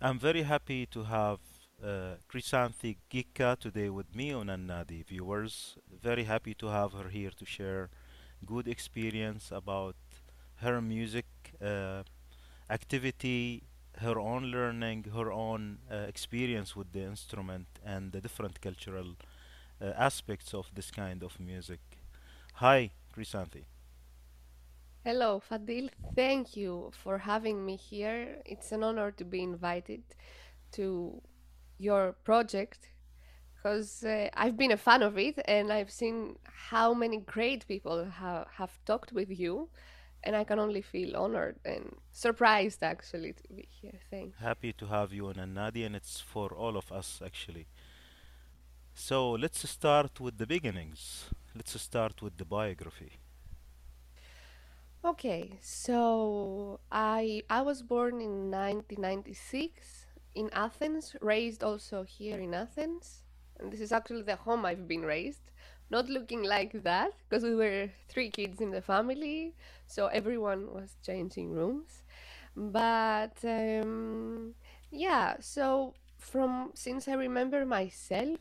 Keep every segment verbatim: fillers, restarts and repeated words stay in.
I'm very happy to have uh, Krisanthi Gika today with me on Annadi viewers. Very happy to have her here to share good experience about her music uh, activity, her own learning, her own uh, experience with the instrument, and the different cultural uh, aspects of this kind of music. Hi, Krisanthi. Hello, Fadil. Thank you for having me here. It's an honor to be invited to your project because uh, I've been a fan of it and I've seen how many great people ha- have talked with you, and I can only feel honored and surprised actually to be here. Thanks. Happy to have you on Annadi, and it's for all of us actually. So let's start with the beginnings. Let's start with the biography. Okay, so I I was born in nineteen ninety-six in Athens, raised also here in Athens. And this is actually the home I've been raised. Not looking like that because we were three kids in the family, so everyone was changing rooms. But um, yeah, so from since I remember myself,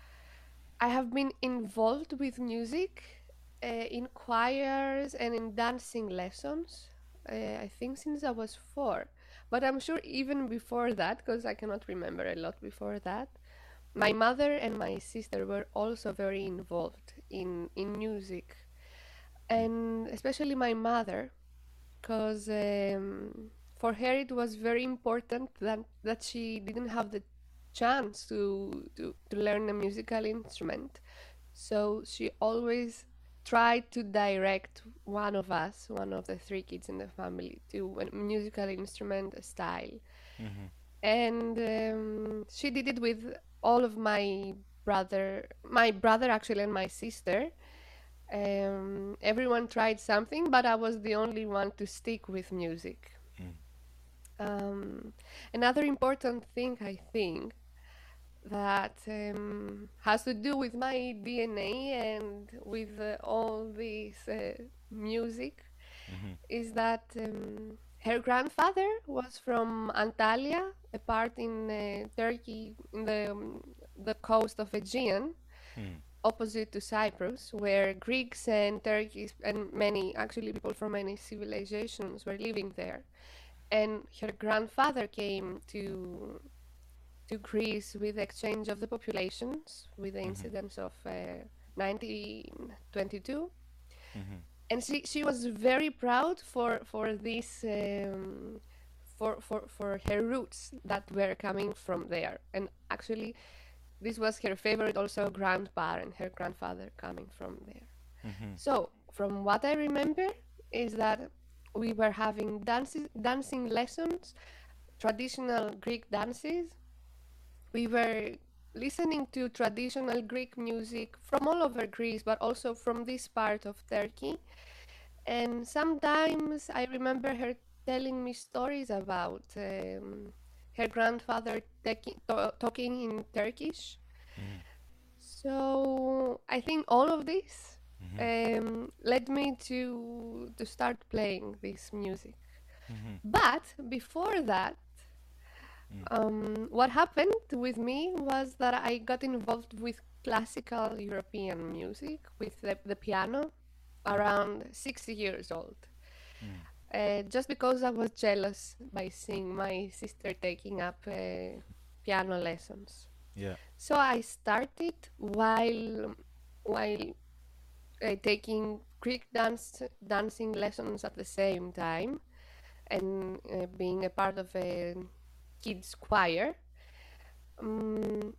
I have been involved with music uh, in choirs and in dancing lessons. Uh, I think since I was four, but I'm sure even before that, because I cannot remember a lot before that. My mother and my sister were also very involved in in music, Mm. and especially my mother, because um, for her it was very important that that she didn't have the chance to to, to learn a musical instrument, so she always tried to direct one of us, one of the three kids in the family, to a musical instrument style. Mhm. And um, she did it with all of my brother, my brother actually, and my sister. Um, everyone tried something, but I was the only one to stick with music. Mm. Um, Another important thing, I think, that um, has to do with my D N A and with uh, all this uh, music Mhm. is that um, her grandfather was from Antalya, a part in uh, Turkey, in the, um, the coast of Aegean, Mm. opposite to Cyprus, where Greeks and Turkeys and many, actually, people from many civilizations were living there. And her grandfather came to to Greece with the exchange of the populations, with the Mhm. incidents of uh, nineteen twenty-two. Mhm. And she, she was very proud for for this um, for, for for her roots that were coming from there. And actually, this was her favorite also grandparent, her grandfather coming from there. Mhm. So from what I remember is that we were having dances, dancing lessons, traditional Greek dances. We were listening to traditional Greek music from all over Greece, but also from this part of Turkey. And sometimes I remember her telling me stories about um, her grandfather taki- to- talking in Turkish. Mhm. So I think all of this Mhm. um, led me to to start playing this music. Mhm. But before that, Mm. um, what happened with me was that I got involved with classical European music with the, the piano Mhm. around six years old. Mm. Uh, just because I was jealous by seeing my sister taking up uh, piano lessons. Yeah. So I started while while uh, taking Greek dance dancing lessons at the same time and uh, being a part of a kids choir. Um,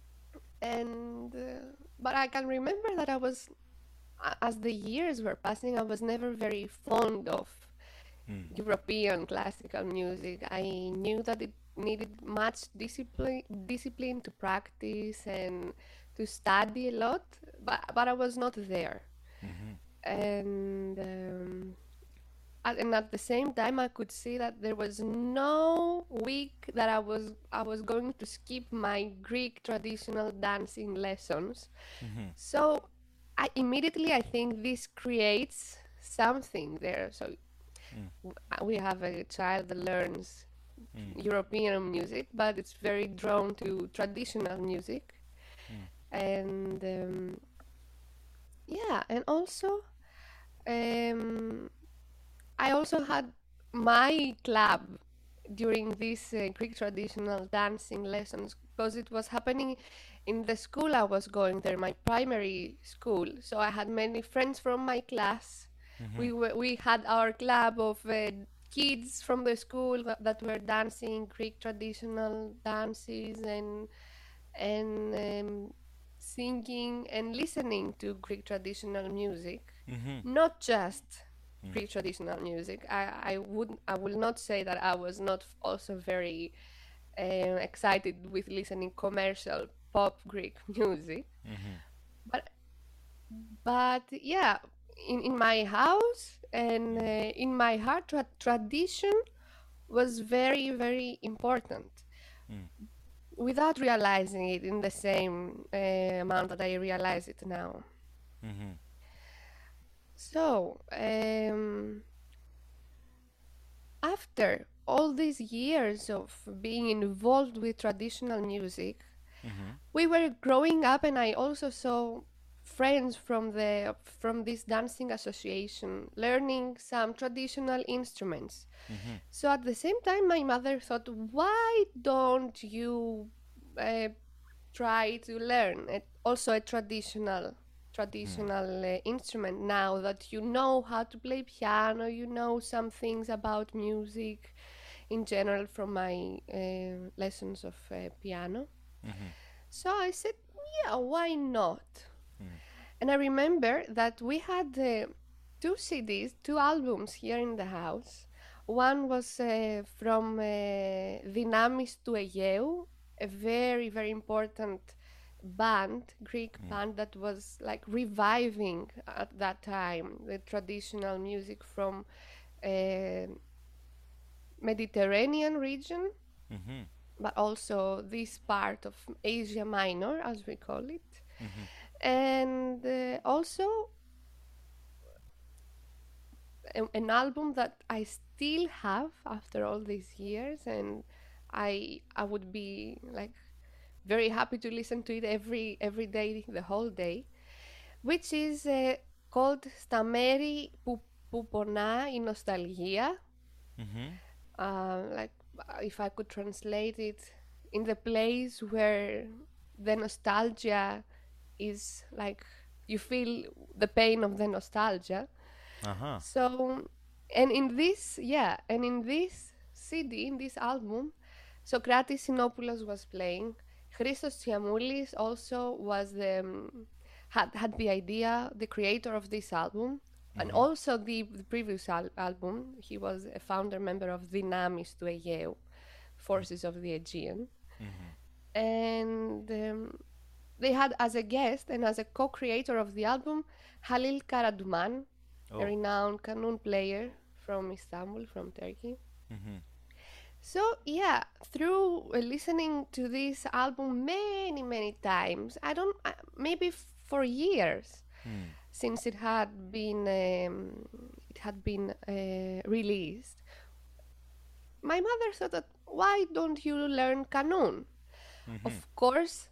and uh, but I can remember that I was as the years were passing, I was never very fond of Mm. European classical music. I knew that it needed much discipline, discipline to practice and to study a lot, but but I was not there. Mhm. And um, at, and at the same time, I could see that there was no week that I was I was going to skip my Greek traditional dancing lessons. Mhm. So I immediately I think this creates something there. So Mm. w- we have a child that learns Mm. European music, but it's very drawn to traditional music. Mm. And um, yeah, and also um, I also had my club during these uh, Greek traditional dancing lessons because it was happening in the school I was going there, my primary school. So I had many friends from my class. Mhm. We were, we had our club of uh, kids from the school that, that were dancing Greek traditional dances and and um, singing and listening to Greek traditional music, Mhm. not just Mm. Greek traditional music. I, I would I will not say that I was not also very uh, excited with listening commercial pop Greek music, Mhm. but but yeah, in, in my house and uh, Mm. in my heart, tra- tradition was very very important Mm. without realizing it in the same uh, amount that I realize it now. Mhm. So, um, after all these years of being involved with traditional music, Mhm. we were growing up, and I also saw friends from the from this dancing association learning some traditional instruments. Mhm. So at the same time, my mother thought, why don't you uh, try to learn it, also a traditional Mhm. traditional uh, instrument now that you know how to play piano, you know some things about music in general from my uh, lessons of uh, piano. Mhm. So I said, yeah, why not? Mm. And I remember that we had uh, two C Ds, two albums here in the house. One was uh, from uh, Dinamis του Αιγαίου, a very, very important band, Greek Mm. band that was like reviving at that time the traditional music from uh, Mediterranean region, Mhm. but also this part of Asia Minor, as we call it. Mhm. And uh, also a- an album that I still have after all these years, and I I would be like very happy to listen to it every every day, the whole day, which is uh, called Στα μέρη που, που πονά η νοσταλγία. Mhm. Uh, like uh, if I could translate it, in the place where the nostalgia is like you feel the pain of the nostalgia. Uh-huh. So, and in this, yeah, and in this C D, in this album, Socrates Sinopoulos was playing. Christos Tsiamoulis also was the um, had had the idea, the creator of this album, and Mhm. also the, the previous al- album. He was a founder member of Dinamis του Αιγαίου, Forces of the Aegean, Mhm. and um, they had as a guest and as a co-creator of the album Halil Karaduman, a Oh. renowned kanun player from Istanbul, from Turkey. Mhm. So yeah, through uh, listening to this album many many times, I don't uh, maybe f- for years Mm. since it had been um, it had been uh, released. My mother thought that why don't you learn kanun? Mhm. Of course,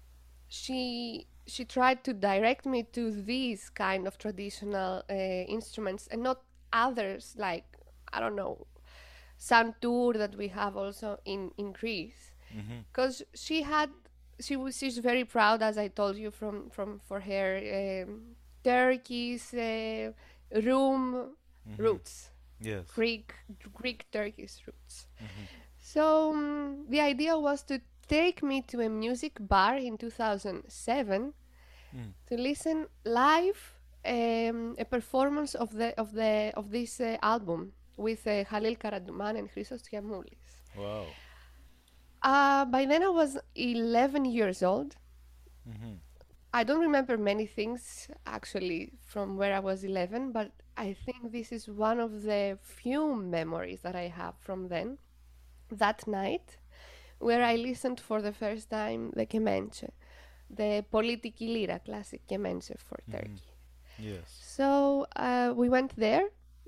she she tried to direct me to these kind of traditional uh, instruments and not others like I don't know santur that we have also in in Greece, Mhm. because she had she was she's very proud, as I told you, from from for her um, Turkish uh, room Mhm. roots, Yes. Greek Greek Turkish roots. Mhm. So um, the idea was to take me to a music bar in two thousand seven Mm. to listen live um, a performance of the of the of this uh, album with uh, Halil Karaduman and Christos Tsiamoulis. Wow. Uh, by then I was eleven years old. Mhm. I don't remember many things actually from where I was eleven, but I think this is one of the few memories that I have from then. That night, where I listened for the first time the kemençe, the Politiki Lira classic kemençe for Mhm. Turkey. Yes. So uh, we went there.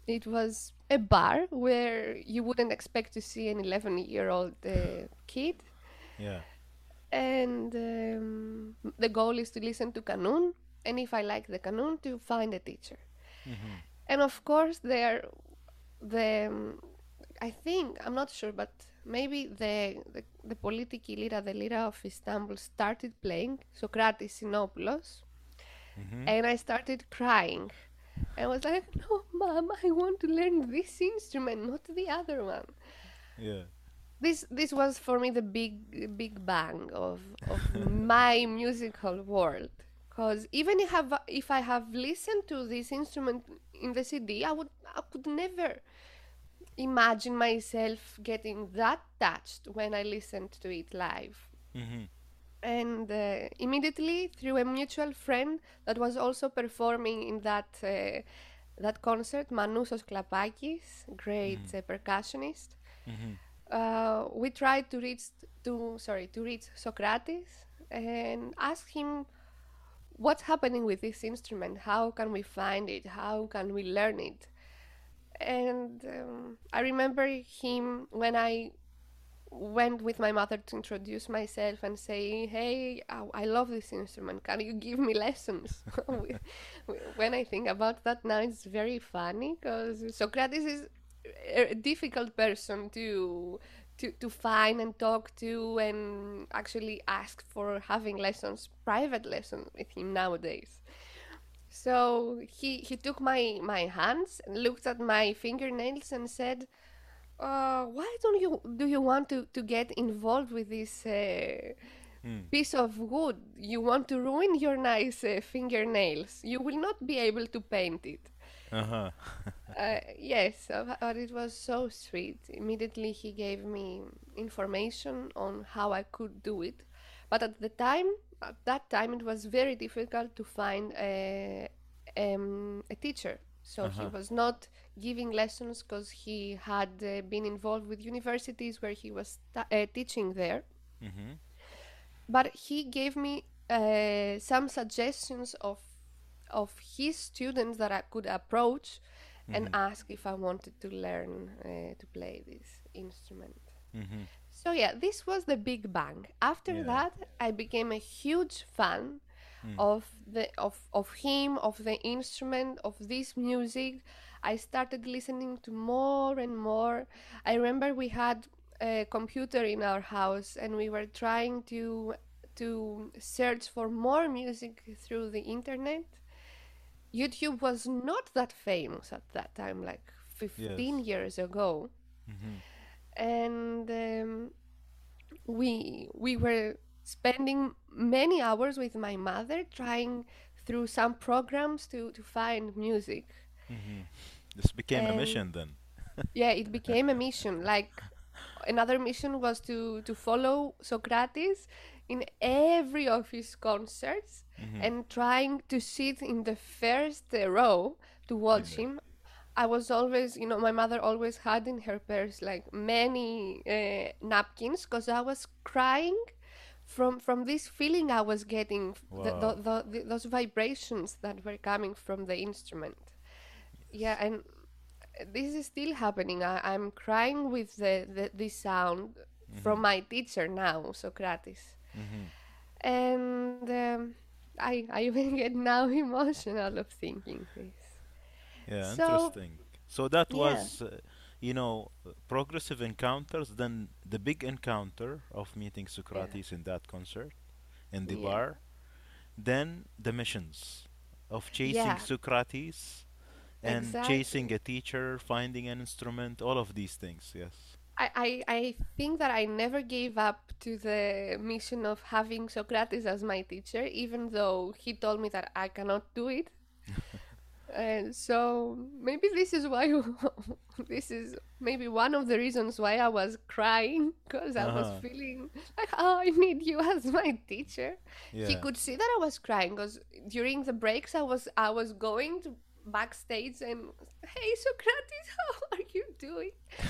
It was a bar where you wouldn't expect to see an eleven year old uh, kid. Yeah. And um, the goal is to listen to Kanun. And if I like the Kanun, to find a teacher. Mm-hmm. And of course, there, the um, I think I'm not sure, but maybe the the, the Politiki Lira, the Lira of Istanbul, started playing Socrates Sinopoulos, Mm-hmm. and I started crying. I was like, "No, mom, I want to learn this instrument, not the other one." Yeah. This this was for me the big big bang of of my musical world. Because even if I have if I have listened to this instrument in the C D, I would I could never imagine myself getting that touched when I listened to it live. Mm-hmm. And uh, immediately, through a mutual friend that was also performing in that uh, that concert, Manousos Klapakis, great Mm-hmm. uh, percussionist, Mm-hmm. uh, we tried to reach to sorry to reach Socrates and ask him what's happening with this instrument. How can we find it? How can we learn it? And um, I remember him when I went with my mother to introduce myself and say, "Hey, I, I love this instrument. Can you give me lessons?" When I think about that now, it's very funny because Socrates is a difficult person to to to find and talk to and actually ask for having lessons, private lessons with him nowadays. So he he took my my hands and looked at my fingernails and said, uh, why don't you do you want to, to get involved with this uh, Mm. piece of wood? You want to ruin your nice uh, fingernails. You will not be able to paint it. Uh-huh. Uh, yes, uh, but it was so sweet. Immediately he gave me information on how I could do it. But at the time, at that time, it was very difficult to find a, um, a teacher. So he Uh-huh. was not giving lessons because he had uh, been involved with universities where he was ta- uh, teaching there. Mm-hmm. But he gave me uh, some suggestions of of his students that I could approach and Mm-hmm. ask if I wanted to learn uh, to play this instrument. Mm-hmm. So yeah, this was the big bang. After Yeah. that, I became a huge fan Mm. of the of of him, of the instrument, of this music. I started listening to more and more. I remember we had a computer in our house and we were trying to to search for more music through the internet. YouTube was not that famous at that time, like fifteen Yes. years ago. Mm-hmm. And um, we we were spending many hours with my mother trying through some programs to to find music. Mm-hmm. This became a And mission then. yeah, it became a mission. Like another mission was to to follow Socrates in every of his concerts Mm-hmm. and trying to sit in the first uh, row to watch Yeah. him. I was always, you know, my mother always had in her purse like many uh, napkins because I was crying from from this feeling I was getting, the, the, Wow. the, the, those vibrations that were coming from the instrument. Yeah, Yes. and this is still happening. I, I'm crying with the, the this sound Mm-hmm. from my teacher now, Socrates, Mm-hmm. and um, I I even get now emotional of thinking this. Yeah, So interesting. So that yeah, was, uh, you know, uh, progressive encounters, then the big encounter of meeting yeah, Socrates in that concert, in the yeah, bar, then the missions of chasing yeah, Socrates and chasing exactly. a teacher, finding an instrument, all of these things, yes. I, I, I think that I never gave up to the mission of having Socrates as my teacher, even though he told me that I cannot do it. And so maybe this is why this is maybe one of the reasons why I was crying because I was Uh-huh. feeling like, oh, I need you as my teacher. He Yeah. could see that I was crying because during the breaks I was I was going to backstage and, hey Socrates, how are you doing?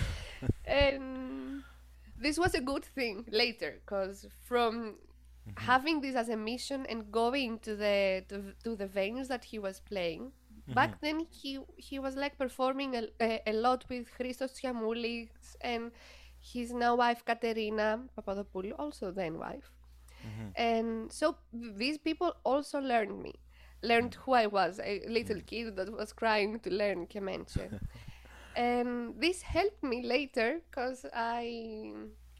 And this was a good thing later because from Mm-hmm. having this as a mission and going to the to, to the venues that he was playing, Mhm. back then he he was like performing a, a, a lot with Christos Tsiamoulis and his now wife Katerina Papadopoulou, also then wife. Mhm. And so these people also learned me, learned who I was, a little Mhm. kid that was trying to learn Kemenche. And this helped me later because I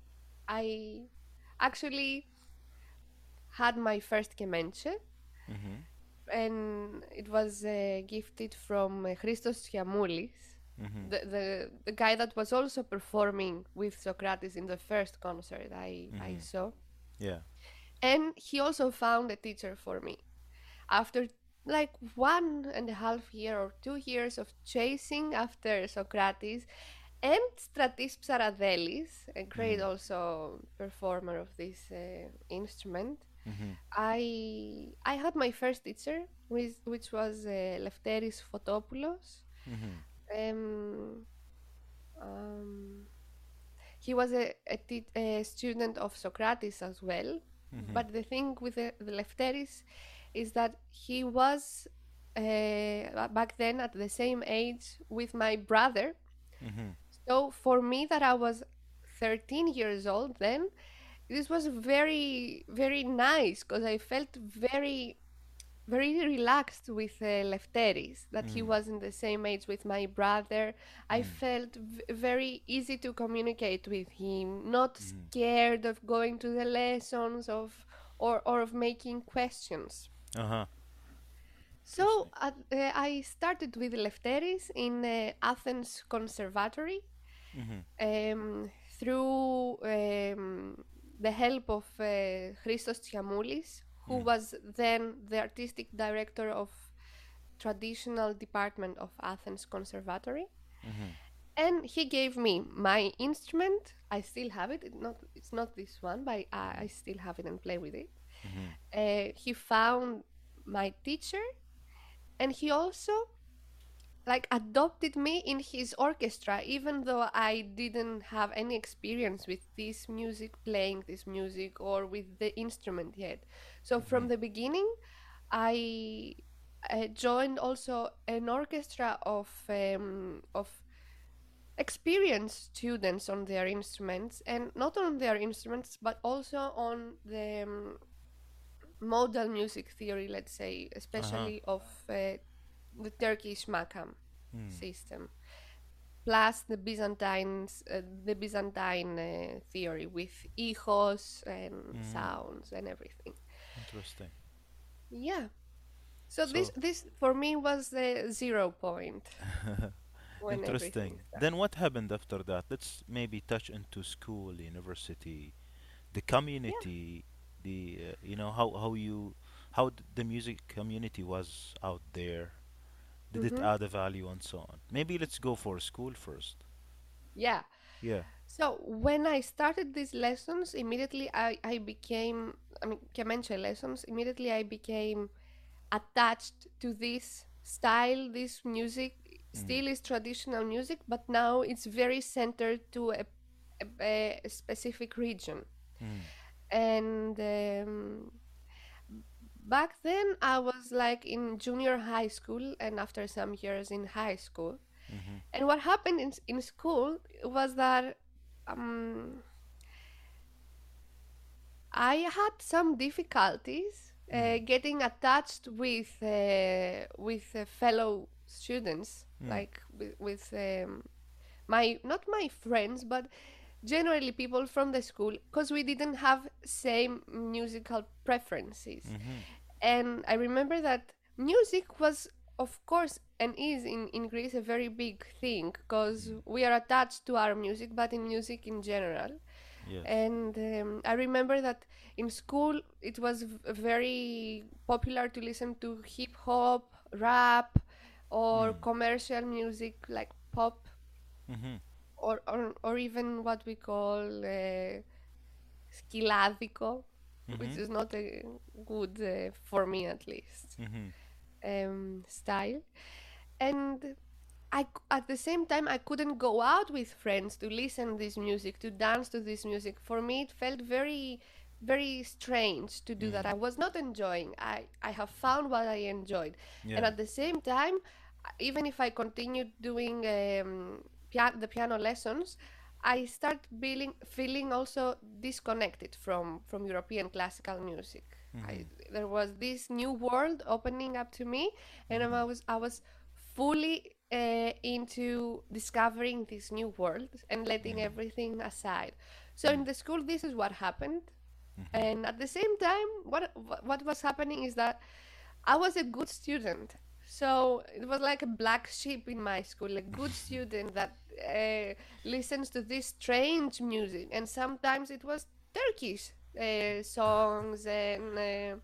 I actually had my first Kemenche, Mhm. and it was uh, gifted from uh, Christos Tsiamoulis, Mhm. the, the the guy that was also performing with Socrates in the first concert I I Mhm. saw. Yeah. And he also found a teacher for me after like one and a half year or two years of chasing after Socrates and Stratis Psaradelis, a great Mhm. also performer of this uh, instrument. Mhm. I I had my first teacher, which, which was uh, Lefteris Fotopoulos. Mhm. Um, um, he was a, a, tea- a student of Socrates as well. Mhm. But the thing with the, the Lefteris is that he was uh, back then at the same age with my brother. Mhm. So for me, that I was thirteen years old then, this was very, very nice because I felt very very relaxed with uh, Lefteris, that he Mhm. was in the same age with my brother. I Mhm. felt v- very easy to communicate with him, not Mhm. scared of going to the lessons of or, or of making questions. Uh-huh. So Interesting. uh, uh, I started with Lefteris in uh, Athens Conservatory Mhm. um, through um, the help of uh, Christos Tsiamoulis, who Mhm. was then the artistic director of traditional department of Athens Conservatory. Mhm. And he gave me my instrument. I still have it. It not it's not this one, but I, I Mhm. still have it and play with it. Mhm. Uh, he found my teacher, and he also like adopted me in his orchestra, even though I didn't have any experience with this music, playing this music, or with the instrument yet. So from Mhm. the beginning, I uh, joined also an orchestra of um, of experienced students on their instruments, and not on their instruments, but also on the um, modal music theory, let's say, Uh-huh. especially of uh, the Turkish makam Mm. system, plus the Byzantines, uh, the Byzantine uh, theory with echoes and Mm. sounds and everything. Interesting. Yeah. So this So, this for me was the zero point when everything interesting. started. Then what happened after that? Let's maybe touch into school, university, the community, the uh, you know how how you how d- the music community was out there. Did Yeah. it Mm-hmm. add a value and so on? Maybe let's go for school first. Yeah. Yeah. So when I started these lessons, immediately I, I became, I mean, Kemenche lessons, immediately I became attached to this style, this music. Mm. Still is traditional music, but now it's very centered to a, a, a specific region. Mm. And um, back then I was like in junior high school and after some years in high school. Mm-hmm. And what happened in, in school was that um, I had some difficulties uh, Mm. getting attached with uh, with uh, fellow students, Mm. like with, with um, my not my friends, but generally people from the school, because we didn't have same musical preferences. Mm-hmm. And I remember that music was, of course, and is in, in Greece a very big thing because Mm. we are attached to our music, but in music in general. Yes. And um, I remember that in school it was v- very popular to listen to hip hop, rap, or Mm. commercial music like pop, Mm-hmm. or or, or even what we call uh, skiladico, which Mm-hmm. is not a good, uh, for me at least, Mm-hmm. um, style. And I, c- at the same time, I couldn't go out with friends to listen this music, to dance to this music. For me, it felt very, very strange to do that. Mm. I was not enjoying. I, I have found what I enjoyed, and Yeah. at the same time, even if I continued doing um, pia- the piano lessons, I start feeling feeling also disconnected from from European classical music. I, Mhm. there was this new world opening up to me, and Mhm. I was I was fully uh, into discovering this new world and letting Mhm. everything aside. So Mhm. in the school, this is what happened, Mhm. and at the same time, what what was happening is that I was a good student. So it was like a black sheep in my school, a good student that uh, listens to this strange music. And sometimes it was Turkish uh, songs and uh,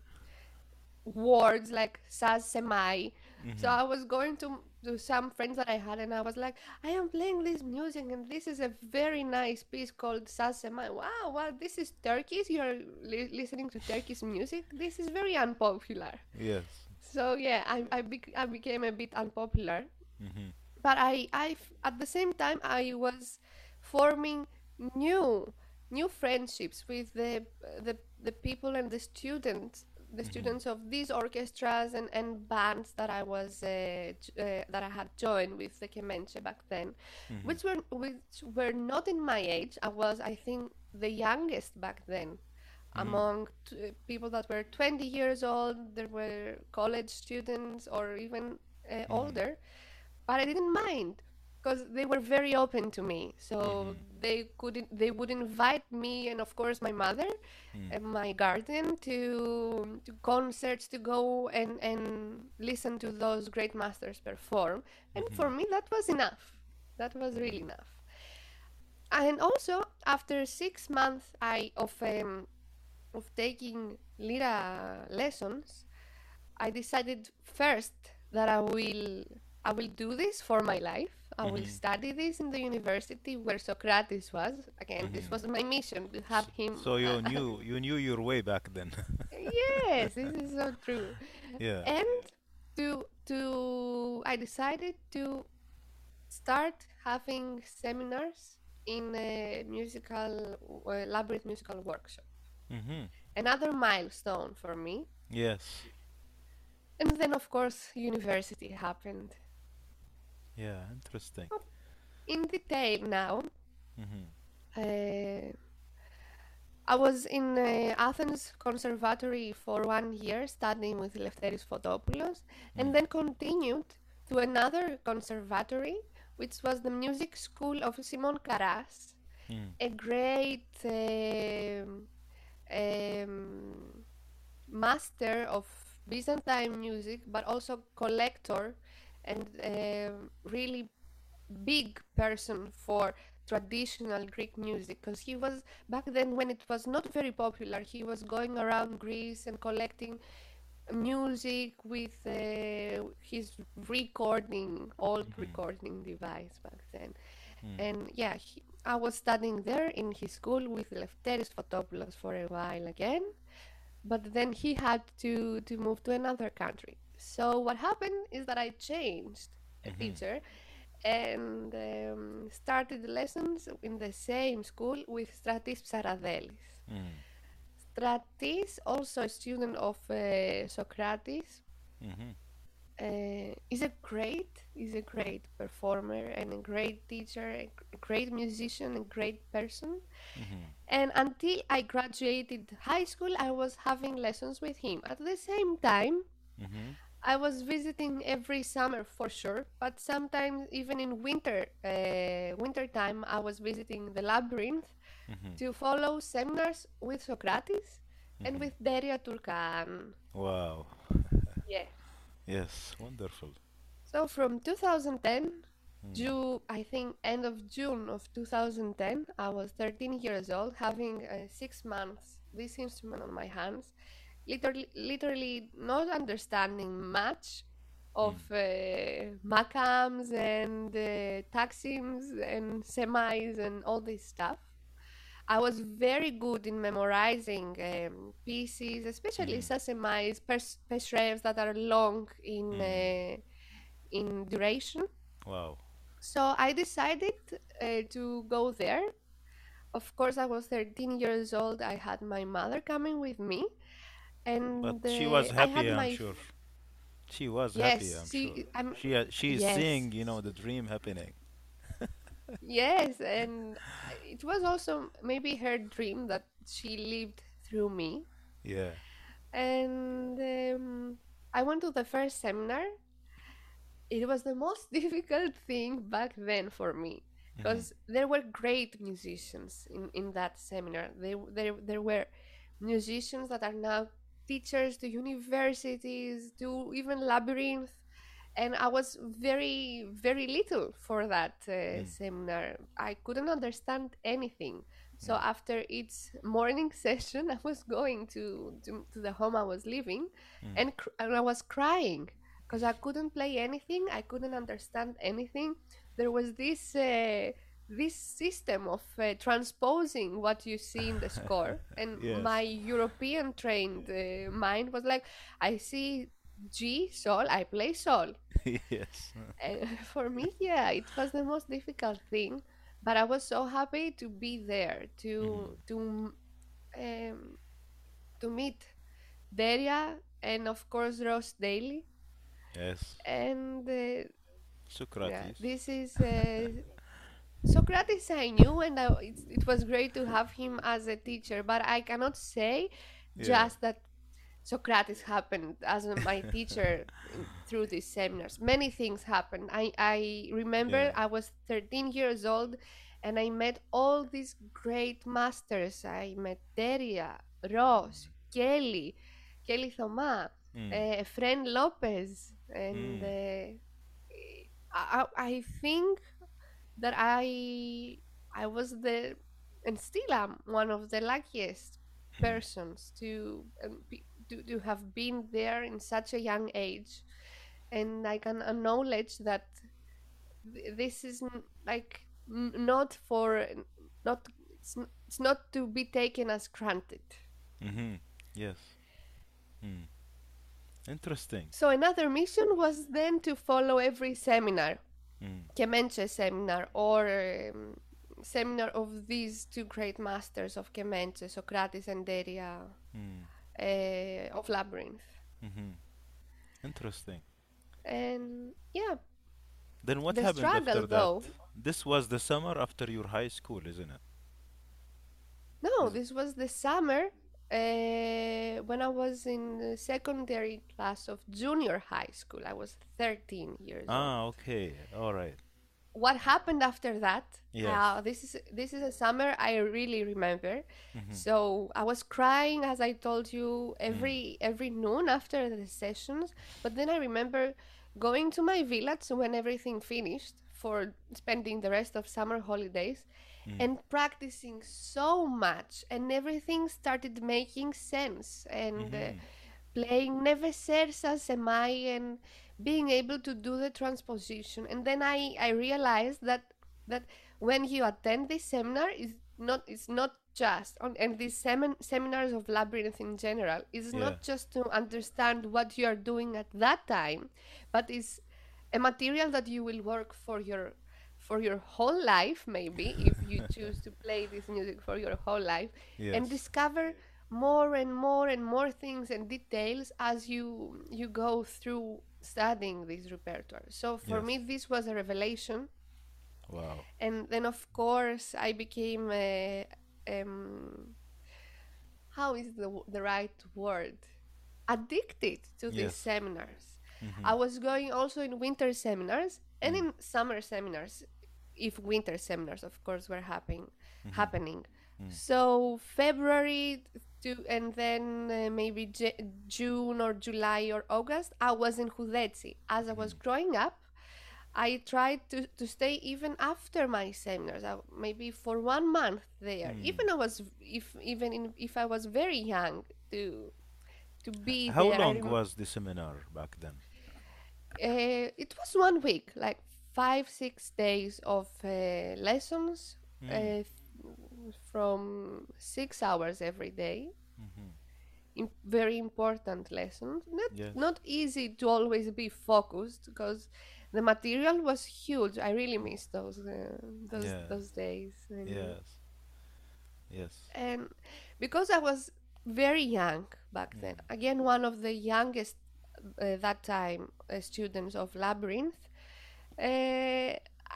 words like Saz Semai. So Mhm. I was going to, to some friends that I had, and I was like, I am playing this music, and this is a very nice piece called Saz Semai. Wow, wow, this is Turkish. You're li- listening to Turkish music. This is very unpopular. Yes. So yeah, I I, bec- I became a bit unpopular, Mhm. but I I f- at the same time I was forming new new friendships with the the the people and the students the Mhm. students of these orchestras and, and bands that I was uh, j- uh, that I had joined with the Kemenche back then, Mhm. which were which were not in my age. I was, I think, the youngest back then Mhm. among t- people that were twenty years old. There were college students or even uh, Mhm. older, but I didn't mind because they were very open to me. So Mhm. they couldn't, they would invite me and of course my mother Mhm. and my guardian to to concerts to go and and listen to those great masters perform. And for Mhm. me, that was enough. That was really Mhm. enough. And also, after six months, I of um, of taking lira lessons, I decided first that I will I will do this for my life. I will Mhm. study this in the university where Socrates was. Again, this Mhm. was my mission to have So, him. so you Uh, knew you knew your way back then. yes, this is so true. Yeah. And to to I decided to start having seminars in a musical uh, labyrinth musical workshop. Mhm. Another milestone for me. Yes. And then, of course, university happened. Yeah. Interesting. In detail now, Mhm. uh, I was in uh, Athens Conservatory for one year studying with Lefteris Fotopoulos, and Mm. then continued to another conservatory, which was the music school of Simon Karas, Mm. a great um, um, master of Byzantine music, but also collector and um really big person for traditional Greek music because he was back then when it was not very popular. He was going around Greece and collecting music with uh, his recording, old Mhm. recording device back then. Mm. And yeah, he, I was studying there in his school with Lefteris Fotopoulos for a while again, but then he had to to move to another country. So what happened is that I changed a Mhm. teacher and um, started lessons in the same school with Stratis Psaradelis. Mm. Stratis, also a student of uh, Socrates, Mhm. uh, is a great is a great performer and a great teacher, a great musician, a great person. Mhm. And until I graduated high school, I was having lessons with him. At the same time, Mhm. I was visiting every summer for sure, but sometimes even in winter, uh, winter time, I was visiting the labyrinth Mhm. to follow seminars with Socrates and Mhm. with Deria Turkan. Wow. Yeah. Yes. Wonderful. So from two thousand ten, Mm. June, I think end of June of two thousand ten, I was thirteen years old, having uh, six months this instrument on my hands, literally, literally not understanding much of Mm. uh, macams and uh, taxims and semis and all this stuff. I was very good in memorizing um, pieces, especially Mhm. sasemais, pers- peshrevs that are long in Mm. uh, in duration. Wow. So I decided uh, to go there. Of course, I was thirteen years old. I had my mother coming with me, But and she uh, was I happy, had I'm my sure. f- She was happy, Yes, I'm sure. she. I'm. She uh, she is Yes, seeing, you know, the dream happening. yes, and it was also maybe her dream that she lived through me. Yeah. And um, I went to the first seminar. It was the most difficult thing back then for me Mhm. because there were great musicians in, in that seminar. They, there, there were musicians that are now teachers to universities, to even Labyrinth. And I was very, very little for that uh, Mm. seminar. I couldn't understand anything. So Mm. after each morning session, I was going to, to, to the home I was living, Mm. and, cr- and I was crying because I couldn't play anything. I couldn't understand anything. There was this uh, this system of uh, transposing what you see in the score, and my Yes. European trained uh, mind was like, I see G Sol, I play Sol. Yes. And for me, yeah, it was the most difficult thing. But I was so happy to be there Mhm. to to um, to meet Deria and of course Ross Daly. Yes. And uh, yeah, Socrates. this is uh, Socrates I knew, and I, it, it was great to have him as a teacher. But I cannot say Yeah. just that Socrates happened as my teacher in, through these seminars. Many things happened. I, I remember Yeah. I was thirteen years old and I met all these great masters. I met Deria, Ross, Kelly, Kelly Thoma, Mm. uh, Fren Lopez, and Mm. uh, I, I think that I I was the and still am one of the luckiest Mm. persons to um, be, to, to have been there in such a young age, and I can acknowledge that th- this is n- like n- not for not it's, n- it's not to be taken as granted. Mhm. Yes. Mm. Interesting. So another mission was then to follow every seminar, Mm. Kemenche seminar, or um, seminar of these two great masters of Kemenche, Socrates and Deria, Mm. uh, of Labyrinth. Mhm. Interesting. And yeah, Then what the happened struggle after that? though, This was the summer after your high school, isn't it? no, Is this was the summer uh, when I was in the secondary class of junior high school. I was thirteen years old. Ah, okay. All right. What happened after that, Yes. uh, this is this is a summer I really remember. Mhm. So I was crying, as I told you, Mm. every every noon after the sessions. But then I remember going to my village when everything finished for spending the rest of summer holidays, Mm. and practicing so much, and everything started making sense, and uh, Mhm. playing Neve Sersa Semai and being able to do the transposition. And then I, I realized that that when you attend this seminar, is not it's not just on and these semin- seminars of Labyrinth in general is Yeah. not just to understand what you are doing at that time, but is a material that you will work for your for your whole life, maybe if you choose to play this music for your whole life, and Yes. discover more and more and more things and details as you you go through studying this repertoire. So for Yes. me this was a revelation. Wow. And then of course I became a, um how is the w- the right word, addicted to these Yes. seminars. I Mhm. was going also in winter seminars and Mm. in summer seminars, if winter seminars, of course, were happening. Mhm. Happening. Mm. So February to and then uh, maybe J- June or July or August, I was in Hudetsi. As I was Mhm. growing up, I tried to, to stay even after my seminars, uh, maybe for one month there. Mm. Even I was if even in, if I was very young to to be How there. I long rem- was the seminar back then? uh, it was one week, like five six days of uh, lessons, Mm. uh, from six hours every day. Mhm. In very important lessons. Not Yes. not easy to always be focused because the material was huge. I really miss those uh, those Yeah. those days, and Yes. Yes. and because I was very young back then. Mm. Again, one of the youngest uh, that time uh, students of Labyrinth, uh,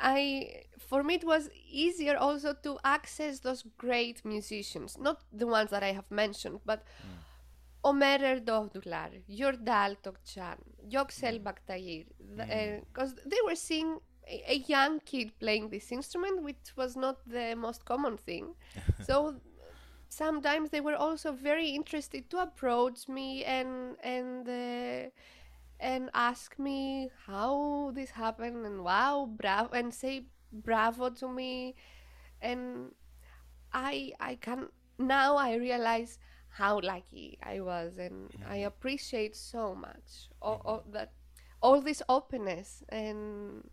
I for me it was easier also to access those great musicians, not the ones that I have mentioned, but Mm. Omer Erdoğdular, Yordal Tokcan, Yoksel Mm. Baktayir, Mm. because they were seeing a, a young kid playing this instrument, which was not the most common thing. So sometimes they were also very interested to approach me and and uh, and ask me how this happened and wow bravo and say bravo to me, and I I can now I realize how lucky I was, and I Mhm. appreciate so much all, Mhm. all that all this openness, and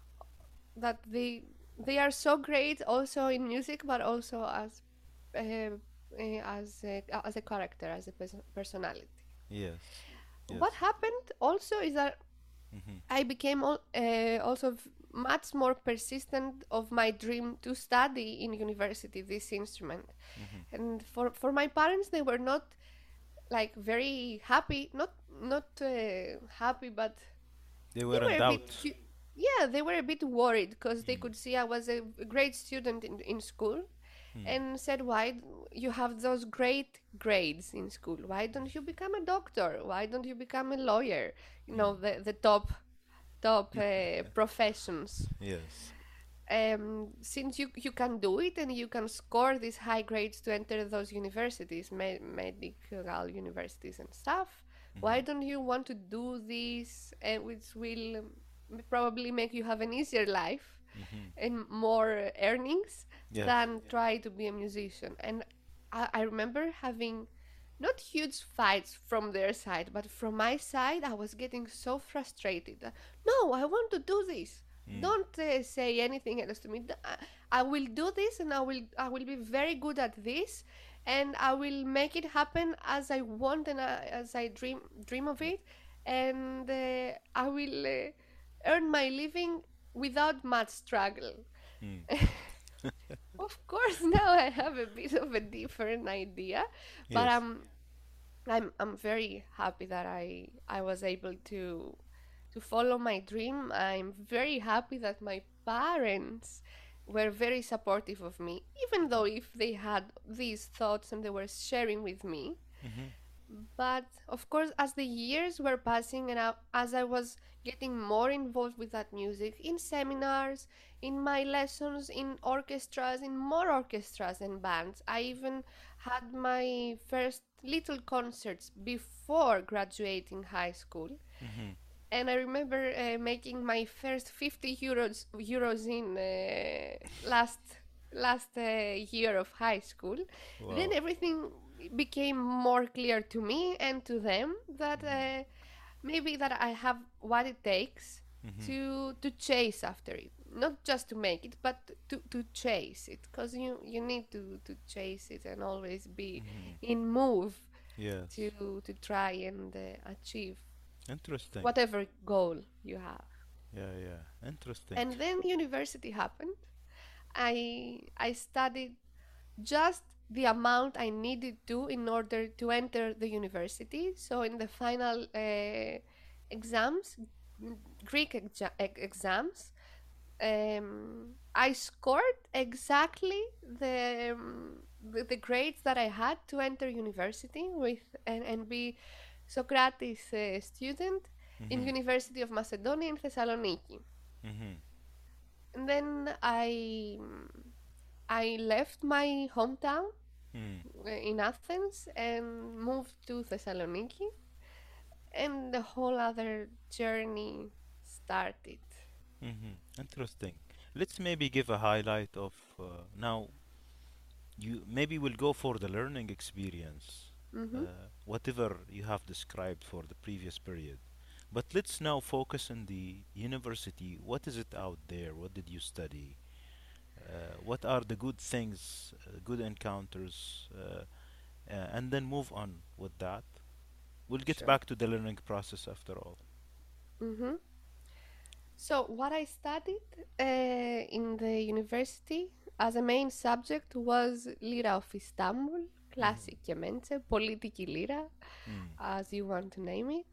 that they they are so great also in music, but also as uh, uh, as a, as a character, as a pers- personality. Yes. What Yes. happened also is that Mhm. I became al- uh, also v- much more persistent of my dream to study in university this instrument. Mhm. And for for my parents, they were not like very happy, not not uh, happy, but They they were were in a bit doubt. cu- yeah, they were a bit worried because they Mm. could see I was a a great student in, in school, Mm. and said, why d- you have those great grades in school, why don't you become a doctor, why don't you become a lawyer, you Mm. know, the the top top uh, professions. Yes. Um, since you you can do it and you can score these high grades to enter those universities, me- medical universities and stuff, why Mhm. don't you want to do this, uh, which will um, probably make you have an easier life Mhm. and more earnings Yes. than try to be a musician? And I, I remember having not huge fights from their side, but from my side, I was getting so frustrated. No, I want to do this. Mm. Don't uh, say anything else to me. I, I will do this, and I will I will be very good at this, and I will make it happen as I want and uh, as I dream dream of it, and uh, I will uh, earn my living without much struggle. Mm. Of course, now I have a bit of a different idea, but Yes. I'm I'm I'm very happy that I I was able to to follow my dream. I'm very happy that my parents were very supportive of me, even though if they had these thoughts and they were sharing with me. Mhm. But of course, as the years were passing and I, as I was getting more involved with that music in seminars, in my lessons, in orchestras, in more orchestras and bands, I even had my first little concerts before graduating high school. Mhm. And I remember uh, making my first fifty euros euros in uh, last last uh, year of high school. Then Wow. everything became more clear to me and to them that Mhm. uh, maybe that I have what it takes Mhm. to to chase after it, not just to make it, but to, to chase it, because you you need to to chase it and always be Mhm. in move Yes. to to try and uh, achieve Interesting. whatever goal you have. Yeah, yeah. Interesting. And then university happened. I I studied just the amount I needed to in order to enter the university. So in the final uh, exams, Greek exa- e- exams, um, I scored exactly the, um, the the grades that I had to enter university with and, and be Socrates uh, student in Mhm. University of Macedonia in Thessaloniki. Mhm. And then I I left my hometown Mm. uh, in Athens and moved to Thessaloniki, and the whole other journey started. Mhm. Interesting. Let's maybe give a highlight of uh, now. You maybe will go for the learning experience, Mm-hmm. uh, whatever you have described for the previous period. But let's now focus on the university. What is it out there? What did you study? Uh, what are the good things, uh, good encounters, uh, uh, and then move on with that. We'll get Sure. back to the learning process after all. Mm-hmm. So what I studied uh, in the university as a main subject was Lyra of Istanbul, Mhm. classic Kemençe, Politiki Lyra, Mm. as you want to name it.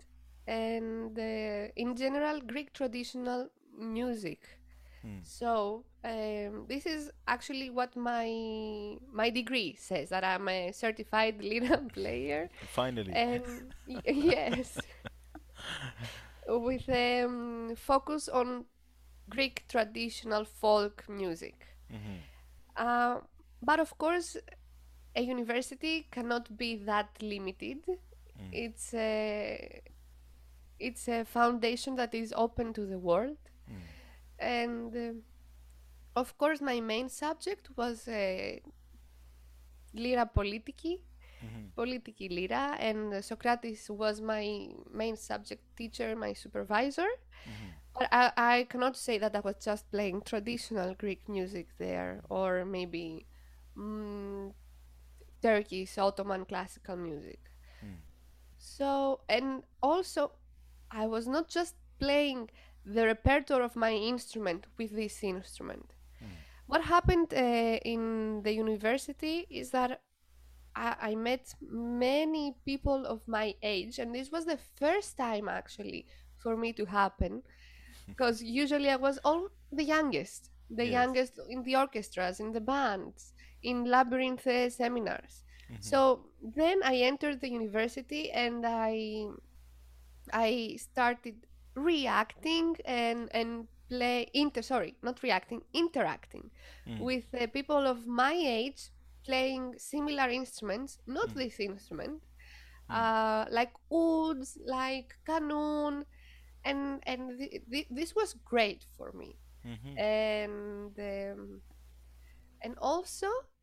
and uh, in general Greek traditional music. Mm. So um, this is actually what my my degree says, that I'm a certified lira player, Finally. and y- yes, with um, focus on Greek traditional folk music. Mm-hmm. Uh, but of course, a university cannot be that limited. Mm. It's a it's a foundation that is open to the world, Mm. and um of course, my main subject was uh, Lyra Politiki, Mm-hmm. Politiki Lyra, and uh, Socrates was my main subject teacher, my supervisor. Mm-hmm. But I, I cannot say that I was just playing traditional Greek music there, or maybe mm, Turkish Ottoman classical music. Mm. So, and also, I was not just playing the repertoire of my instrument with this instrument. Mm. What happened uh, in the university is that I, I met many people of my age, and this was the first time actually for me to happen, because usually I was all the youngest, the Yes. youngest in the orchestras, in the bands, in labyrinth uh, seminars. Mm-hmm. So then I entered the university, and I I started reacting and and play inter sorry not reacting interacting Mm. with uh, people of my age playing similar instruments, not Mm. this instrument, Mm. uh, like ouds, like qanun, and and th- th- this was great for me, Mm-hmm. and um, and also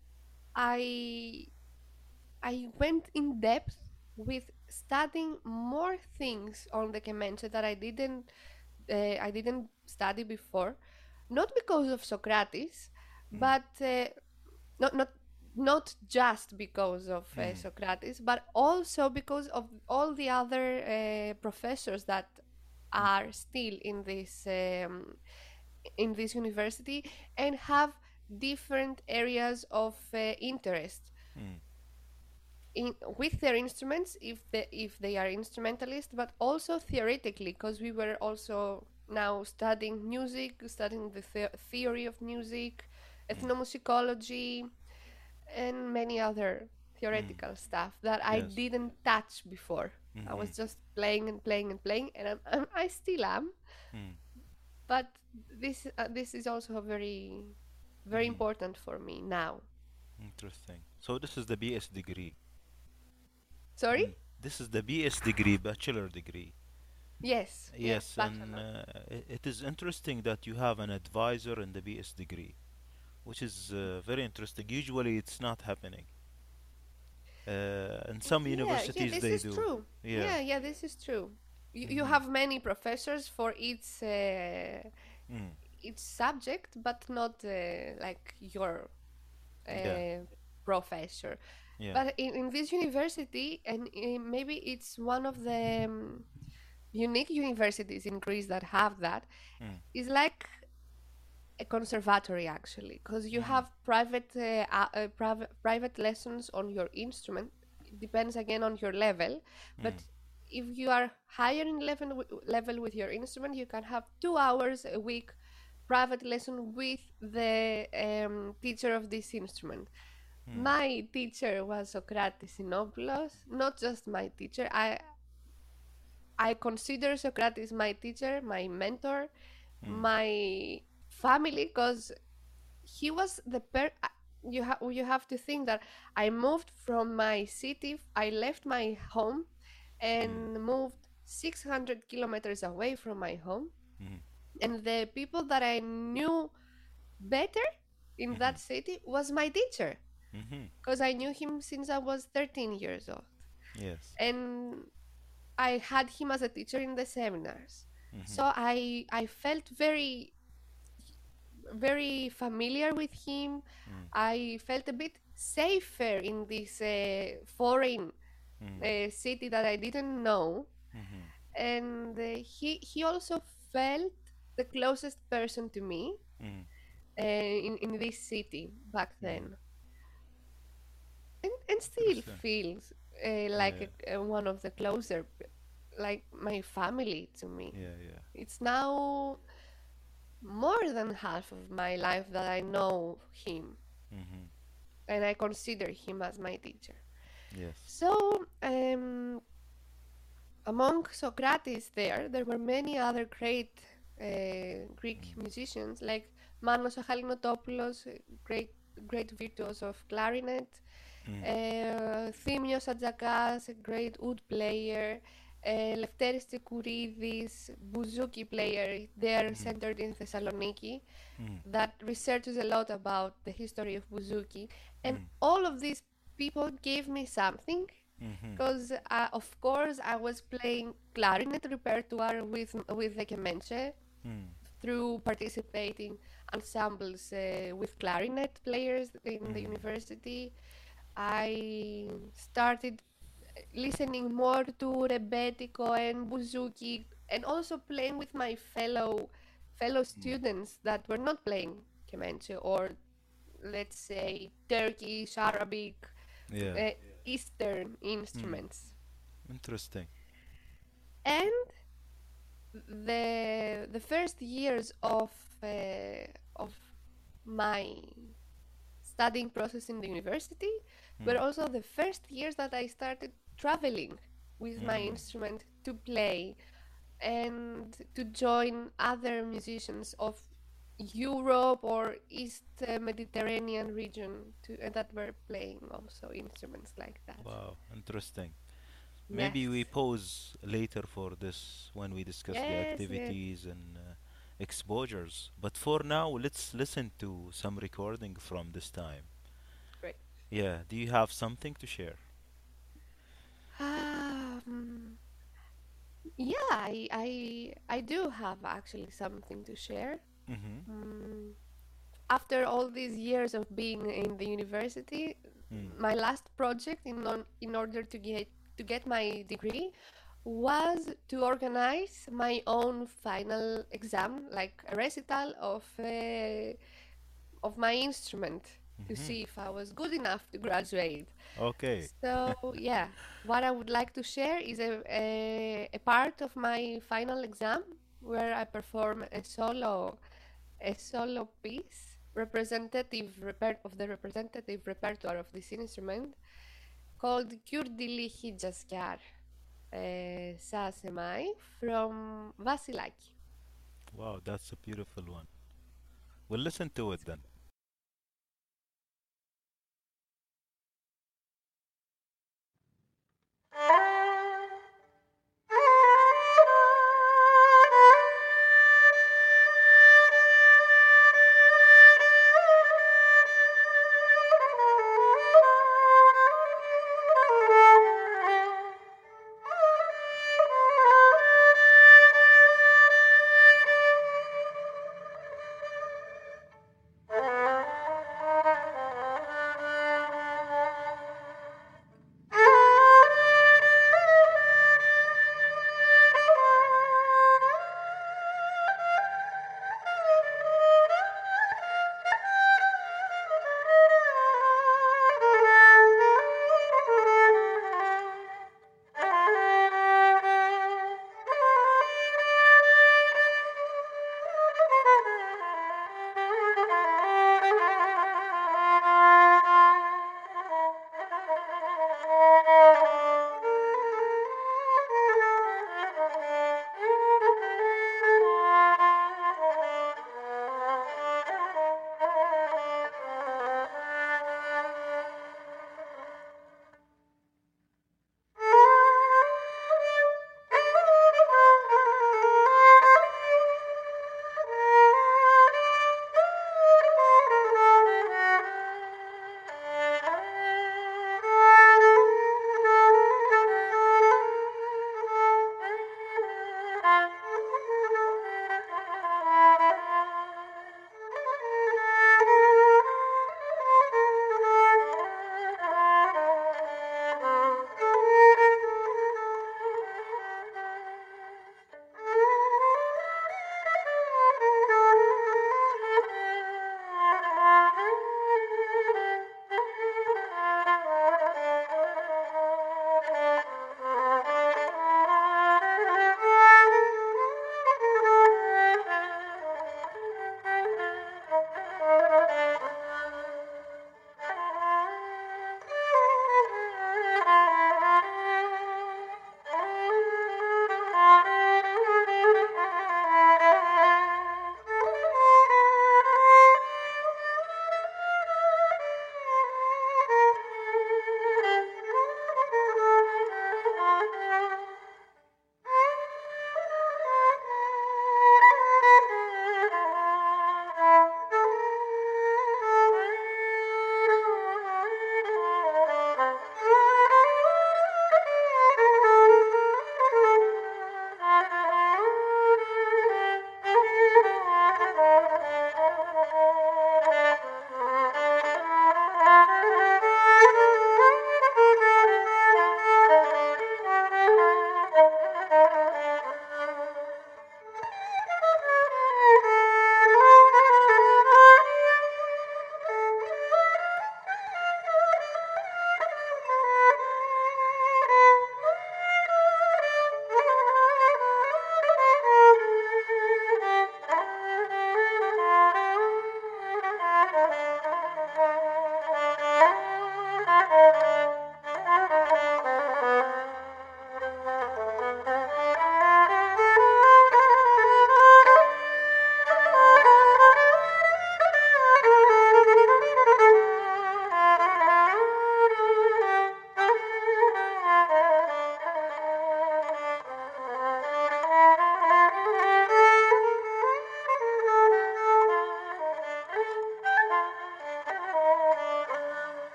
I I went in depth with studying more things on the Kemenche that I didn't uh, I didn't study before, not because of Socrates, Mm. but uh, not not not just because of uh, Mm. Socrates, but also because of all the other uh, professors that Mm. are still in this um, in this university and have different areas of uh, interest Mm. in with their instruments, if they if they are instrumentalists, but also theoretically, because we were also now studying music, studying the, the theory of music, Mm. ethnomusicology, and many other Mm. theoretical stuff that I Yes. didn't touch before. I Mm-hmm. was just playing and playing and playing, and I'm, I'm, I still am. Mm. But this uh, this is also very very Mm-hmm. important for me now. Interesting. So this is the B S degree. Sorry? Mm. This is the B S degree, bachelor degree. Yes, yes, Yes, and bachelor. uh, i- it is interesting that you have an advisor in the B S degree, which is uh, very interesting. Usually, it's not happening. Uh, in some Yeah, yeah, universities, this they is do. true. Yeah. Yeah, yeah, this is true. You, you Mm-hmm. have many professors for each uh, Mm. each subject, but not uh, like your Yeah. uh, professor. Yeah. But in, in this university, and uh, maybe it's one of the um, unique universities in Greece that have that, Mm. is like a conservatory actually, because you Mm. have private uh, uh, uh, private private lessons on your instrument. It depends again on your level, but Mm. if you are higher in level w- level with your instrument, you can have two hours a week private lesson with the um, teacher of this instrument. Mm. My teacher was Socrates Sinopoulos, not just my teacher. I I consider Socrates my teacher, my mentor, Mm. my family, because he was the per uh, you have you have to think that I moved from my city. I left my home Mm. and moved six hundred kilometers away from my home, Mm. and the people that I knew better in Mm-hmm. that city was my teacher, Mm-hmm. because I knew him since I was thirteen years old, Yes. and I had him as a teacher in the seminars. Mm-hmm. So I I felt very very familiar with him. Mm. I felt a bit safer in this uh, foreign Mm. uh, city that I didn't know, Mm-hmm. and uh, he he also felt the closest person to me Mm. uh, in in this city back Mm. then, and and still Interesting. feels uh, like Yeah. a, uh, one of the closer. like my family to me. Yeah, yeah. It's now more than half of my life that I know him Mm-hmm. and I consider him as my teacher. Yes. So, um, among Socrates there, there were many other great uh, Greek Mm. musicians like Manos Achallinotopoulos, uh, great great virtuos of clarinet, Mm. uh, Thimios Adzakas, a great oud player, uh, Lefteris Tsekouridis, bouzouki player. They are Mm. centered in Thessaloniki, Mm. that researches a lot about the history of bouzouki, and Mm. all of these people gave me something Mm-hmm. because uh, of course I was playing clarinet repertoire with with the kemenche Mm. through participating ensembles uh, with clarinet players in the Mm. university. I started listening more to rebetiko and bouzouki and also playing with my fellow fellow Mm. students that were not playing kemenche or let's say Turkish, Arabic, Yeah. uh, Eastern Mm. instruments. Interesting. And the the first years of uh, of my studying process in the university were Mm. also the first years that I started traveling with my Mm. instrument to play and to join other musicians of Europe or East uh, Mediterranean region to, uh, that were playing also instruments like that. Wow. Interesting. Maybe we Yes, pause later for this when we discuss the yes, yes. activities and uh, exposures. But for now, let's listen to some recording from this time. Great. Yeah, do you have something to share? Um, yeah, I, I I do have actually something to share. Mm-hmm. Mm, after all these years of being in the university, Mm. my last project in on, in order to get to get my degree was to organize my own final exam, like a recital of uh, of my instrument to Mm-hmm. see if I was good enough to graduate. Okay. So yeah, what I would like to share is a, a, a part of my final exam where I perform a solo a solo piece representative reper- of the representative repertoire of this instrument called Kyrdili Hijaskar uh, Sasemai from Vasilaki. Wow, that's a beautiful one. We'll listen to it then.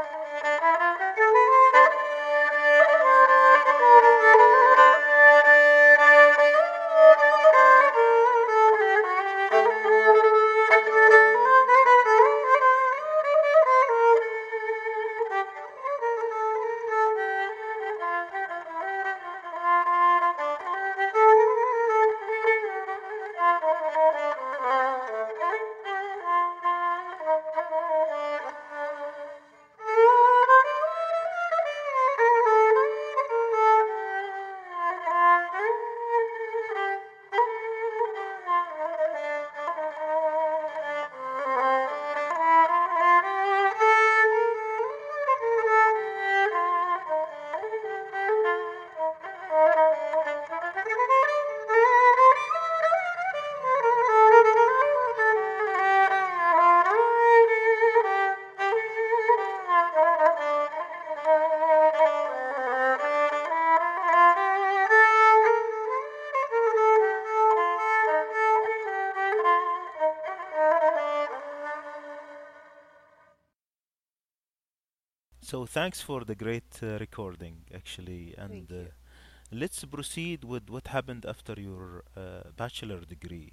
So thanks for the great uh, recording, actually, and Thank uh, you. let's proceed with what happened after your uh, bachelor degree.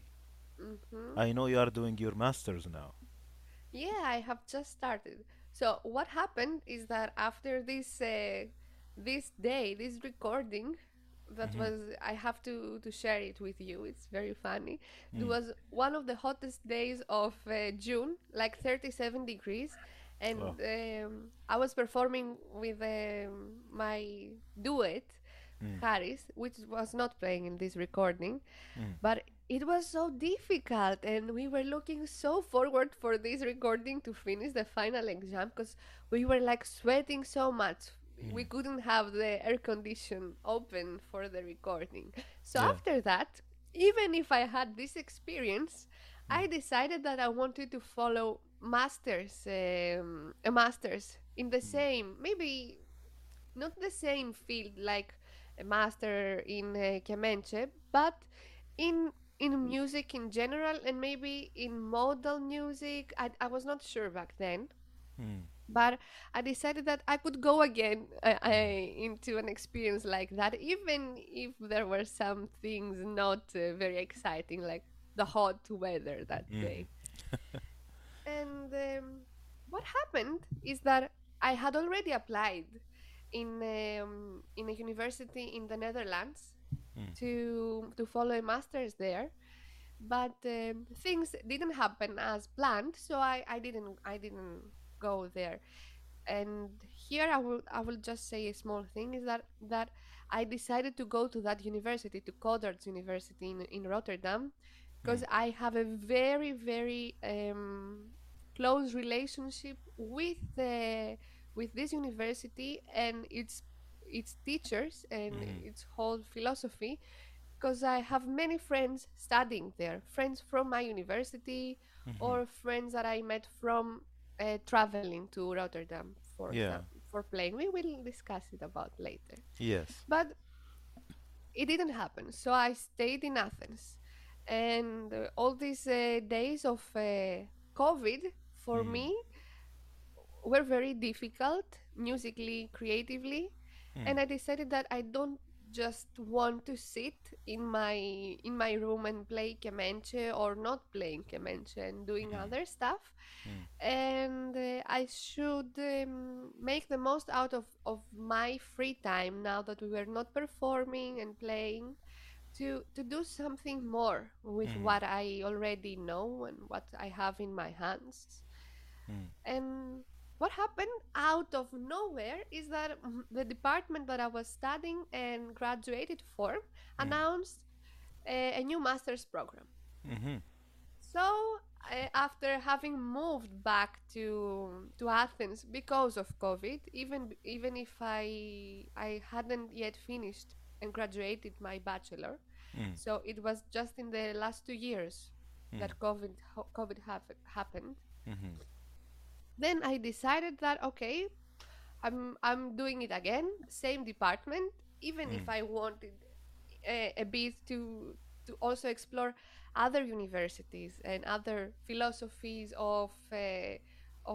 Hmm. I know you are doing your masters now. Yeah, I have just started. So what happened is that after this uh, this day, this recording, that Mm-hmm. was I have to to share it with you. It's very funny. It Mm. was one of the hottest days of uh, June, like thirty-seven degrees, Oh. and um, I was performing with um, my duet, Mm. Harris, which was not playing in this recording, Mm. but it was so difficult, and we were looking so forward for this recording to finish the final exam because we were like sweating so much. We Mm. couldn't have the air condition open for the recording. So Yeah. after that, even if I had this experience, Mm. I decided that I wanted to follow masters, um, a masters in the Mm. same, maybe not the same field like a master in uh, Kemenche, but in in music in general, and maybe in modal music. I, I was not sure back then, Mm. but I decided that I could go again uh, I, into an experience like that, even if there were some things not uh, very exciting, like the hot weather that Mm. day. And um, what happened is that I had already applied in um, in a university in the Netherlands Mm. to to follow a master's there, but um, things didn't happen as planned, so I, I didn't I didn't go there. And here I will I will just say a small thing is that that I decided to go to that university, to Codarts University in, in Rotterdam, Mm. because I have a very very um, close relationship with the with this university and its its teachers and Mm. its whole philosophy, because I have many friends studying there, friends from my university Mm-hmm. or friends that I met from uh, traveling to Rotterdam for Yeah. some for playing. We will discuss it about later. Yes. But it didn't happen, so I stayed in Athens, and uh, all these uh, days of uh, COVID for Mm. me were very difficult musically, creatively, Mm. and I decided that I don't just want to sit in my in my room and play kemenche or not playing kemenche and doing Mm. other stuff, Mm. and uh, I should um, make the most out of of my free time now that we were not performing and playing, to to do something more with Mm. what I already know and what I have in my hands. Mm. And what happened out of nowhere is that mm, the department that I was studying and graduated for Mm. announced a, a new master's program. Mm-hmm. So, uh, after having moved back to to Athens because of COVID, even even if I I hadn't yet finished and graduated my bachelor, Mm. so it was just in the last two years Mm. that COVID COVID hap- happened. Mm-hmm. Then I decided that okay, I'm I'm doing it again, same department, even Mm. if I wanted a, a bit to to also explore other universities and other philosophies of uh, of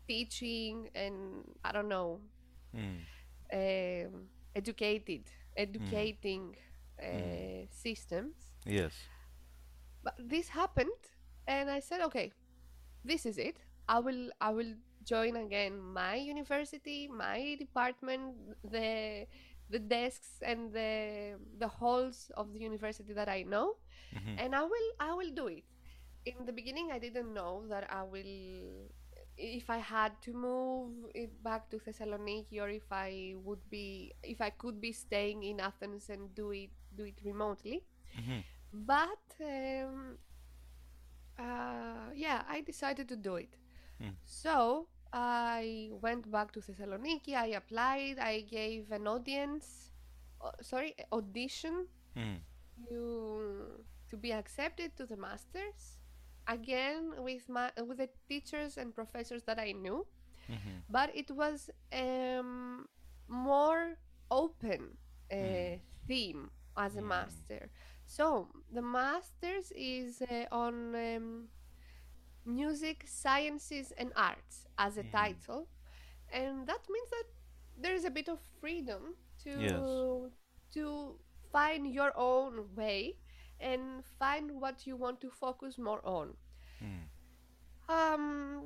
teaching and I don't know, Mm. um, educated, Mm. educating Mm. uh, systems. Yes. But this happened, and I said, okay, this is it. I will I will join again my university, my department, the the desks and the the halls of the university that I know, Mm-hmm. and I will I will do it. In the beginning, I didn't know that I will if I had to move it back to Thessaloniki or if I would be if I could be staying in Athens and do it do it remotely. Mm-hmm. But um, uh, yeah, I decided to do it. Mm. So I went back to Thessaloniki. I applied. I gave an audience, uh, sorry, audition Mm. to to be accepted to the masters. Again with my with the teachers and professors that I knew, Mm-hmm. but it was um more open uh, Mm. theme as a Mm. master. So the masters is uh, on um, music, sciences, and arts as a Mm-hmm. title, and that means that there is a bit of freedom Yes. to to find your own way and find what you want to focus more on. Mm. Um,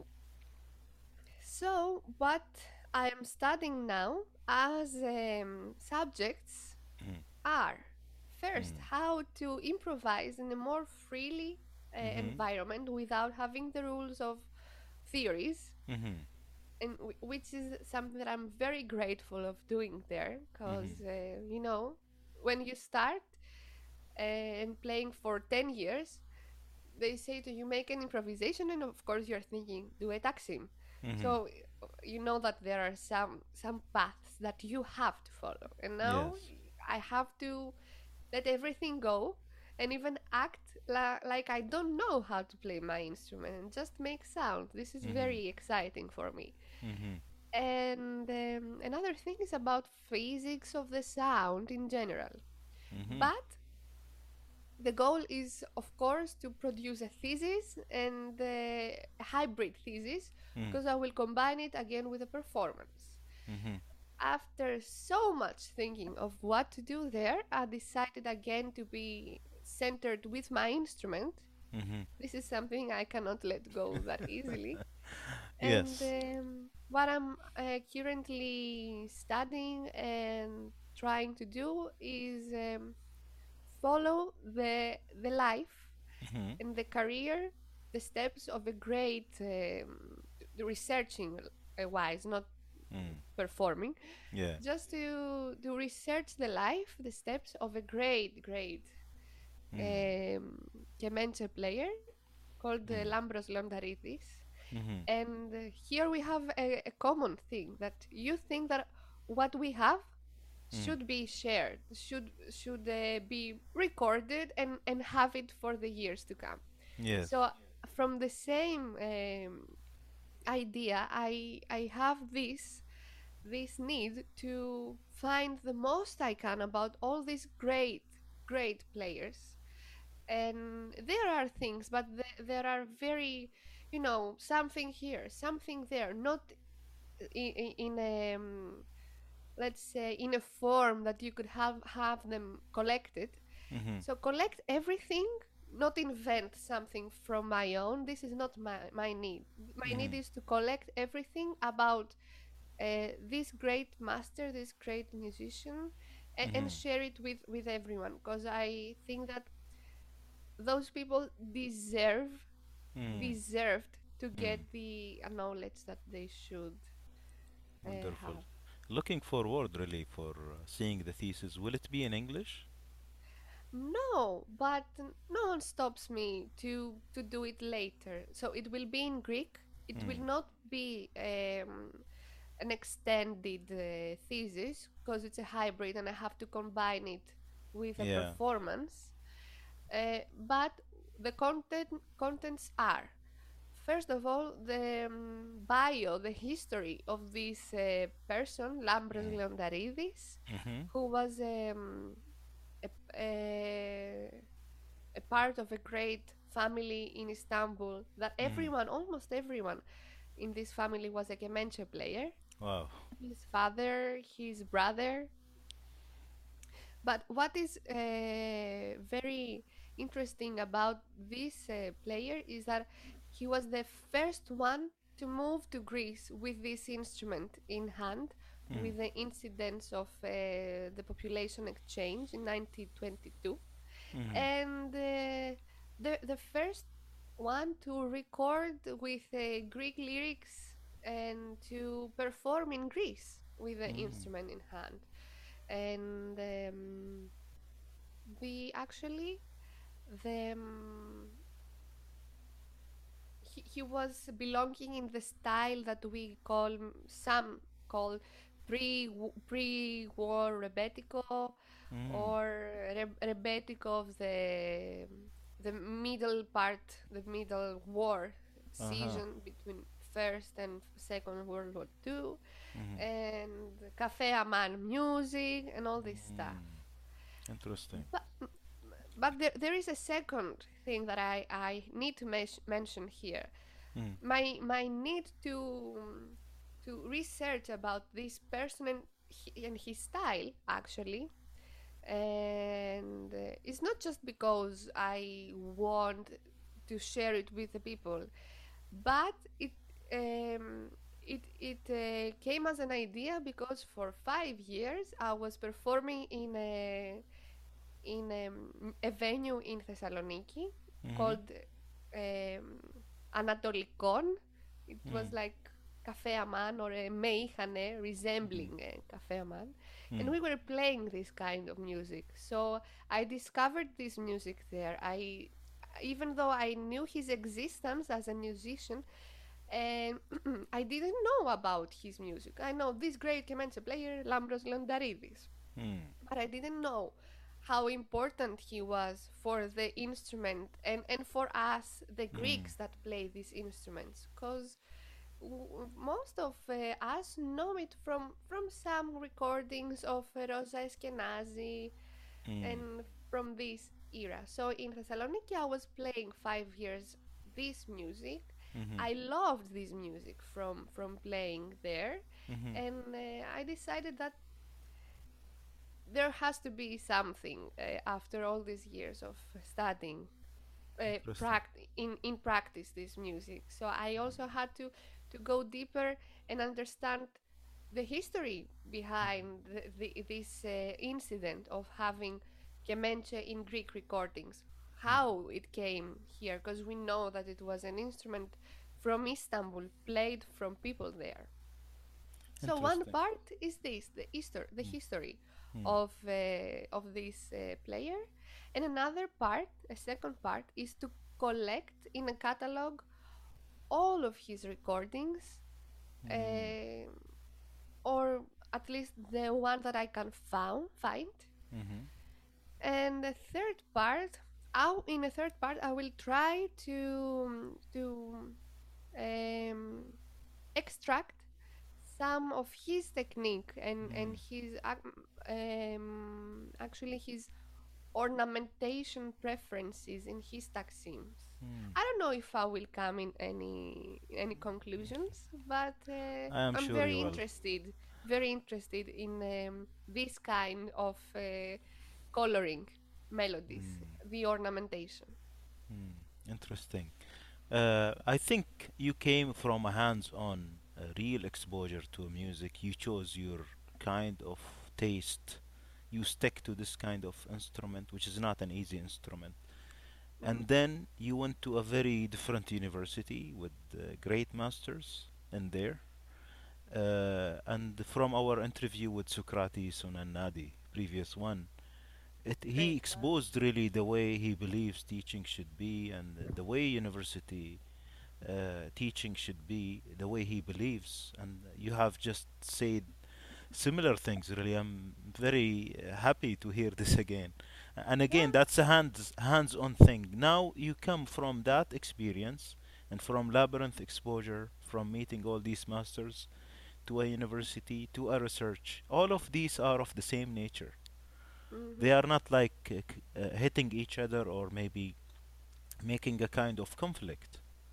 so what I am studying now as um, subjects Mm. are first Mm. how to improvise in a more freely uh, Mm-hmm. environment without having the rules of theories, Mm-hmm. and w- which is something that I'm very grateful of doing there Mm-hmm. because uh, you know when you start uh, and playing for ten years they say to you make an improvisation and of course you're thinking do a taksim, Mm-hmm. so uh, you know that there are some some paths that you have to follow, and now Yes. I have to let everything go and even act la- like I don't know how to play my instrument and just make sound. This is Mm-hmm. very exciting for me. Mm-hmm. And um, another thing is about physics of the sound in general. Mm-hmm. But the goal is, of course, to produce a thesis and a hybrid thesis Mm. because I will combine it again with a performance. Mm-hmm. After so much thinking of what to do there, I decided again to be centered with my instrument. Mm-hmm. This is something I cannot let go that easily. And Yes. um, what I'm uh, currently studying and trying to do is um, follow the the life Mm-hmm. and the career, the steps of a great um, the researching uh, wise, not Mm. performing, Yeah. just to to research the life, the steps of a great great Mm. um, Kemenche player called uh, Mm. Lambros Londaridis. Mm-hmm. And uh, here we have a, a common thing that you think that what we have Mm. should be shared, should should uh, be recorded and and have it for the years to come. Yes. So from the same um, idea, I I have this this need to find the most I can about all these great great players, and there are things but th- there are very, you know, something here something there, not in, in a um, let's say in a form that you could have have them collected. Mm-hmm. So collect everything, not invent something from my own. This is not my, my need. My need Mm-hmm. is to collect everything about uh, this great master, this great musician, and, and Mm-hmm. share it with with everyone because I think that those people deserve Mm. deserved to Mm. get the uh, knowledge that they should uh, Wonderful. have. Looking forward really for uh, seeing the thesis. Will it be in English? No, but no one stops me to to do it later. So it will be in Greek. It will Mm. not be um, an extended uh, thesis because it's a hybrid and I have to combine it with a Yeah. performance. Uh, but the content contents are first of all the um, bio, the history of this uh, person, Lambros Mm. Leondaridis, Mm-hmm. who was um, a, a, a part of a great family in Istanbul that Mm. everyone, almost everyone, in this family was a Kemenche player. Wow. His father, his brother. But what is uh, very interesting about this uh, player is that he was the first one to move to Greece with this instrument in hand, Mm. with the incidents of uh, the population exchange in nineteen twenty-two, Mm. and uh, the the first one to record with uh, Greek lyrics and to perform in Greece with the Mm. instrument in hand. And um, the actually the um, he, he was belonging in the style that we call, some call pre pre war rebetiko, Mm. or re- rebetiko of the the middle part, the middle war Uh-huh. season between first and second world war two, Mm. and cafe aman music and all this stuff. Mm. Interesting. But but there, there is a second thing that I, I need to mes- mention here. Mm. My my need to to research about this person and, he, and his style actually, and uh, it's not just because I want to share it with the people, but it um, it it uh, came as an idea because for five years I was performing in a in um, a venue in Thessaloniki Mm. called um, Anatolikon. It Mm. was like Cafe Aman or a Meihane Mm. resembling a Cafe Aman. And Mm. we were playing this kind of music. So I discovered this music there. I even though I knew his existence as a musician, and I didn't know about his music. I know this great Kemenche player, Lambros Londaridis, Mm. but I didn't know how important he was for the instrument, and, and for us, the Mm. Greeks that play these instruments. Because w- most of uh, us know it from, from some recordings of uh, Rosa Eskenazi Mm. and from this era. So in Thessaloniki, I was playing five years this music. Mhm. I loved this music from from playing there, Mhm. and uh, I decided that there has to be something uh, after all these years of studying uh, Interesting. pract- in in practice this music. So I also had to to go deeper and understand the history behind the, the, this uh, incident of having kemenche in Greek recordings, how it came here, because we know that it was an instrument from Istanbul played from people there. So one Interesting. part is this, the history, the Mm. history Mm. of uh, of this uh, player, and another part, a second part, is to collect in a catalog all of his recordings, Mm. uh, or at least the one that I can found find. Mhm. And the third part, I, in the third part, I will try to to um, extract some of his technique and and Mm. his um, actually his ornamentation preferences in his taxims. Mm. I don't know if I will come in any any conclusions, but uh, I am I'm sure you very will. interested, very interested in um, this kind of uh, coloring melodies, Mm. the ornamentation. Mm. Interesting. Uh, I think you came from a hands-on, uh, real exposure to music. You chose your kind of taste. You stick to this kind of instrument, which is not an easy instrument. Mm-hmm. And then you went to a very different university with uh, great masters in there. Uh, and from our interview with Socrates Nadi, previous one, it, he Great one. exposed really the way he believes teaching should be and the way university uh, teaching should be, the way he believes. And you have just said similar things, really. I'm very uh, happy to hear this again. And again, Yeah. that's a hands, hands-on thing. Now you come from that experience and from labyrinth exposure, from meeting all these masters to a university to a research. All of these are of the same nature. Mm-hmm. They are not like uh, c- uh, hitting each other or maybe making a kind of conflict.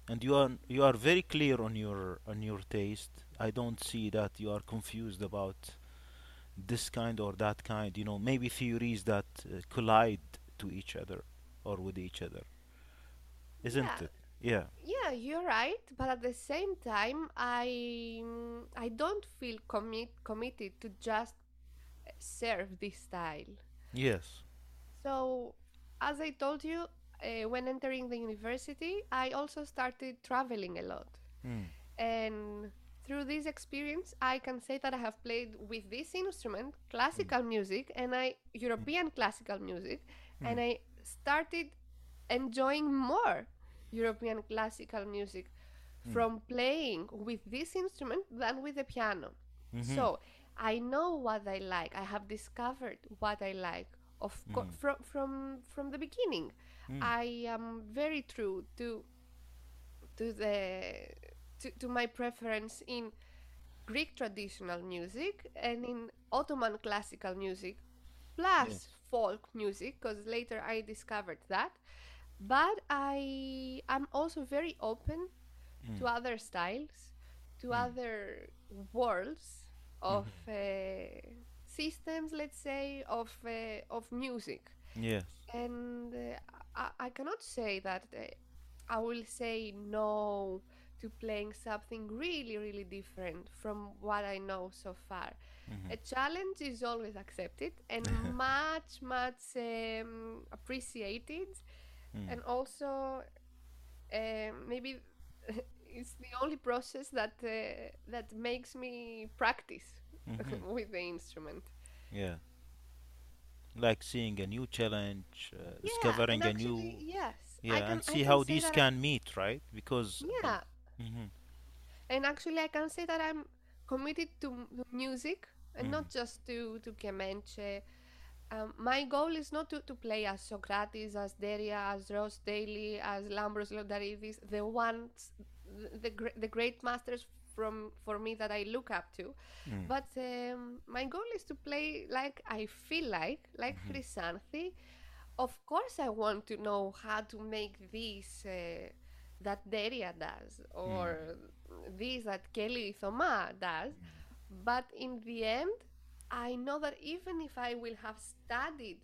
And you are you are very clear on your on your taste. I don't see that you are confused about this kind or that kind. You know, maybe theories that uh, collide to each other or with each other, isn't Yeah, it? Yeah. yeah, you're right. But at the same time, I mm, I don't feel commit committed to just serve this style. Yes. So, as I told you, uh, when entering the university, I also started traveling a lot. Mm. And through this experience, I can say that I have played with this instrument Mm. classical music and I Mm. European classical music, Mm. and I started enjoying more European classical music Mm. from playing with this instrument than with the piano. Mhm. So I know what I like. I have discovered what I like. Of course, Mm. from from from the beginning, Mm. I am very true to to the to, to my preference in Greek traditional music and in Ottoman classical music, plus Yes. folk music, because later I discovered that. But I am also very open Mm. to other styles, to Mm. other worlds of Mhm. uh, systems, let's say, of uh, of music. Yes. And uh, I, I cannot say that uh, I will say no to playing something really, really different from what I know so far. Mhm. A challenge is always accepted and much, much um, appreciated. Mm. And also, um, maybe it's the only process that uh, that makes me practice Mhm. with the instrument. Yeah. Like seeing a new challenge, uh, Yeah, and discovering a actually, new, yes, I yeah, can and I see can how say these that. I, can meet, right? Because, yeah, mhm. and actually, I can say that I'm committed to m- music and Mhm. not just to to Kemenche. Um, my goal is not to, to play as Socrates, as Deria, as Ross Daly, as Lambros Lodaridis, the ones, the, the, gr- the great masters from for me that I look up to. Mm. But um, my goal is to play like I feel like, like Mhm. Chrysanthi. Of course, I want to know how to make this uh, that Deria does, Mm. or this that Kelly Thoma does. But in the end, I know that even if I will have studied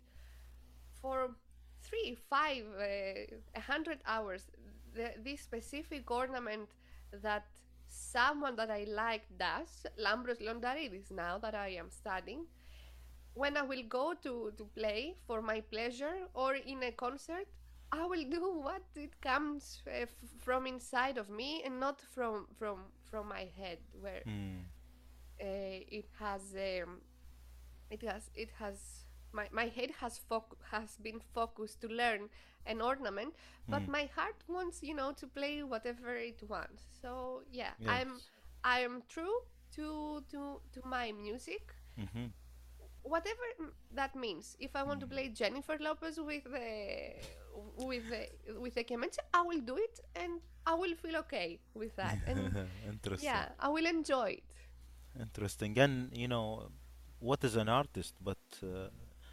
for three, five, uh, a hundred hours, the, this specific ornament that someone that I like does, Lambros Londaridis, now that I am studying, when I will go to, to play for my pleasure or in a concert, I will do what it comes uh, f- from inside of me and not from from from my head, where Mm. uh, it has um, it has it has my, my head has foc- has been focused to learn an ornament, but Mm. my heart wants, you know, to play whatever it wants. So yeah, i'm Yes. i am true to to to my music, Mhm. whatever m- that means. If I want to Mm. play Jennifer Lopez with the with the with the kemenche, I will do it, and I will feel okay with that. And Interesting. yeah, I will enjoy it. Interesting. And you know, what is an artist but uh,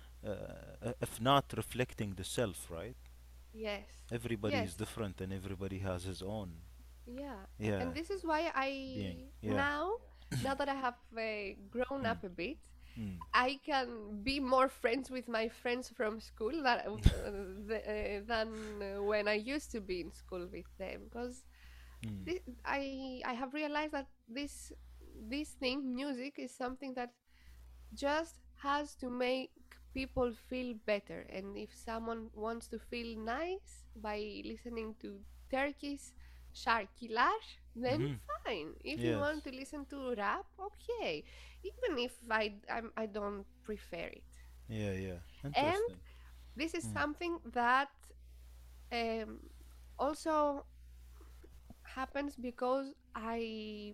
uh, if not reflecting the self, right? Yes, Everybody yes, is different and everybody has his own, yeah. A- yeah, And this is why being. I Yeah. now, now that I have uh, grown Mm. up a bit, Mm. I can be more friends with my friends from school that, uh, the, uh, than uh, when I used to be in school with them, because Mm. thi- I I have realized that this this thing, music, is something that just has to make people feel better. And if someone wants to feel nice by listening to Turkish şarkılar, then Mhm. fine. If you want Yes. to listen to rap, okay. Even if I I'm, I don't prefer it. Yeah, yeah. And Interesting. this is Mm. something that um, also happens because I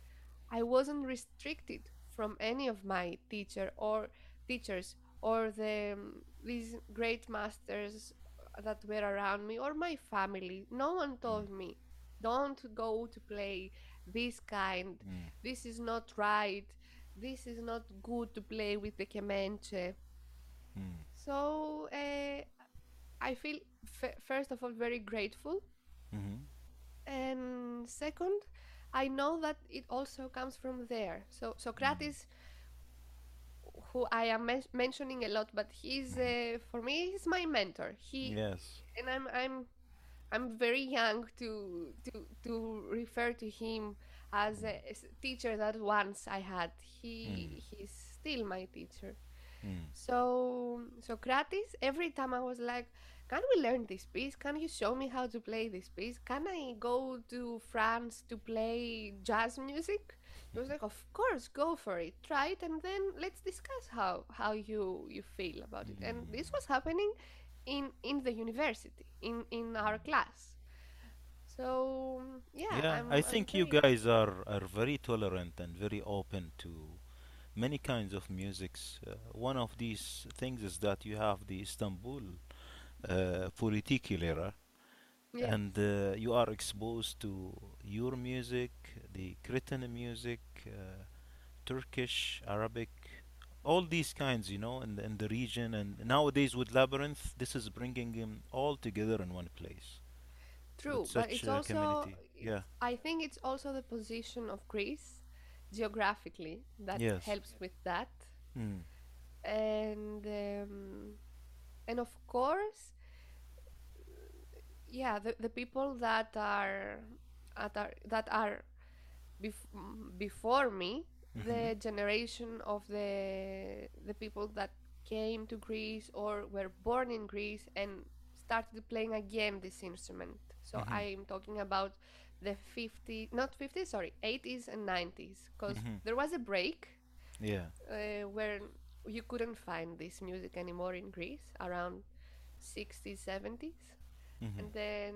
I wasn't restricted from any of my teacher or teachers or the um, these great masters that were around me or my family. No one Mm. told me, don't go to play this kind. Mm. This is not right. This is not good to play with the kemenche. Mm. So uh, I feel f- first of all very grateful Mhm. And second, I know that it also comes from there. So Mm. Socrates, who I am men- mentioning a lot, but he's Mhm. uh, for me he's my mentor. He Yes. and I'm I'm I'm very young to to to refer to him as a as a teacher that once I had. Mm. He he's still my teacher. Mm. So Socrates, every time I was like, "Can we learn this piece? Can you show me how to play this piece? Can I go to France to play jazz music?" He was like, "Of course, go for it. Try it, and then let's discuss how how you you feel about it." And this was happening in in the university, in in our class. So yeah, Yeah, I I'm I'm think you very guys are, are very tolerant and very open to many kinds of musics. Uh, one of these things is that you have the Istanbul uh, Funicular, and yes, uh, you are exposed to your music, the Cretan music, uh, Turkish, Arabic, all these kinds, you know, in the, in the region. And nowadays with Labyrinth, this is bringing them all together in one place with true, but such it's a also community. it's Yeah. I think it's also the position of Greece geographically that Yes. helps with that. Mm. And um, and of course, yeah, the, the people that are that are that are bef- mm, before me, Mm-hmm. the generation of the the people that came to Greece or were born in Greece and started playing again this instrument. So Mm-hmm. I'm talking about the fifty, not fifty, sorry, eighties and nineties, because Mm-hmm. there was a break Yeah. uh, where you couldn't find this music anymore in Greece around sixties, seventies, Mm-hmm. and then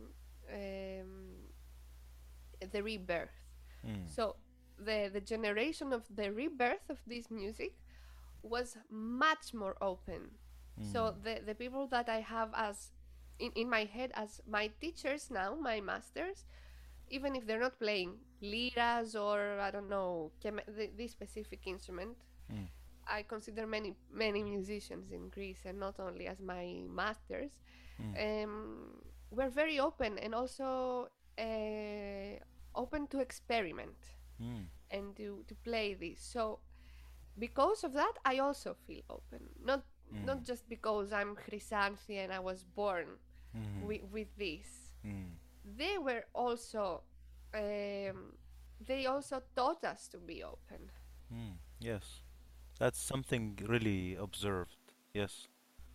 um, the rebirth. Mm. So the the generation of the rebirth of this music was much more open. Mm. So the the people that I have as in, in my head as my teachers now, my masters, even if they're not playing liras or I don't know chem- the, this specific instrument, Mm. I consider many many musicians in Greece and not only as my masters. Mm. Um, we're very open and also uh, open to experiment Mm. and to, to play this. So because of that, I also feel open. Not Mm. not just because I'm Chrysanthi and I was born Mm. with, with this. Mm. They were also um, they also taught us to be open. Mm. Yes. That's something really observed. Yes.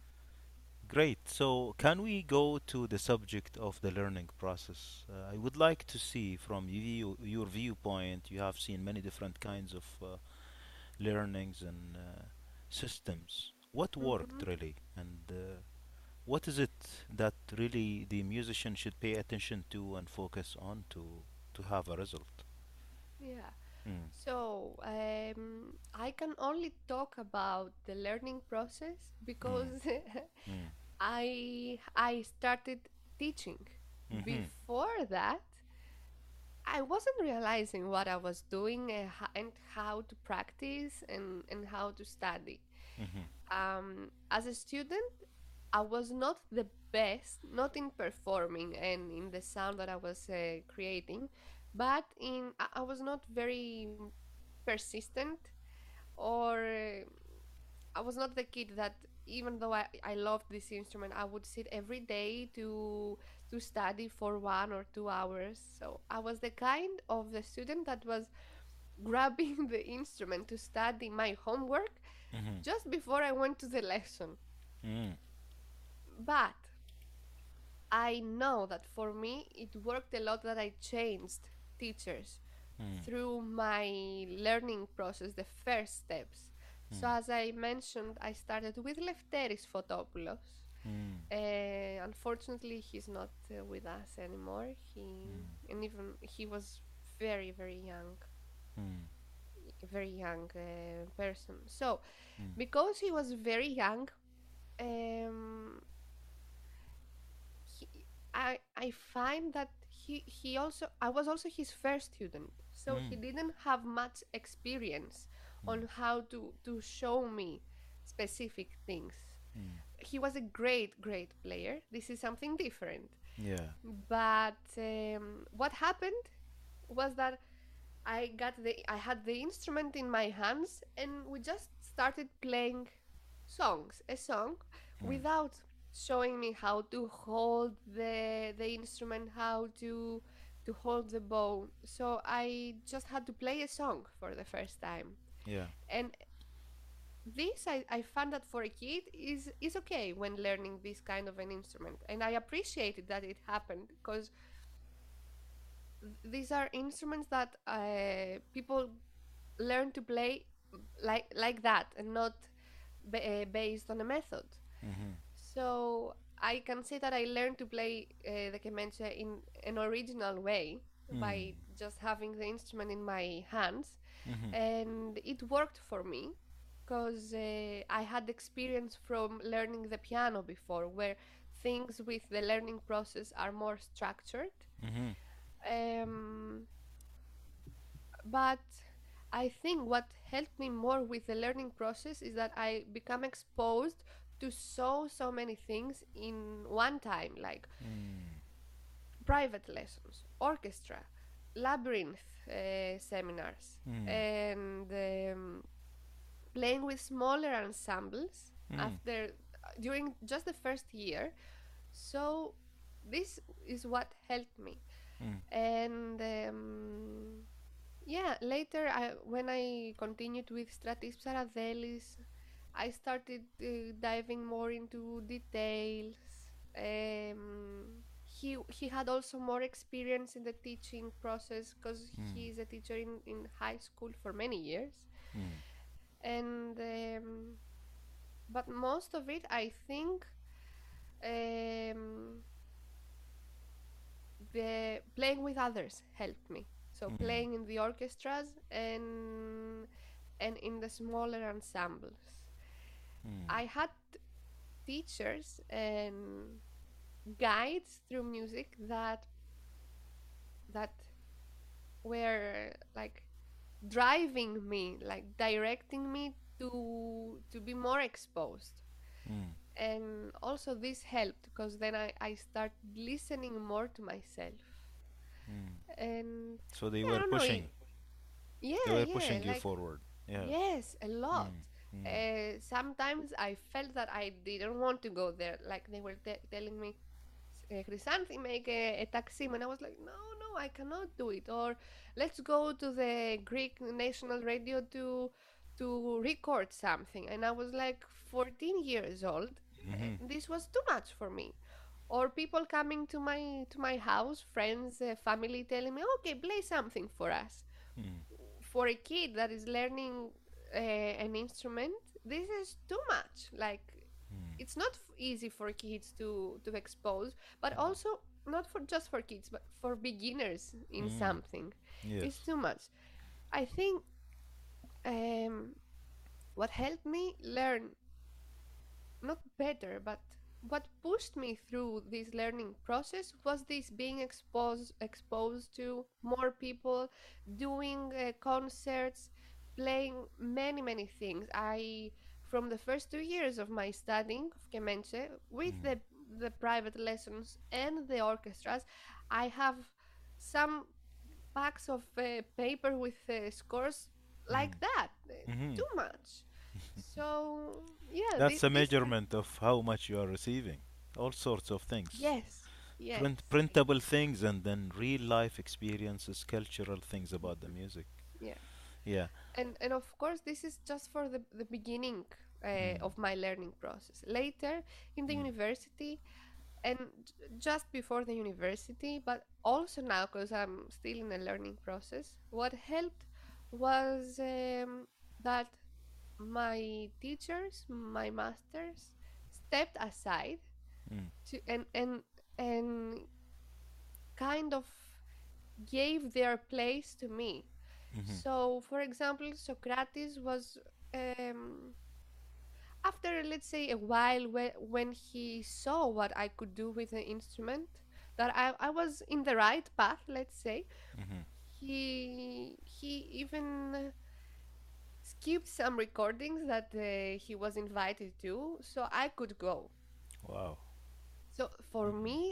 Great. So, can we go to the subject of the learning process? Uh, I would like to see from you, your viewpoint. You have seen many different kinds of uh, learnings and uh, systems. What Hmm. worked really, and uh, what is it that really the musician should pay attention to and focus on to to have a result? Yeah. Mm. So um, I can only talk about the learning process Mm. because Mm. I I started teaching. Mm-hmm. Before that, I wasn't realizing what I was doing and ho- and how to practice and, and how to study. Mm-hmm. Um, as a student, I was not the best, not in performing and in the sound that I was uh, creating, but in I I was not very persistent or uh, I was not the kid that even though I, I loved this instrument, I would sit every day to to study for one or two hours. So I was the kind of the student that was grabbing the instrument to study my homework Mm-hmm. just before I went to the lesson. Mm. But I know that for me it worked a lot that I changed teachers Mm. through my learning process, the first steps. So Mm. as I mentioned, I started with Lefteris Fotopoulos. Mm. Uh, unfortunately, he's not uh, with us anymore. He Mm. and even he was very very young, Mm. very young uh, person. So Mm. because he was very young, um, he, I I find that he he also I was also his first student, so he Mm. didn't have much experience Mm. on how to to show me specific things. Mm. He was a great great player. This is something different. Yeah. But um, what happened was that I got the I had the instrument in my hands and we just started playing songs, a song Mm. without showing me how to hold the the instrument, how to to hold the bow. So I just had to play a song for the first time. Yeah. And this I, I found that for a kid is is okay when learning this kind of an instrument. And I appreciated that it happened because these are instruments that uh, people learn to play like like that and not ba- uh, based on a method. Mm-hmm. So I can say that I learned to play uh, the kemençe in an original way Mm. by just having the instrument in my hands, Mm-hmm. and it worked for me because uh, I had experience from learning the piano before, where things with the learning process are more structured. Mm-hmm. Um, but I think what helped me more with the learning process is that I become exposed to so so many things in one time, like Mm. private lessons, orchestra, labyrinth uh, seminars, Mm. and um, playing with smaller ensembles Mm. after during just the first year. So this is what helped me, Mm. and um, yeah, later I, when I continued with Stratis Psarathelis, I started uh, diving more into details. Um, he he had also more experience in the teaching process because Mm. he is a teacher in, in high school for many years. Mm. And um, but most of it, I think, um, the playing with others helped me. So Mm. playing in the orchestras and and in the smaller ensembles. Mm. I had teachers and guides through music that that were like driving me, like directing me to to be more exposed. Mm. And also this helped because then I, I start listening more to myself. Mm. And So they yeah, I were don't know. pushing. They Yeah, were yeah, pushing you like forward. Yeah. yes, a lot. Mm. Mm. Uh, sometimes I felt that I didn't want to go there. Like they were te- telling me, uh, Chrysanthi, make a, a taksim. And I was like, no, no, I cannot do it. Or let's go to the Greek national radio to to record something. And I was like fourteen years old. Mm-hmm. And this was too much for me. Or people coming to my to my house, friends, uh, family, telling me, okay, play something for us. Mm. For a kid that is learning uh, an instrument, this is too much. Like Mm. it's not f- easy for kids to to expose, but Mm. also not for just for kids, but for beginners in Mm. something. It's Yes. too much. I think um, what helped me learn, not better, but what pushed me through this learning process was this being exposed exposed to more people, doing uh, concerts, playing many many things. I From the first two years of my studying of kemençe with Mm. the the private lessons and the orchestras, I have some packs of uh, paper with uh, scores Mm. like that. Uh, Mm-hmm. too much. So yeah, That's thi- a this kind. measurement of how much you are receiving. All sorts of things. Yes, Print yes, printable things and then real life experiences, cultural things about the music. yeah, Yeah. and and of course this is just for the the beginning uh, Mm. of my learning process. Later in the Mm. university and j- just before the university, but also now because I'm still in a learning process. What helped was um, that my teachers, my masters, stepped aside Mm. to and and and kind of gave their place to me. Mm-hmm. So, for example, Socrates was, um, after let's say a while, when, when he saw what I could do with the instrument, that I, I was in the right path, let's say, Mm-hmm. he he even skipped some recordings that uh, he was invited to, so I could go. Wow. So for Mm. me,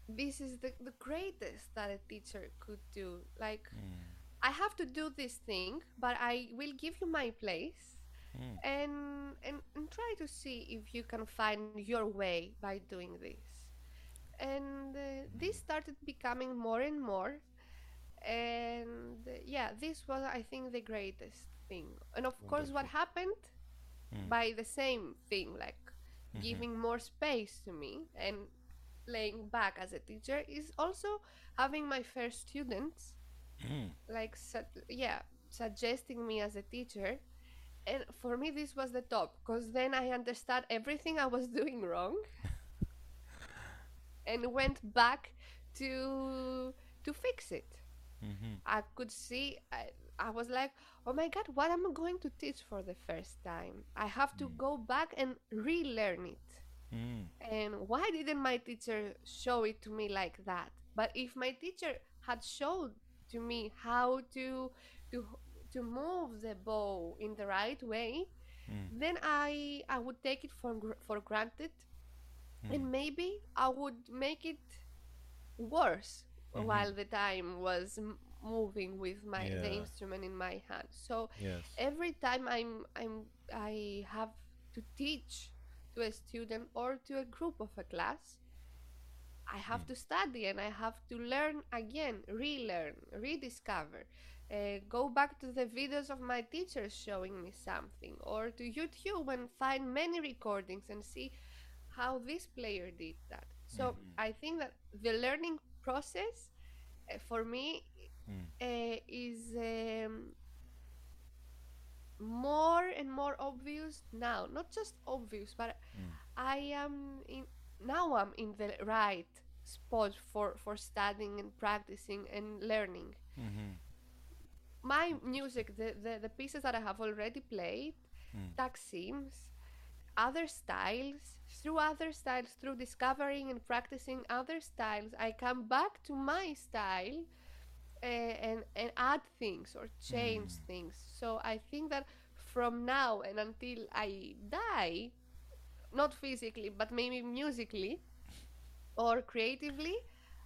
this is the, the greatest that a teacher could do. Like, Mm. I have to do this thing, but I will give you my place, Mm. and and, and try to see if you can find your way by doing this. And uh, this started becoming more and more. And uh, yeah, this was, I think, the greatest thing. And of course, what Wonderful. happened Mm. by the same thing, like Mm-hmm. giving more space to me and laying back as a teacher, is also having my first students, Mm. like, su- yeah, suggesting me as a teacher. And for me, this was the top, because then I understood everything I was doing wrong and went back to to fix it. Mm-hmm. I could see, I, I was like, oh my god, what am I going to teach for the first time? I have to go back and relearn it. Mm. And why didn't my teacher show it to me like that? But if my teacher had showed to me how to to to move the bow in the right way, Mm. then I I would take it for gr- for granted, Mm. and maybe I would make it worse Mm-hmm. while the time was m- moving with my the Yeah. instrument in my hand. So Yes. every time i'm i'm I have to teach to a student or to a group of a class, I Mm. have to study and I have to learn again, relearn, rediscover. Uh, go back to the videos of my teachers showing me something, or to YouTube and find many recordings and see how this player did that. So Mm-hmm. I think that the learning process, uh, for me, Mm. uh, is um, more and more obvious now. Not just obvious, but Mm. I am in now. I'm in the right spot for for studying and practicing and learning. Mm-hmm. My Interesting. music, the the, the pieces that I have already played, Mm. Taksims, other styles, through other styles, through discovering and practicing other styles, I come back to my style, uh, and and add things or change Mm. things. So I think that from now and until I die, not physically but maybe musically or creatively,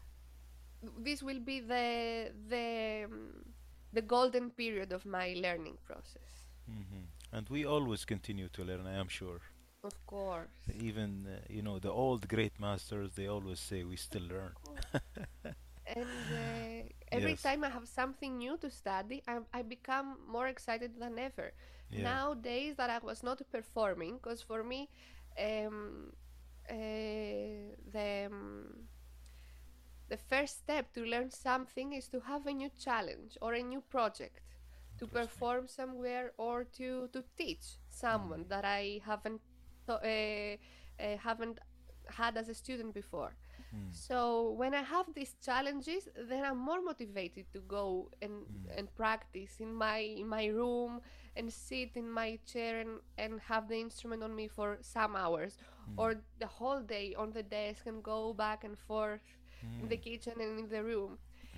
this will be the the um, the golden period of my learning process. Mm-hmm. And we always continue to learn, I am sure. Of course. Even, uh, you know, the old great masters, they always say we still Of learn. course. And uh, every Yes. time I have something new to study, I, I become more excited than ever. Yeah. Nowadays that I was not performing, because for me, um, uh, the um, the first step to learn something is to have a new challenge or a new project, to Interesting. perform somewhere or to to teach Mm. someone that I haven't th- uh, uh, haven't had as a student before. Mm. So when I have these challenges, then I'm more motivated to go and Mm. and practice in my in my room and sit in my chair and and have the instrument on me for some hours, Mm. or the whole day on the desk and go back and forth in the Mm. kitchen and in the room.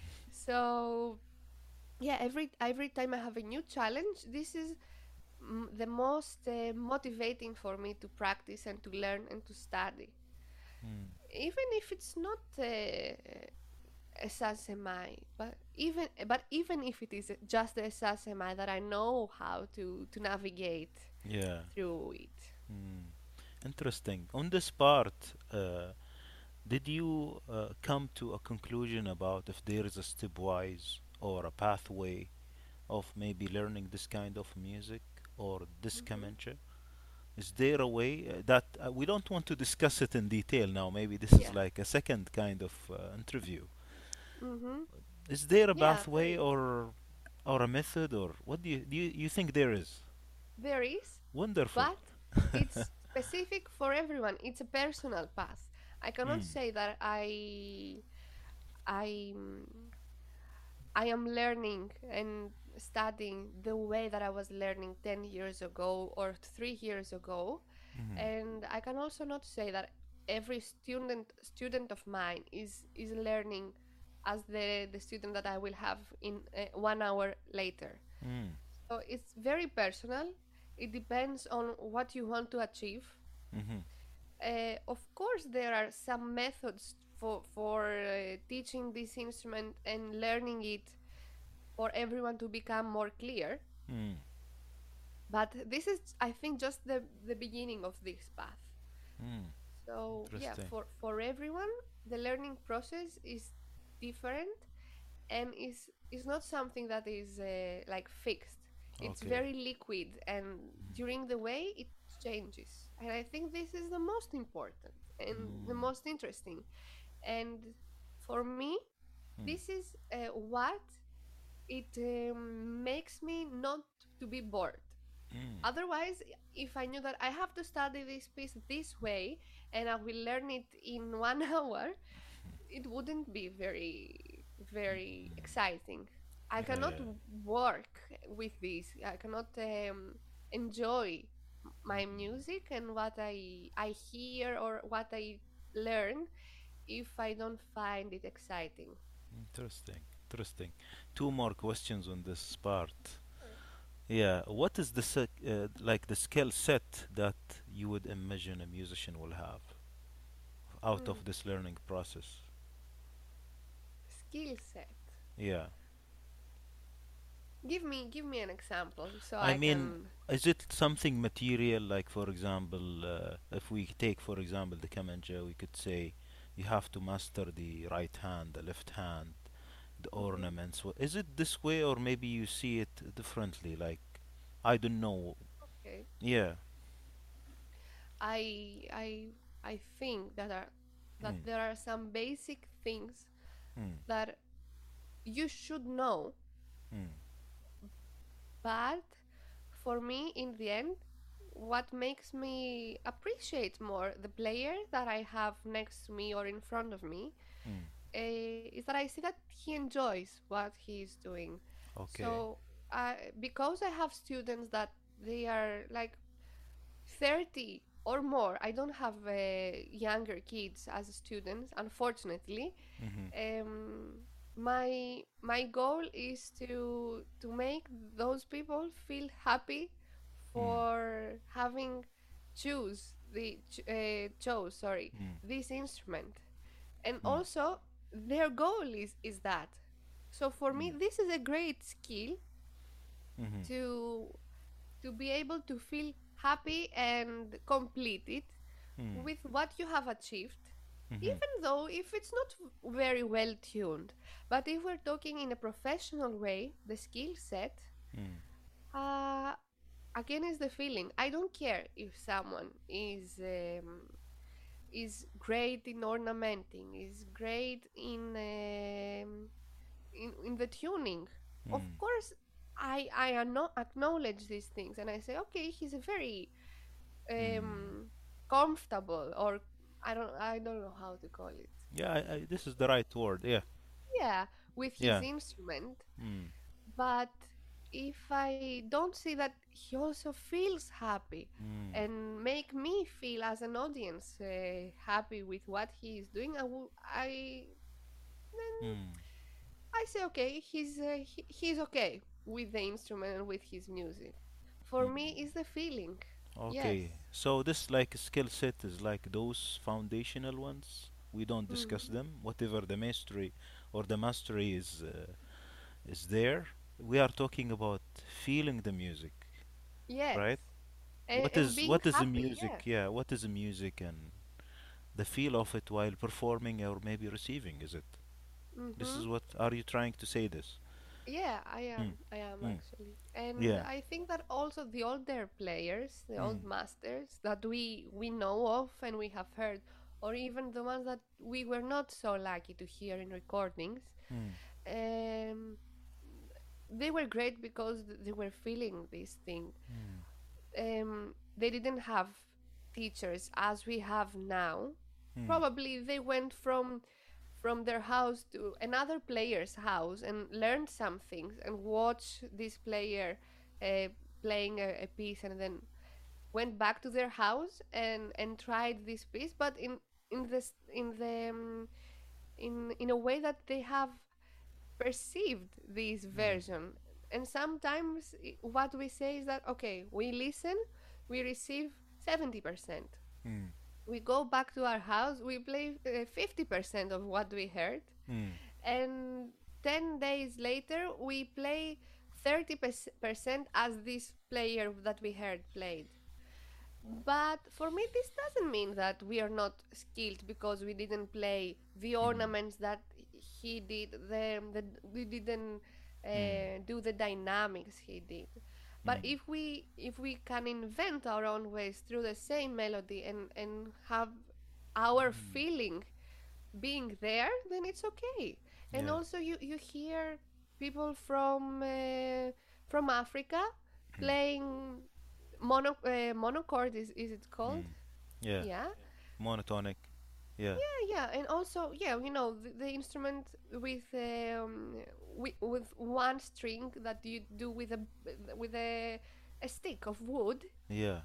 So yeah, every every time I have a new challenge, this is mm, the most uh, motivating for me to practice and to learn and to study, Mm. even if it's not uh, a sasemi, but even but even if it is just a sasemi that I know how to to navigate Yeah. through it. Mm. Interesting. On this part, uh, did you uh, come to a conclusion about if there is a stepwise or a pathway of maybe learning this kind of music or this Hmm. kamancha? Is there a way uh, that uh, we don't want to discuss it in detail now? Maybe this is Yeah. like a second kind of uh, interview. Hmm. Is there a Yeah, there pathway is. or or a method or what do you do you, you think there is? There is, Wonderful. but it's specific for everyone. It's a personal path. I cannot Mm. say that I I I am learning and studying the way that I was learning ten years ago or three years ago. Mm. And I can also not say that every student student of mine is is learning as the the student that I will have in uh, one hour later. Mm. So it's very personal. It depends on what you want to achieve. Mm-hmm. Uh, of course, there are some methods for for uh, teaching this instrument and learning it for everyone to become more clear. Mm. But this is, I think, just the the beginning of this path. Mm. So yeah, Interesting. for for everyone, the learning process is different and is is not something that is uh, like fixed. It's Okay. very liquid, and during the way it changes. And I think this is the most important and the Mm. most interesting. And for me, Mm. this is uh, what it um, makes me not to be bored. Mm. Otherwise, if I knew that I have to study this piece this way and I will learn it in one hour, it wouldn't be very, very exciting. I Yeah, cannot yeah. work with this. I cannot um, enjoy my music and what I I hear or what I learn if I don't find it exciting. Interesting. Interesting. Two more questions on this part. Sure. Yeah, what is the sec- uh, like the skill set that you would imagine a musician will have out Mm. of this learning process? Skill set. Yeah. Give me give me an example so I I mean, can. is it something material, like for example, uh, if we take for example the kamanja, we could say you have to master the right hand, the left hand, the Mhm. ornaments. Wh- Is it this way, or maybe you see it differently? Like, I don't know. Okay. Yeah. I I I think that are that Mm. there are some basic things Mm. that you should know, Mm. but for me, in the end, what makes me appreciate more the player that I have next to me or in front of me Mm. uh, is that I see that he enjoys what he is doing. Okay. So, uh, because I have students that they are like thirty or more, I don't have uh, younger kids as students, unfortunately. Mm-hmm. um, my my goal is to to make those people feel happy Mm. for having choose the ch- uh, chose sorry Mm. this instrument, and Mm. also their goal is is that. So for me Mm. this is a great skill Mm-hmm. to to be able to feel happy and completed Mm. with what you have achieved, Mm-hmm. even though if it's not v- very well tuned. But if we're talking in a professional way, the skill set, Mm. uh, again, is the feeling. I don't care if someone is um, is great in ornamenting, is great in um, in, in the tuning. Of Mm. course, I I ano- acknowledge these things and I say, okay, he's a very Mm. um, comfortable, or I don't I don't know how to call it. Yeah, I, I, this is the right word. Yeah. Yeah, with his Yeah. instrument, Mm. but if I don't see that he also feels happy Mm. and make me feel as an audience uh, happy with what he is doing, I will I then Mm. I say okay, he's uh, he, he's okay with the instrument and with his music. For Mm. me, is the feeling. Yes. Okay. So this like skill set is like those foundational ones. We don't discuss Mhm. them. Whatever the mastery or the mastery is uh, is there. We are talking about feeling the music, Yes. right? And What and is being what is the happy. Yeah. music? Yeah, what is the music and the feel of it while performing or maybe receiving? Is it? This Mm-hmm. is what are you trying to say? This? Yeah, I Mm. am. I am Mm. actually. And Yeah. I think that also the older players, the Mm. old masters that we we know of and we have heard, or even the ones that we were not so lucky to hear in recordings, Mm. um, they were great because th- they were feeling this thing. Mm. Um, they didn't have teachers as we have now. Mm. Probably they went from from their house to another player's house and learned some things and watched this player uh, playing a, a piece, and then went back to their house and and tried this piece, but in in this in the um, in in a way that they have perceived this Mm. version. And sometimes i- what we say is that okay, we listen, we receive seventy percent, Mm. we go back to our house, we play uh, fifty percent of what we heard, Mm. and ten days later we play thirty percent as this player that we heard played. But for me, this doesn't mean that we are not skilled because we didn't play the Mm. ornaments that he did. The, the we didn't Mm. uh, do the dynamics he did. But Mm. if we if we can invent our own ways through the same melody and and have our Mm. feeling being there, then it's okay. And Yeah. also, you you hear people from uh, from Africa Mm. playing mono uh, monochord is is it called? Mm. Yeah. Yeah, Monotonic. Yeah. yeah, yeah. And also, yeah, you know, the, the instrument with um with, with one string that you do with a with a a stick of wood. Yeah.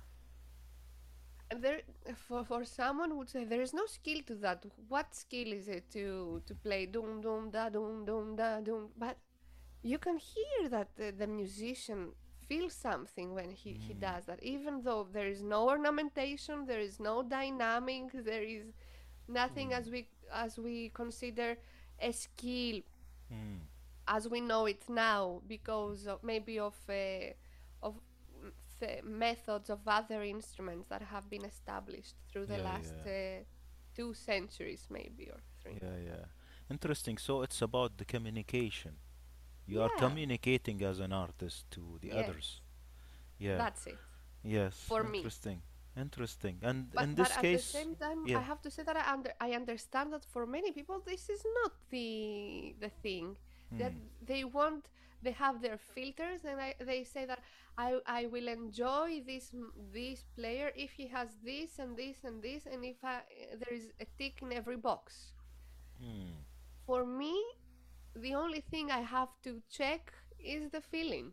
And there, for for someone would say there is no skill to that. What skill is it to to play doom doom da doom doom da doom? But you can hear that the, the musician feels something when he, he Mm. does that, even though there is no ornamentation, there is no dynamic, there is nothing Mm. as we as we consider a skill Mm. as we know it now because of maybe of uh, of th- methods of other instruments that have been established through the Yeah. last Yeah. uh, two centuries maybe or three. Yeah. Yeah. Interesting. So it's about the communication. You are Yeah, communicating as an artist to the yes, others. Yeah. that's it Yes. for me. Interesting. Interesting. And but in but this at the case, same time I yeah. have to say that i under I understand that for many people this is not the the thing that Mm. they want. They have their filters and I, they say that i i will enjoy this m- this player if he has this and this and this and if I, there is a tick in every box. Mm. For me, the only thing I have to check is the feeling,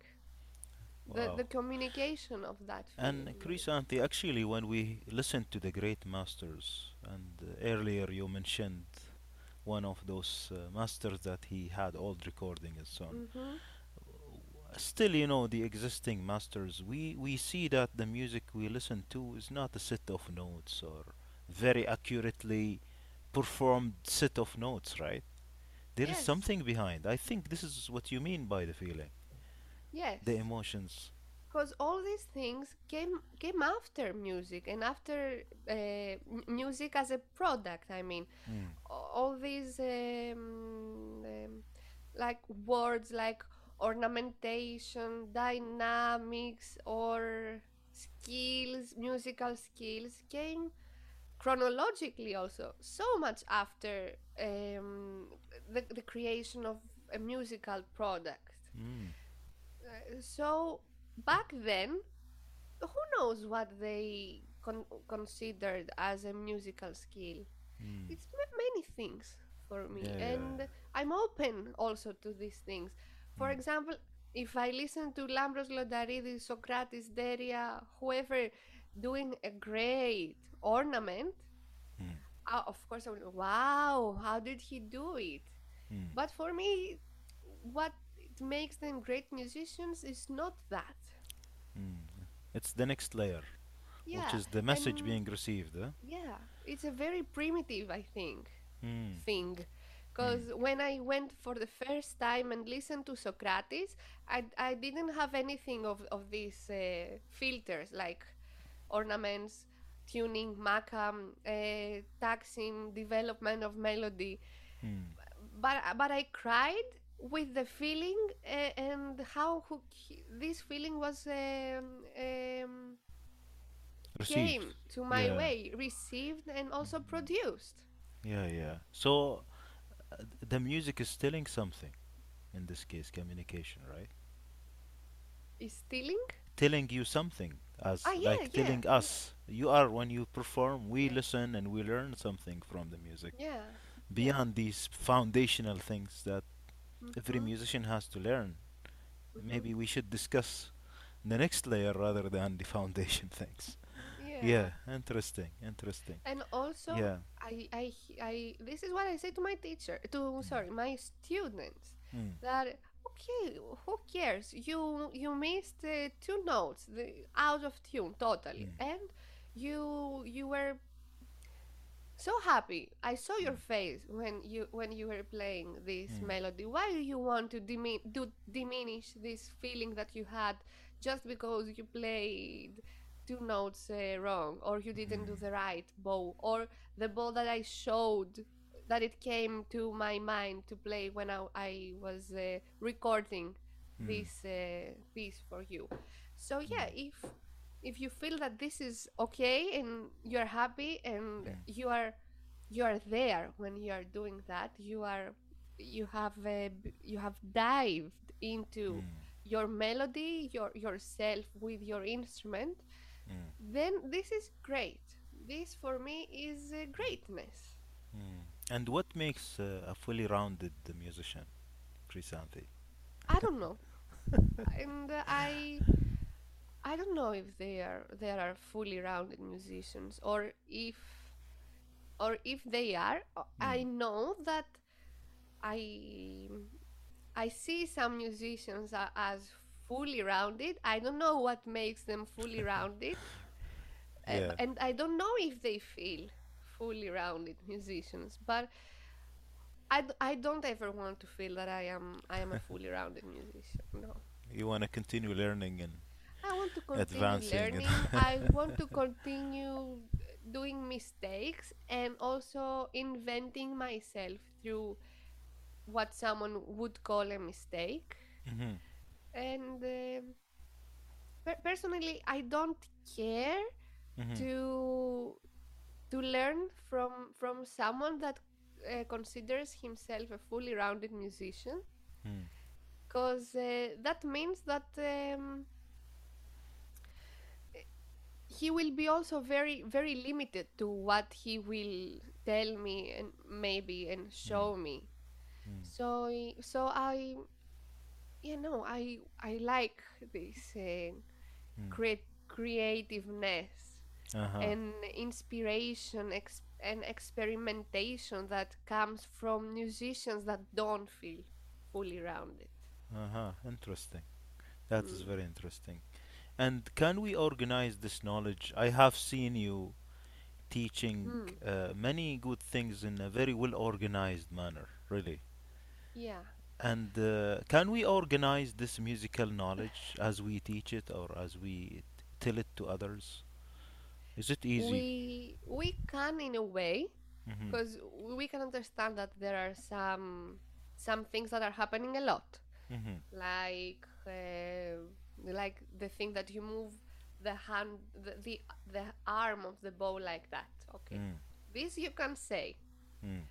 the Wow. the communication of that And feeling maybe. Krisanti, actually, when we listen to the great masters, and uh, earlier you mentioned one of those uh, masters that he had old recording and so on. Mm-hmm. Still, you know, the existing masters, we, we see that the music we listen to is not a set of notes or very accurately performed set of notes, right? There is Yes, something behind. I think this is what you mean by the feeling, the yes. emotions. Because all these things came came after music and after uh, m- music as a product. I mean, Mm. a- all these um, um, like words like ornamentation, dynamics, or skills, musical skills came chronologically also so much after um, the, the creation of a musical product. Mm. Uh, so back then, who knows what they con- considered as a musical skill? Mm. It's ma- many things for me, Yeah, yeah. and I'm open also to these things. For Mm. example, if I listen to Lambros Lodaridis, Socrates, Deria, whoever doing a great ornament, Mm. uh, of course I will, wow, how did he do it? Mm. But for me, what it makes them great musicians is not that. Mm. It's the next layer, which Yeah, is the message and being received. Huh? yeah, it's a very primitive, I think, Mm. thing. Mm. Because when I went for the first time and listened to Socrates, I, I didn't have anything of, of these uh, filters like ornaments, tuning, makam, uh, taxing, development of melody. Mm. But, but I cried with the feeling uh, and how who, this feeling was um, um, Received. came to my Yeah. way, received and also Mm. produced. Yeah, yeah. So uh, the music is telling something. In this case, communication, right? Is stealing? Telling you something, as Ah, yeah, like yeah, telling yeah, us. You are when you perform, we yeah, listen and we learn something from the music yeah, yeah. beyond these foundational things that every Mm-hmm, musician has to learn. mm-hmm. Maybe we should discuss the next layer rather than the foundation things. Yeah. Yeah, interesting, interesting. And also, Yeah. I, I, I, this is what I say to my teacher, to, sorry, my students, Mm. that, okay, who cares? You, you missed uh, two notes, the, out of tune, totally. Mm. And you, you were so happy. I saw your Mm, face when you when you were playing this mm, melody. Why do you want to dimi- do diminish this feeling that you had just because you played two notes uh, wrong, or you didn't do mm, the right bow, or the bow that I showed that it came to my mind to play when I, I was uh, recording mm, this uh, piece for you. So yeah, mm, if if you feel that this is okay and you're happy and mm, you are you are there when you are doing that, you are you have uh, b- you have dived into mm, your melody, your yourself with your instrument, mm, then this is great. This for me is uh, greatness. mm. And what makes uh, a fully rounded musician, Krisanthi? I don't know, and uh, I I don't know if they are there are fully rounded musicians, or if or if they are. uh, Mm. I know that I I see some musicians a- as fully rounded. I don't know what makes them fully rounded, uh, b- Yeah. and I don't know if they feel fully rounded musicians. But I, d- I don't ever want to feel that I am I am a fully rounded musician. No, You want to continue learning and I want to continue advancing and learning. I want to continue doing mistakes and also inventing myself through what someone would call a mistake. Mhm, And um per- personally, I don't care mhm, to to learn from from someone that uh, considers himself a fully rounded musician, mm, because uh, that means that um, he will be also very very limited to what he will tell me and maybe and mm, show me. mm, So so I you know I I like this uh, mm. create creativeness Uh-huh. and inspiration ex- and experimentation that comes from musicians that don't feel fully rounded. Uh-huh. Interesting. That is Mm. very interesting. And can we organize this knowledge? I have seen you teaching Mm. uh, many good things in a very well organized manner, really. Yeah. And uh, can we organize this musical knowledge as we teach it or as we t- tell it to others? Is it easy? we we can in a way, Mm-hmm. because we can understand that there are some some things that are happening a lot, Mm-hmm. like uh, like the thing that you move the hand the, the the arm of the bow like that. Okay, Mm, this you can say, mm,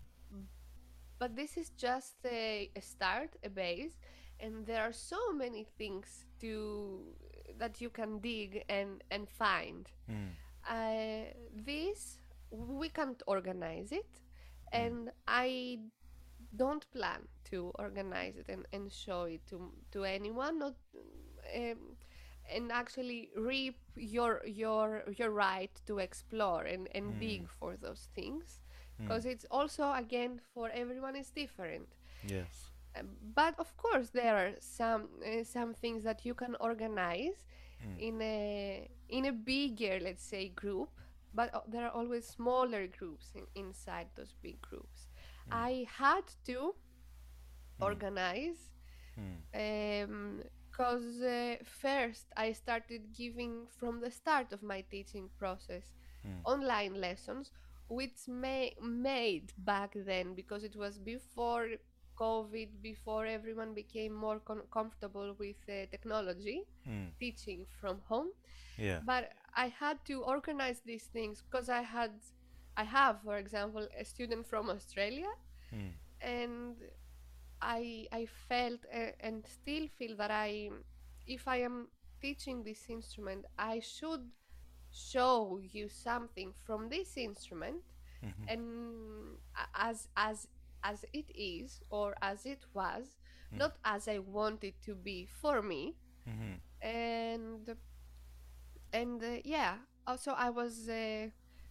but this is just a, a start, a base, and there are so many things to that you can dig and and find. mm, uh, this we can't organize it, mm, and I don't plan to organize it and, and show it to to anyone, not um, and actually reap your your your right to explore and, and mm, dig for those things, mm. because it's also again for everyone is different. Yes. Um, but of course there are some uh, some things that you can organize Mm, in a in a bigger, let's say, group, but uh, there are always smaller groups in, inside those big groups. mm, I had to mm, organize, mm, um because uh, first I started giving from the start of my teaching process mm, online lessons, which may made back then, because it was before COVID, before everyone became more con- comfortable with uh, technology, mm. teaching from home. Yeah. But I had to organize these things because I had, I have, for example, a student from Australia, Mm, and I I felt uh, and still feel that I, if I am teaching this instrument, I should show you something from this instrument, mhm, and a- as as as it is or as it was, mm, not as I want it to be for me. mhm, And and uh, yeah, also I was uh,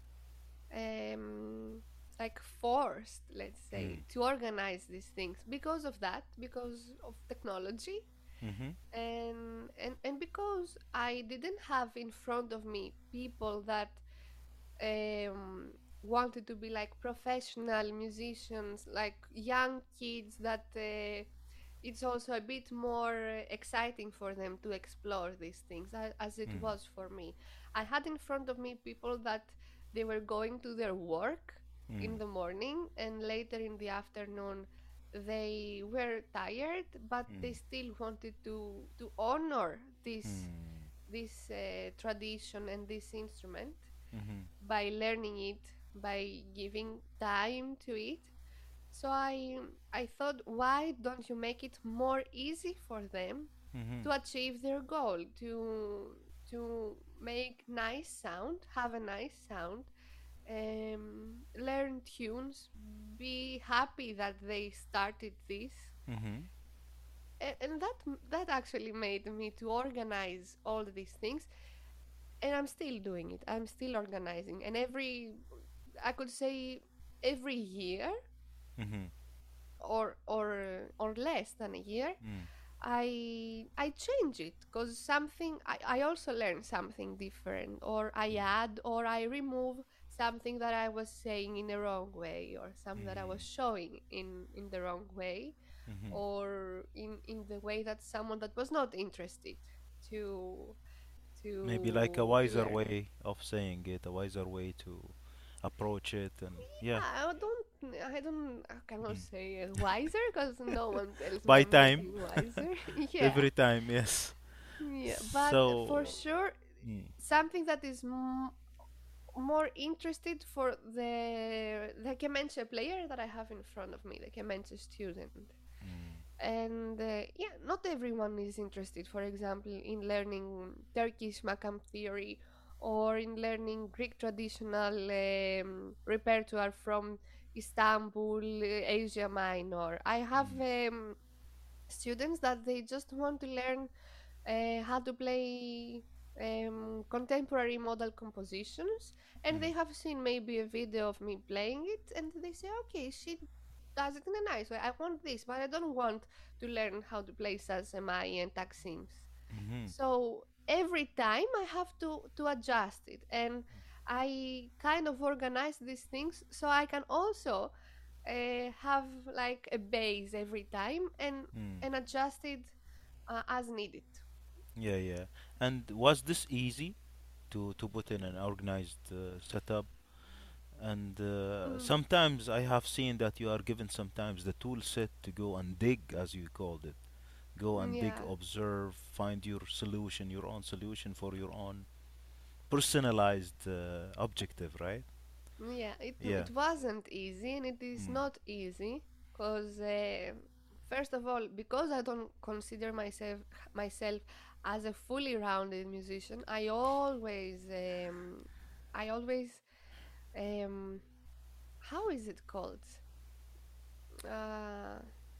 um like forced, let's say, mm, to organize these things because of that, because of technology, mhm, and and and because I didn't have in front of me people that um wanted to be like professional musicians, like young kids that uh, it's also a bit more uh, exciting for them to explore these things a- as it Mm. was for me. I had in front of me people that they were going to their work in Mm. the morning and later in the afternoon they were tired, but they Mm. still wanted to to honor this Mm. this uh, tradition and this instrument Mhm. by learning it, by giving time to it. So I I thought, why don't you make it more easy for them Mhm. to achieve their goal, to to make nice sound, have a nice sound, um, learn tunes, be happy that they started this. Mhm. And, and that that actually made me to organize all these things, and I'm still doing it. I'm still organizing, and every I could say every year Mhm. or or or less than a year, Mm. I I change it because something I, I also learn something different, or I Mm. add or I remove something that I was saying in the wrong way, or something that I was Mm. showing in in the wrong way, Mhm. or in in the way that someone that was not interested to Maybe like a to to wiser learn. way of saying it, a wiser way to approach it, and yeah. Yeah, I don't I don't I cannot Mm. say uh, wiser because no one tells me By I'm time, getting wiser. Yeah. every time, yes. Yeah, but for So, sure, mm. something that is m- more interested for the the Kemenche player that I have in front of me, the Kemenche student. Mm. And uh, yeah, not everyone is interested, for example, in learning Turkish makam theory or in learning Greek traditional um, repertoire from Istanbul, uh, Asia Minor. I have Mm. um, students that they just want to learn uh, how to play um, contemporary model compositions, and Mm. they have seen maybe a video of me playing it, and they say, okay, she does it in a nice way. I want this, but I don't want to learn how to play Salsemai and Taksims. Mhm. So every time I have to to adjust it, and I kind of organize these things so I can also uh, have like a base every time and Mm. and adjust it uh, as needed. Yeah, yeah. And was this easy to to put in an organized uh, setup? And uh, Mm, sometimes I have seen that you are given sometimes the tool set to go and dig, as you called it. Go and dig, yeah, observe, find your solution, your own solution for your own personalized uh, objective, right? yeah. It Yeah. it wasn't easy, and it is Mm. not easy because uh, first of all, because I don't consider myself myself as a fully rounded musician, I always um, I always um, how is it called? Uh,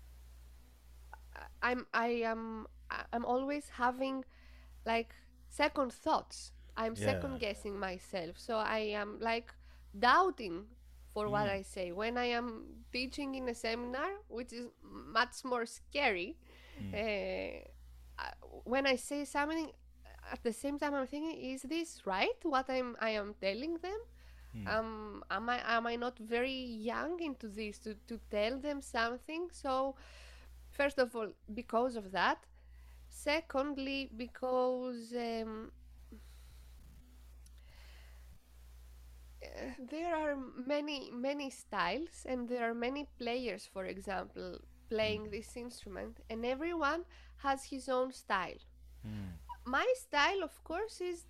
I- I'm I am I- I'm always having like second thoughts. I'm Yeah. second guessing myself. So I am like doubting for what Mm. I say. When I am teaching in a seminar, which is much more scary, Mm. uh, I- when I say something, at the same time I'm thinking, is this right? What I'm I am telling them? Mm. Um, am I am I not very young into this to, to tell them something? So first of all, because of that. Secondly, because um, uh, there are many many styles and there are many players, for example, Mm. playing this instrument, and everyone has his own style. Mm. My style, of course, is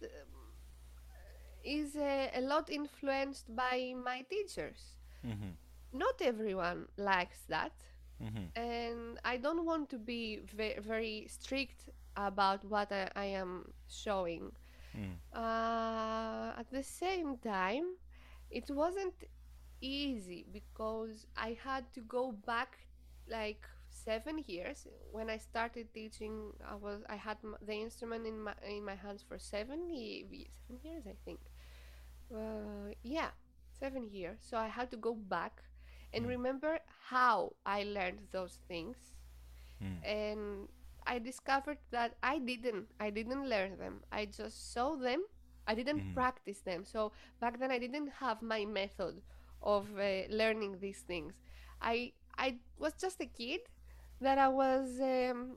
is uh, a lot influenced by my teachers. Mhm. Not everyone likes that, Mhm. and I don't want to be ve- very strict about what I, I am showing. Mm. Uh, at the same time, it wasn't easy because I had to go back like seven years. When I started teaching, I was I had m- the instrument in my in my hands for seven ye- seven years, I think. Uh, yeah, seven years. So I had to go back and Mm. remember how I learned those things, Mm. and I discovered that I didn't I didn't learn them. I just saw them I didn't Mm-hmm. practice them. So back then I didn't have my method of uh, learning these things. I I was just a kid that I was um,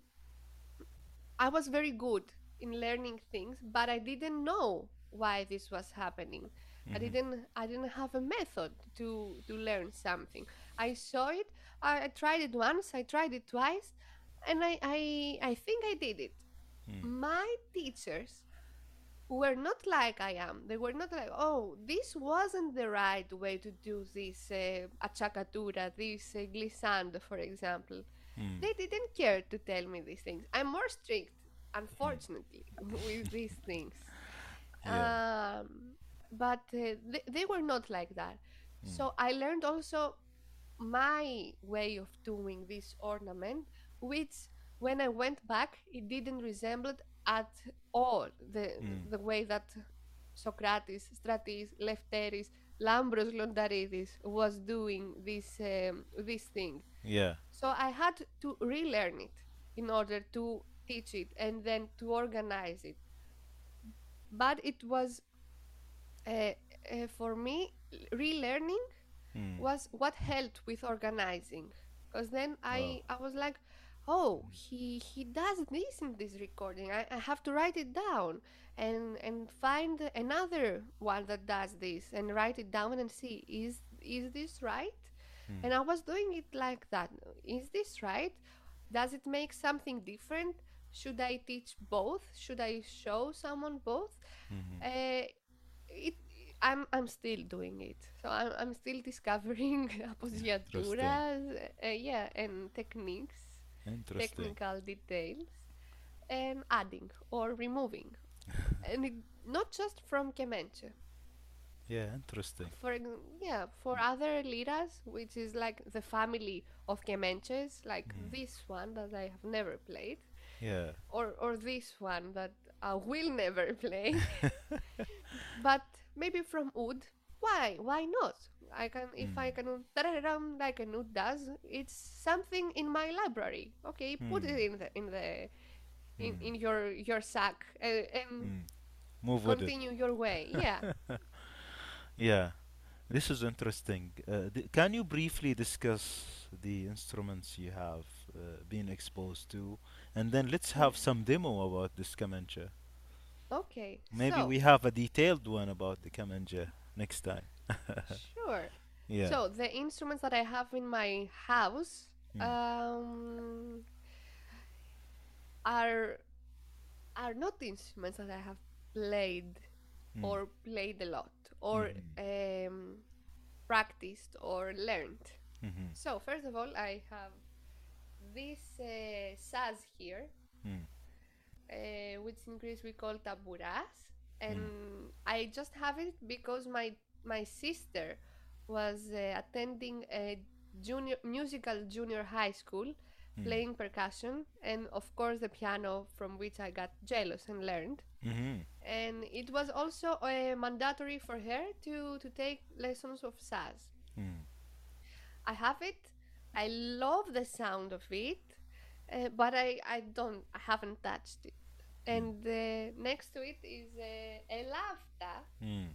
I was very good in learning things, but I didn't know why this was happening. I Mm-hmm. didn't I didn't have a method to to learn something. I saw it, I, I tried it once, I tried it twice, and I I, I think I did it. Mm. My teachers were not like I am. They were not like, oh, this wasn't the right way to do this uh, achacatura, this uh, glissando, for example. Mm. They didn't care to tell me these things. I'm more strict, Mm. unfortunately, with these things. Yeah. Um, but uh, they, they were not like that. Mm. So I learned also my way of doing this ornament, which when I went back, it didn't resemble at all the Mm. the way that Socrates, Stratis, Lefteris, Lambros Londaridis was doing this um, this thing. Yeah. So I had to relearn it in order to teach it and then to organize it. But it was uh, uh, for me relearning Mm. was what helped with organizing, because then Wow. i i was like, oh, he he does this in this recording. I, I have to write it down and and find another one that does this and write it down and see, is is this right? Mm. And I was doing it like that. Is this right? Does it make something different? Should I teach both? Should I show someone both? Mm-hmm. uh, it I'm I'm still doing it. So I'm I'm still discovering Interesting. appoggiaturas, uh, yeah, and techniques, Interesting. technical details, and adding or removing, and it, not just from Kemenche. Yeah. Interesting. For ex- yeah, for other liras, which is like the family of Kemenches, like Mm. this one that I have never played, Yeah. or or this one that I will never play. But maybe from wood. Why? Why not? I can, if I Mm. can tararam like a oud does. It's something in my library. Okay, put Mm. it in the in the in, Mm. in your your sack and, and Mm. Move with it. continue your way. Yeah. Yeah. This is interesting. Uh, d- can you briefly discuss the instruments you have uh, been exposed to, and then let's Mm. have some demo about this kamancha. Okay. Maybe So we have a detailed one about the kamancha next time. sure. Yeah. So the instruments that I have in my house Mm. um are are not instruments that I have played Mm. or played a lot or Mm-hmm. um, practiced or learned. Mm-hmm. So first of all, I have this uh, saz here, Mm. uh, which in Greece we call taburas, Mm. and I just have it because my my sister was uh, attending a junior musical junior high school, Mm. playing percussion, and of course the piano, from which I got jealous and learned. Mm-hmm. And it was also uh, mandatory for her to to take lessons of saz. Mm. I have it. I love the sound of it, uh, but I, I don't I haven't touched it. Mm. And uh, next to it is uh, a lafta, Mm.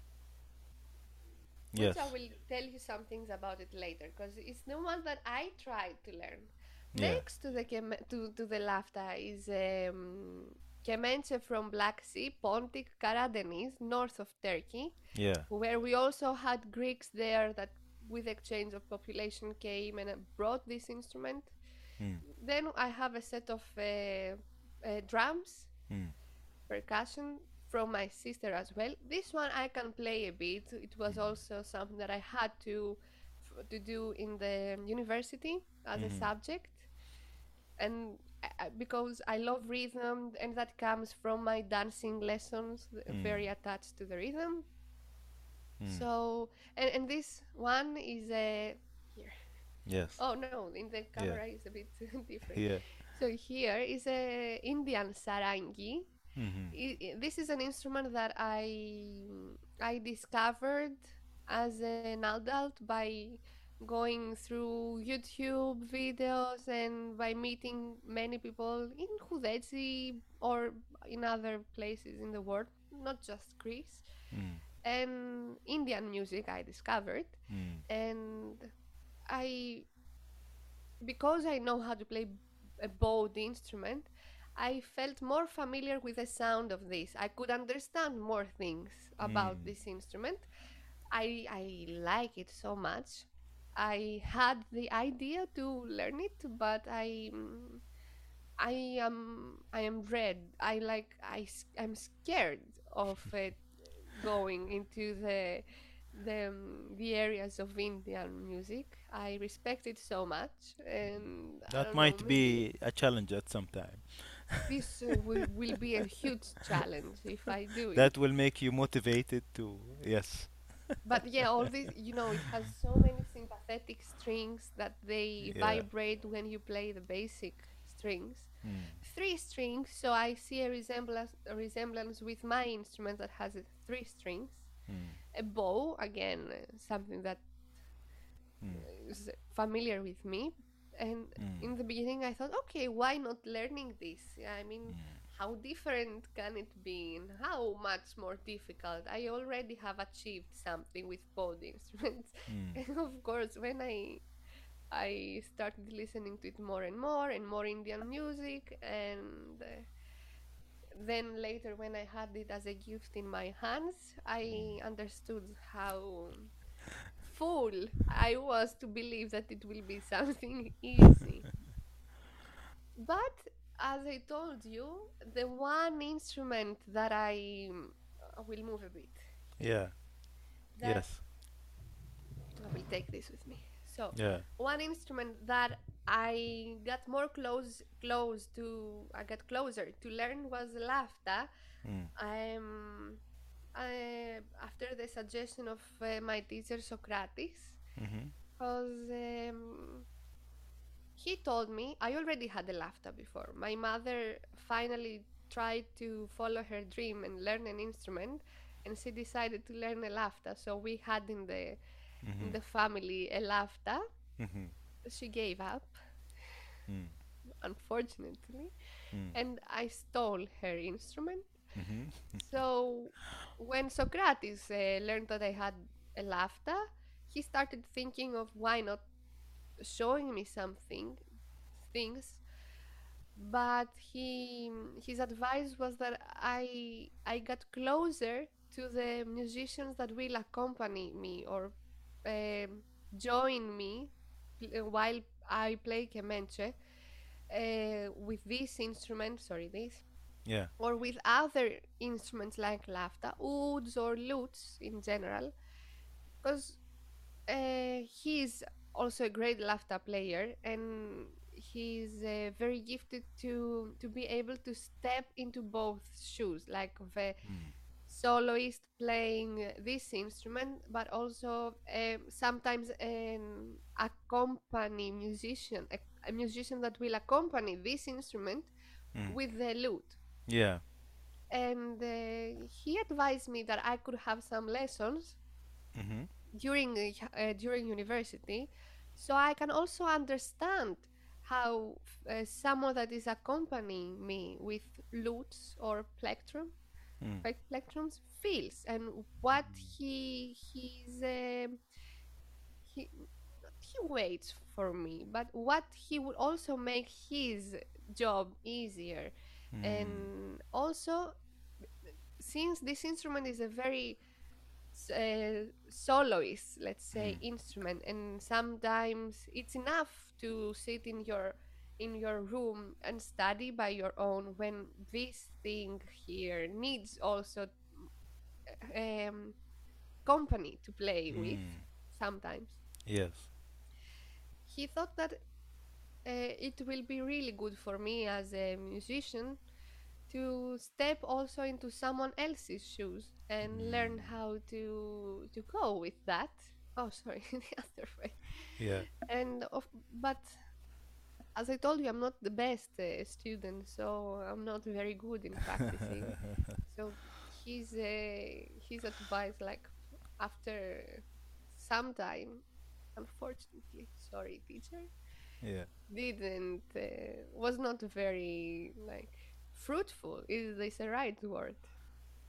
which I Yes. will tell you some things about it later, because it's the one that I tried to learn. Yeah. Next to the kem- to to the lafta is um, Kemenche from Black Sea, Pontic, Karadeniz, north of Turkey, Yeah. where we also had Greeks there that, with exchange of population, came and uh, brought this instrument. Mm. Then I have a set of uh, uh, drums, Mm. percussion from my sister as well. This one I can play a bit. It was Mm. also something that I had to f- to do in the university as a Mm-hmm. subject, and uh, because I love rhythm, and that comes from my dancing lessons, Mm. very attached to the rhythm. Mm. So, and, and this one is a here. Yes. Oh no, in the Yeah. camera is a bit different. Yeah. So here is a Indian sarangi. Mm-hmm. I- I- this is an instrument that I I discovered as an adult by going through YouTube videos and by meeting many people in Hudetsi or in other places in the world. not just Greece, Mm. and Indian music I discovered. Mm. And I, because I know how to play a bowed instrument, I felt more familiar with the sound of this. I could understand more things about Mm. this instrument. I I like it so much. I had the idea to learn it, but I mm, I am I am dread. I like I s- I'm scared of it going into the the um, the areas of Indian music. I respect it so much, and I That don't know, might maybe be a challenge at some time. this uh, will will be a huge challenge if I do it. That will make you motivated to, yes. But yeah, all this, you know, it has so many sympathetic strings that they Yeah. vibrate when you play the basic strings. Mm. Three strings, so I see a resemblance a resemblance with my instrument that has uh, three strings. Mm. A bow, again, uh, something that Mm. is familiar with me. And Mm. in the beginning, I thought, okay, why not learning this? I mean, how different can it be, and how much more difficult? I already have achieved something with bowed instruments, Mm. and of course, when I I started listening to it more and more and more Indian music, and uh, then later when I had it as a gift in my hands, I understood how fool I was to believe that it will be something easy. But as I told you, the one instrument that I I will move a bit here, Yeah. that Yes. I will take this with me. So, Yeah. one instrument that I got more close close to I got closer to learn was lafta. Mm. Um, I, after the suggestion of uh, my teacher Socrates, Mm-hmm. because um, he told me I already had a lafta before. My mother finally tried to follow her dream and learn an instrument, and she decided to learn a lafta. So we had in the in Mm-hmm. the family a lafta. Mm-hmm. She gave up, Mm. unfortunately, Mm. and I stole her instrument. Mm-hmm. So when Socrates uh, learned that I had a lafta, he started thinking of why not showing me something things, but he his advice was that I I got closer to the musicians that will accompany me or um, join me pl- while I play kemenche uh, with this instrument. Sorry, this Yeah. or with other instruments like lafta, ouds or lutes in general, because uh, he's also a great lafta player, and he's uh, very gifted to to be able to step into both shoes, like of a Mm. soloist playing uh, this instrument, but also um, sometimes an accompany musician, a, a musician that will accompany this instrument Mm. with the lute. Yeah. And uh, he advised me that I could have some lessons Mm-hmm. during uh, uh, during university, so I can also understand how uh, someone that is accompanying me with lutes or plectrum Mm. plec- plectrums feels, and what he he's um he he waits for me, but what he would also make his job easier. Mm. And also, since this instrument is a very uh, soloist, let's say, Mm. instrument, and sometimes it's enough to sit in your in your room and study by your own, when this thing here needs also um, company to play with Mm. sometimes. Yes. He thought that uh, it will be really good for me as a musician to step also into someone else's shoes and learn Mm. how to to go with that. Oh, sorry, the other way. Yeah. And of, but as I told you, I'm not the best uh, student, so I'm not very good in practicing. So his uh, his advice, like after some time, unfortunately, sorry, teacher, Yeah. didn't uh, was not very like fruitful. Is this a right word?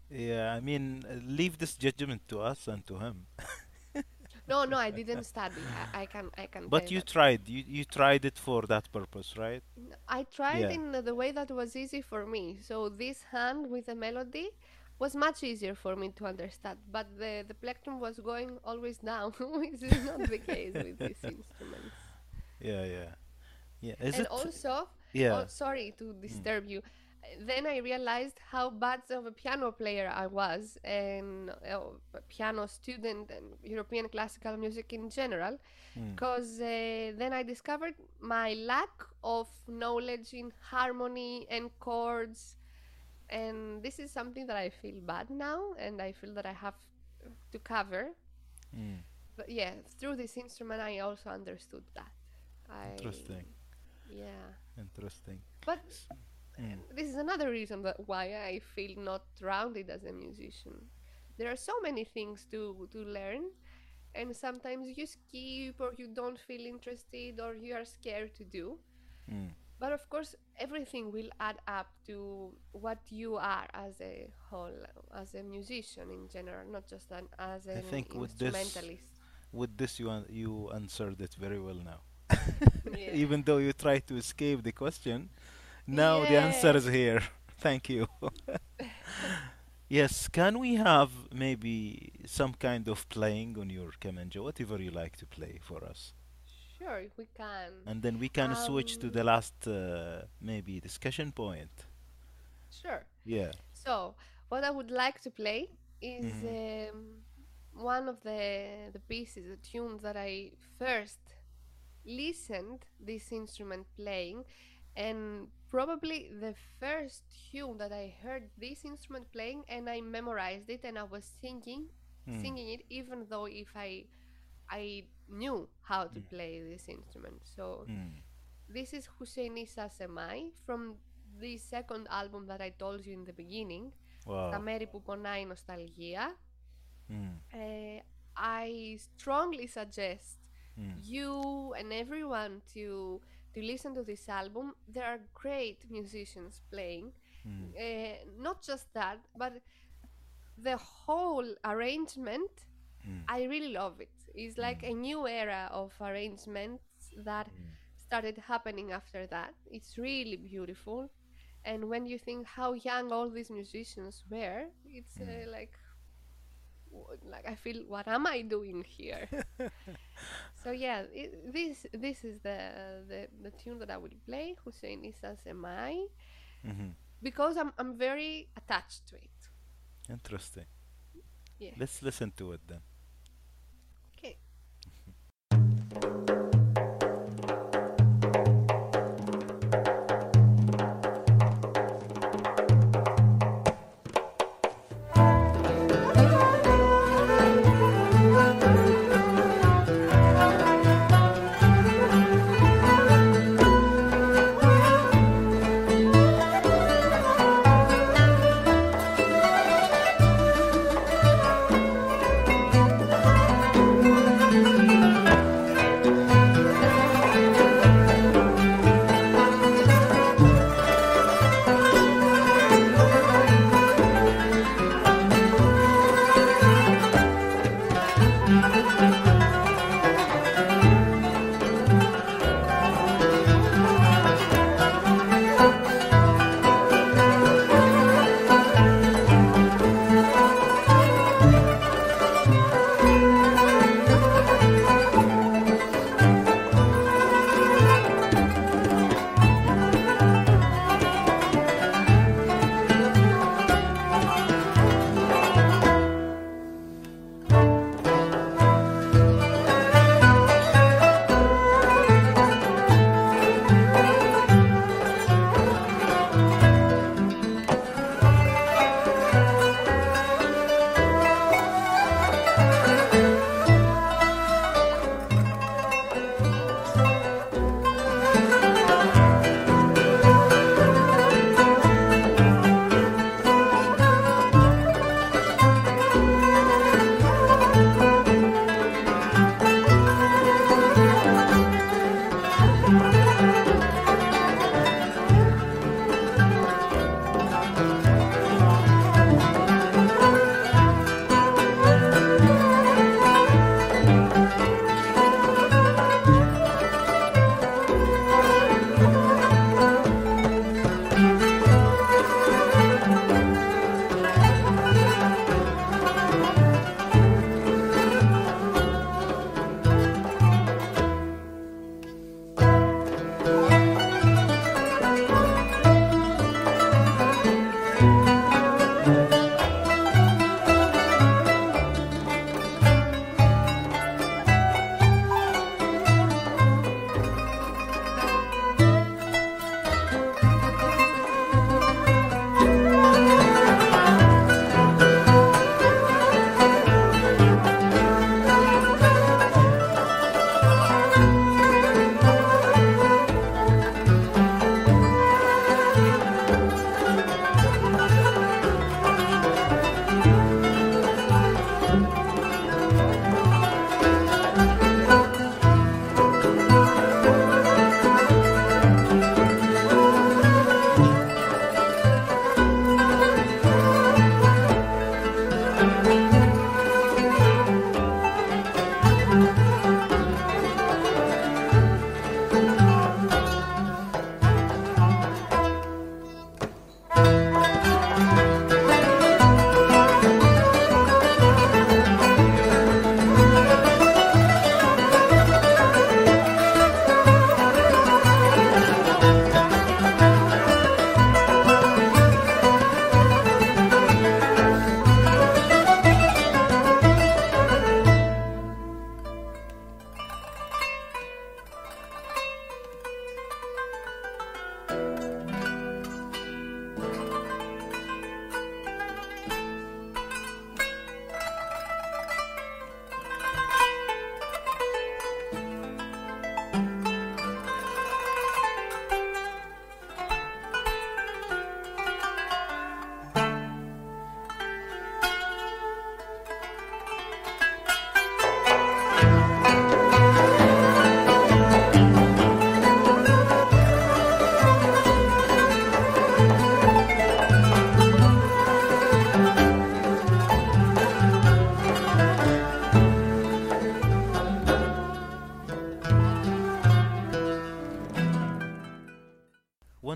Yeah, I mean, uh, leave this judgment to us and to him. No, no, I didn't study. I, I can I can tell But you you that. tried. You you tried it for that purpose, right? N- I tried Yeah. in the way that was easy for me. So this hand with the melody was much easier for me to understand. But the the plectrum was going always down, which is not the case with these instruments. Yeah, yeah. Yeah. Is And it? also, oh, Yeah. sorry to Mm. disturb you. Then I realized how bad of a piano player I was, and uh, a piano student, and European classical music in general. Mm. Because uh, then I discovered my lack of knowledge in harmony and chords, and this is something that I feel bad now, and I feel that I have to cover. Mm. But yeah, through this instrument, I also understood that. I Interesting. Yeah, Interesting. but S- Mm. this is another reason that why I feel not rounded as a musician. There are so many things to to learn, and sometimes you skip or you don't feel interested or you are scared to do. Mm. But of course, everything will add up to what you are as a whole, as a musician in general, not just an, as I an think with this, instrumentalist. with this, you an- you answered it very well now. Yeah. Even though you tried to escape the question, now the answer Yeah. is here. Thank you. Yes, can we have maybe some kind of playing on your kamanjo, whatever you like to play for us? Sure, we can. And then we can switch to the Um, last uh, maybe discussion point. sure. Yeah. So, what I would like to play is Mm-hmm. um, one of the the pieces, the tunes that I first listened this instrument playing, and probably the first tune that I heard this instrument playing, and I memorized it, and I was singing, Mm. singing it, even though if I I knew how to Mm. play this instrument. So Mm. this is Hussein Issa Semai from the second album that I told you in the beginning, Τα Wow. μέρη που πονάει νοσταλγία. Mm. Uh, I strongly suggest Mm. you and everyone to to listen to this album. There are great musicians playing. Mm. Uh, not just that, but the whole arrangement. Mm. I really love it. It's like Mm. a new era of arrangements that Mm. started happening after that. It's really beautiful. And when you think how young all these musicians were, it's Mm. uh, like w- like I feel what am I doing here? So yeah, it, this this is the, the the tune that I will play. Hussein Issa Semai, Mm-hmm. because I'm I'm very attached to it. Interesting. Let's Yes. listen to it then. Okay.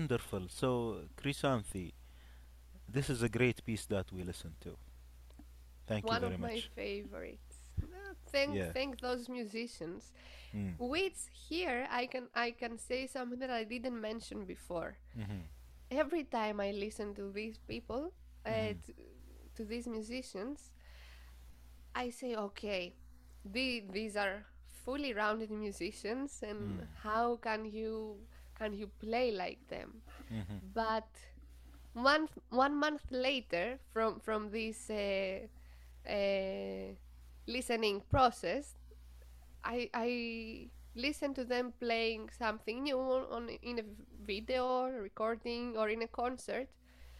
wonderful. So, Krisanthi, this is a great piece that we listened to. Thank you One very of my much. favorites. Uh, Thank Yeah. thank those musicians. Mm. Which here I can I can say something that I didn't mention before. Mm-hmm. Every time I listen to these people, uh, Mm-hmm. to, to these musicians, I say, okay, the, these are fully rounded musicians, and Mm. how can you can you play like them? Mm-hmm. But one one month later, from from this uh, uh, listening process, I I listen to them playing something new on in a video recording or in a concert,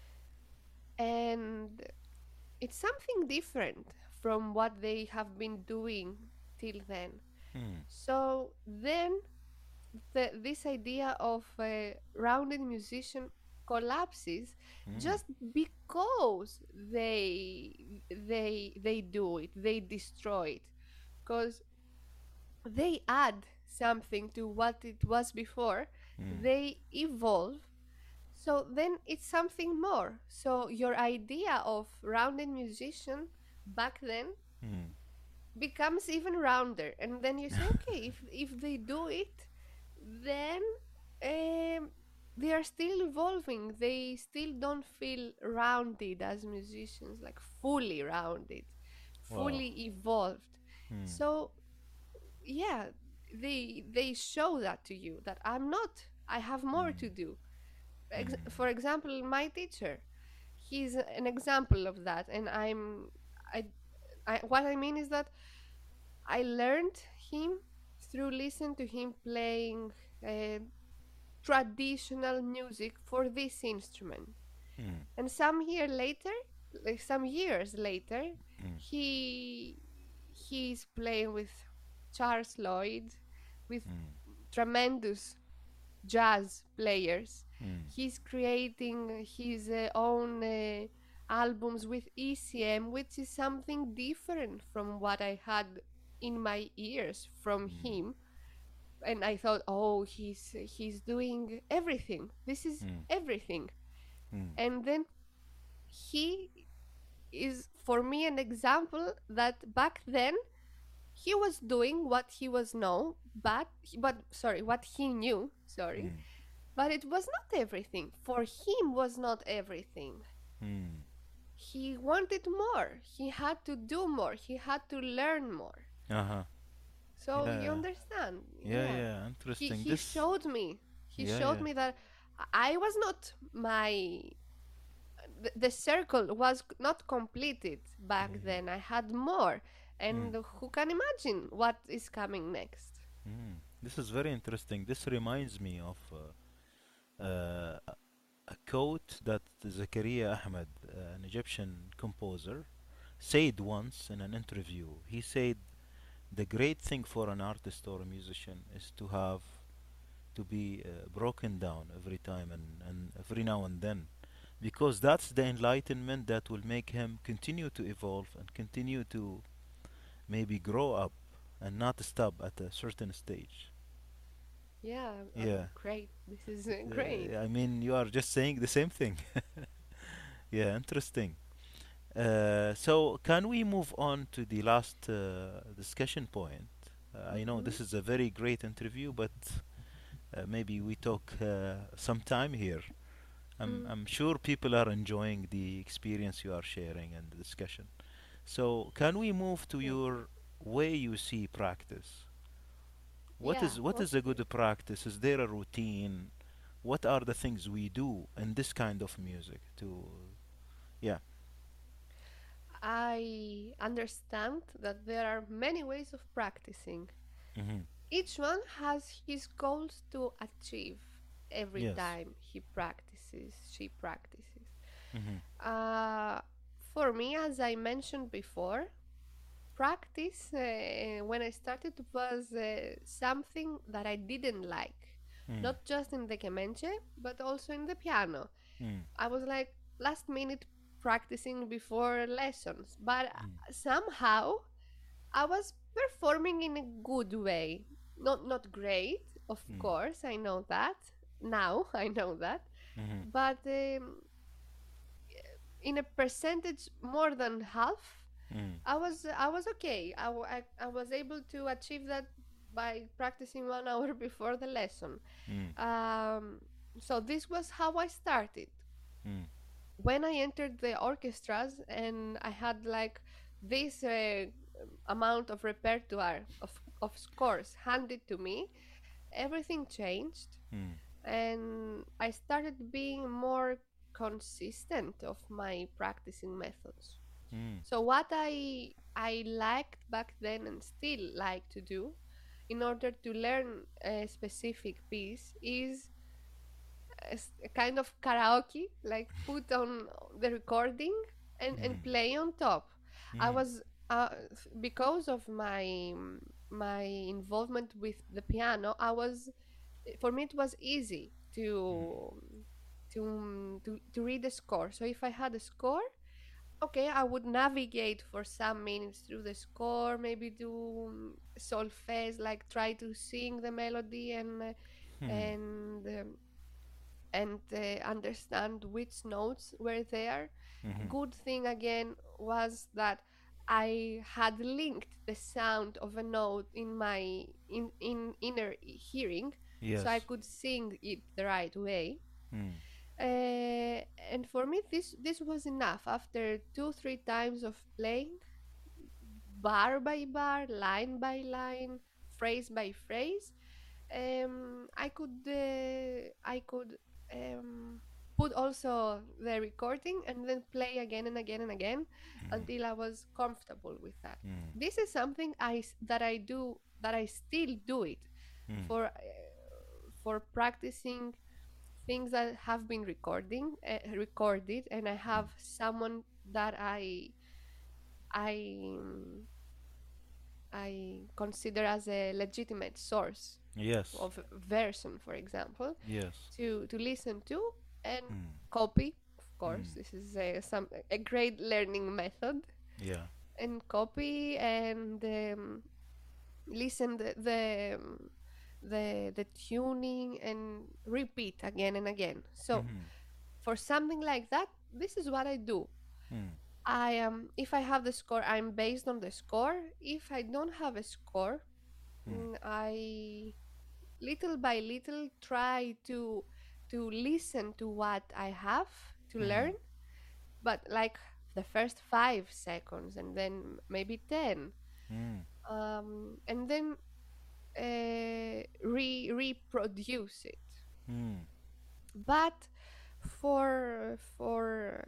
and it's something different from what they have been doing till then. Mm. So then the, this idea of a rounded musician collapses Mm. just because they they they do it, they destroy it, because they add something to what it was before, Mm. they evolve, so then it's something more. So your idea of rounded musician back then Mm. becomes even rounder, and then you say, okay, if if they do it, then um, they are still evolving. They still don't feel rounded as musicians, like fully rounded, Wow. fully evolved. Mm. So yeah, they they show that to you, that I'm not, I have more Mm. to do. Ex- Mm. for example, my teacher, he's an example of that, and i'm I, I what I mean is that I learned him through listening to him playing uh, traditional music for this instrument. Mm. And some year later, like some years later, Mm. he he's playing with Charles Lloyd, with Mm. tremendous jazz players. Mm. He's creating his uh, own uh, albums with E C M, which is something different from what I had in my ears from Mm. him. And I thought, oh, he's he's doing everything. This is Mm. everything. Mm. And then he is for me an example that back then he was doing what he was known, but but sorry, what he knew. Sorry, Mm. but it was not everything. For him was not everything. Mm. He wanted more. He had to do more. He had to learn more. Uh-huh. So you Yeah. understand? Yeah, Yeah. yeah. He Interesting. he This. showed me. He Yeah, showed yeah. me that I was not my the, the circle was not completed back Mm. then. I had more. Mm. And who can imagine what is coming next? Mm. This is very interesting. This reminds me of uh, uh, a a quote that Zakaria Ahmed, uh, an Egyptian composer, said once in an interview. He said, "The great thing for an artist or a musician is to have to be uh, broken down every time and, and every now and then, because that's the enlightenment that will make him continue to evolve and continue to maybe grow up and not stop at a certain stage." Yeah, uh, Yeah. great. This is uh, great. Uh, I mean, you are just saying the same thing. Yeah, interesting. Uh, so, can we move on to the last uh, discussion point? Uh, I know Hmm. this is a very great interview, but uh, maybe we talk uh, some time here. I'm, Mm. I'm sure people are enjoying the experience you are sharing and the discussion. So, can we move to Okay. your way you see practice? What Yeah, is what is a okay. good practice? Is there a routine? What are the things we do in this kind of music to yeah. I understand that there are many ways of practicing. Mhm. Each one has his goals to achieve every Yes. time he practices, she practices. Mhm. Uh, for me, as I mentioned before, practice uh, when I started was uh, something that I didn't like, Mm. not just in the kemenche, but also in the piano. Mm. I was like last minute practicing before lessons, but Mm. uh, somehow I was performing in a good way. Not not great, of Mm. course, I know that. Now I know that. Mhm. but um, in a percentage more than half, Mm. I was I was okay. I, w- I, I was able to achieve that by practicing one hour before the lesson. Mm. Um, so this was how I started. Mm. When I entered the orchestras and I had like this uh, amount of repertoire of, of scores handed to me, everything changed, Mm. and I started being more consistent of my practicing methods. Mm. So what I I liked back then and still like to do in order to learn a specific piece is a s- a kind of karaoke, like put on the recording and, and Mm. play on top. I Mm. was uh, because of my my involvement with the piano. I was for me it was easy to to to to read the score. So if I had a score, okay, I would navigate for some minutes through the score, maybe do um, solfege, like try to sing the melody and uh, Mm. and um, and uh, understand which notes were there. Mhm. Good thing again was that I had linked the sound of a note in my in, in inner hearing, so I Yes. could sing it the right way. Mm. Uh, and for me, this this was enough. After two three times of playing, bar by bar, line by line, phrase by phrase, um, I could uh, I could um, put also the recording and then play again and again and again Mhm. until I was comfortable with that. Mm. This is something I s- that I do that I still do it Mm. for uh, for practicing things that have been recording uh, recorded, and I Mm. have someone that I I um, I consider as a legitimate source Yes. of version, for example, Yes. to to listen to and Mm. copy. Of course, Mm. this is a, some a great learning method, Yeah. and copy and um, listen the the, um, the the tuning and repeat again and again. So Mhm. for something like that, this is what I do. Mm. I am if I have the score, I'm based on the score. If I don't have a score, Mm. mm, I little by little try to to listen to what I have to learn, Mhm. but like the first five seconds and then maybe ten, Mm. um, and then uh, re reproduce it. Mm. But for for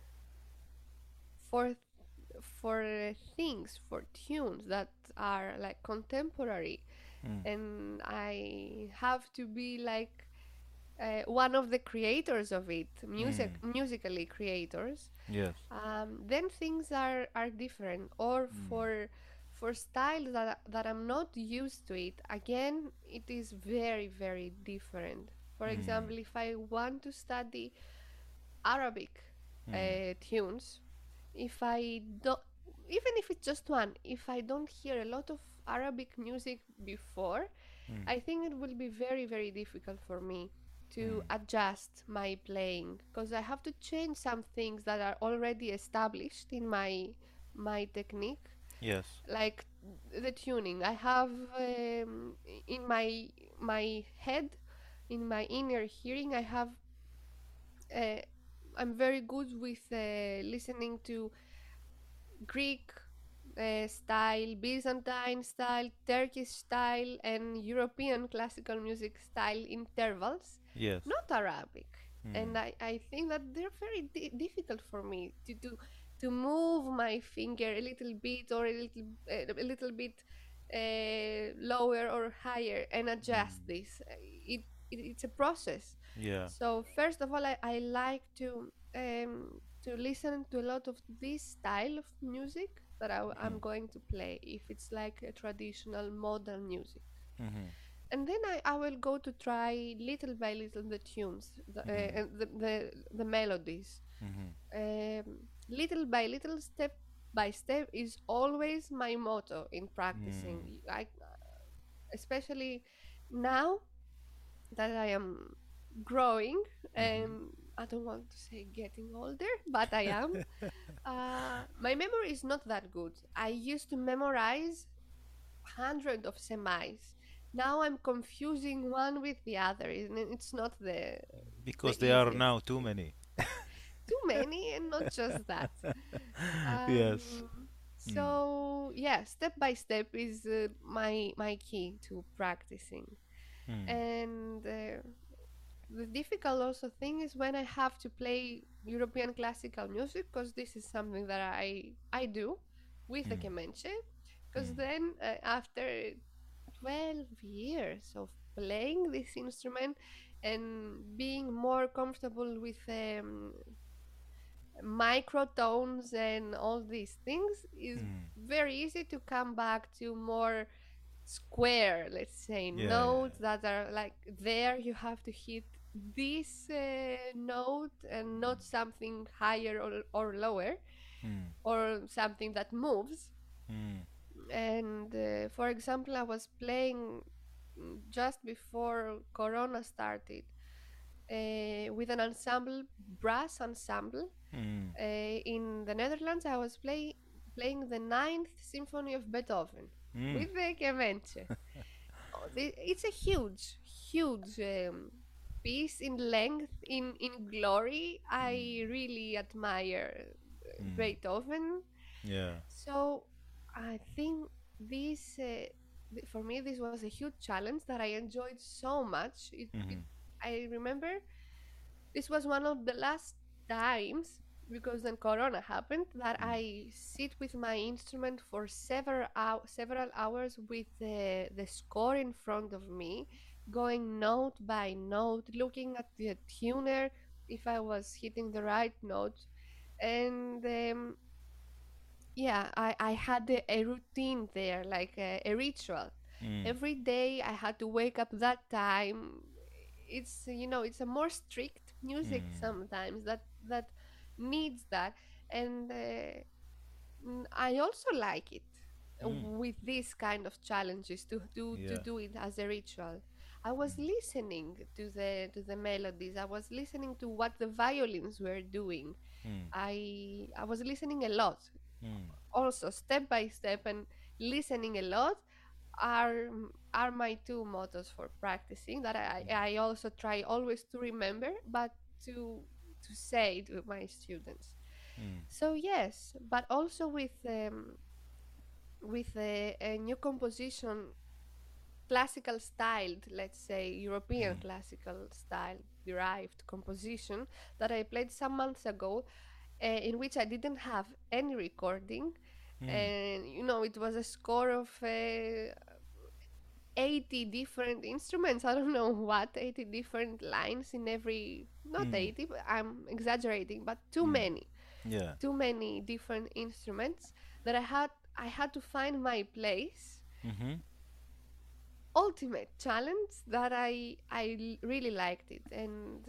for for things for tunes that are like contemporary, Mm. and I have to be like uh, one of the creators of it, music Mm. musically creators, Yes. um, then things are are different. Or Mm. for for styles that that I'm not used to it, again it is very very different. For Mm. example, if I want to study Arabic Mm. uh, tunes, if I don't, even if it's just one, if I don't hear a lot of Arabic music before, Mm. I think it will be very, very difficult for me to Mm. adjust my playing because I have to change some things that are already established in my my technique, Yes. like the tuning. I have um, in my my head, in my inner hearing, I have. Uh, I'm very good with uh, listening to Greek uh, style, Byzantine style, Turkish style, and European classical music style intervals, Yes. not Arabic. Mm. And I, I think that they're very di- difficult for me to do to move my finger a little bit or a little uh, a little bit uh, lower or higher and adjust Mm. this. Uh, It, it it's a process. Yeah. So first of all, I, I like to um, to listen to a lot of this style of music that I, Mm. am going to play if it's like a traditional modern music. Mhm. And then I, I will go to try little by little the tunes, the, uh, Mhm. and the, the, the melodies. Mhm. Um, little by little, step by step is always my motto in practicing. Mm. I, especially now that I am growing, Mm-hmm. and I don't want to say getting older, but I am. Uh, my memory is not that good. I used to memorize hundred of semis. Now I'm confusing one with the other, and it's not the the Because they are easiest now too thing. many. Too many, and not just that. Yes. Um, Mm. so yeah, step by step is uh, my my key to practicing. Mm. And uh, the difficult also thing is when I have to play European classical music, because this is something that I I do with the Mm. kemenche. Because Mm. then uh, after twelve years of playing this instrument and being more comfortable with um, microtones and all these things, is Mm. very easy to come back to more square, let's say, Yeah, yeah. notes that are like there. You have to hit this uh, note and not something higher or, or lower, Mm. or something that moves. Mm. And uh, for example, I was playing mm, just before Corona started uh, with an ensemble, brass ensemble, Mm. uh, in the Netherlands. I was play, playing the Ninth Symphony of Beethoven Mm. with the Kemenche. Oh, the- it's a huge, huge um, piece in length, in in glory. I really admire uh, Mm. Beethoven. Yeah. So I think this, uh, th- for me, this was a huge challenge that I enjoyed so much. It, it, Mm-hmm. I remember this was one of the last times, because then Corona happened, that Mm. I sit with my instrument for several hou- several hours with the the score in front of me, going note by note, looking at the tuner if I was hitting the right note. And um, yeah, I, I had a, a routine there, like a, a ritual. Mm. Every day I had to wake up that time. It's, you know, it's a more strict music Mm. sometimes that that needs that. And uh, mm, I also like it Mm. with these kind of challenges to, to, to Yeah. do it as a ritual. I was Mm. listening to the to the melodies. I was listening to what the violins were doing. Mm. I I was listening a lot, Mm. also step by step, and listening a lot are are my two mottos for practicing, that I, I also try always to remember, but to to say to my students. Mm. So yes, but also with um, with a, a new composition, classical styled, let's say European Mm. classical style derived composition that I played some months ago, uh, in which I didn't have any recording. Mm. And you know, it was a score of uh, eighty different instruments. I don't know what, eighty different lines in every, not Mm. eighty, but I'm exaggerating, but too Mm. many, Yeah. too many different instruments that I had. I had to find my place. Mm-hmm. Ultimate challenge that I I really liked it. And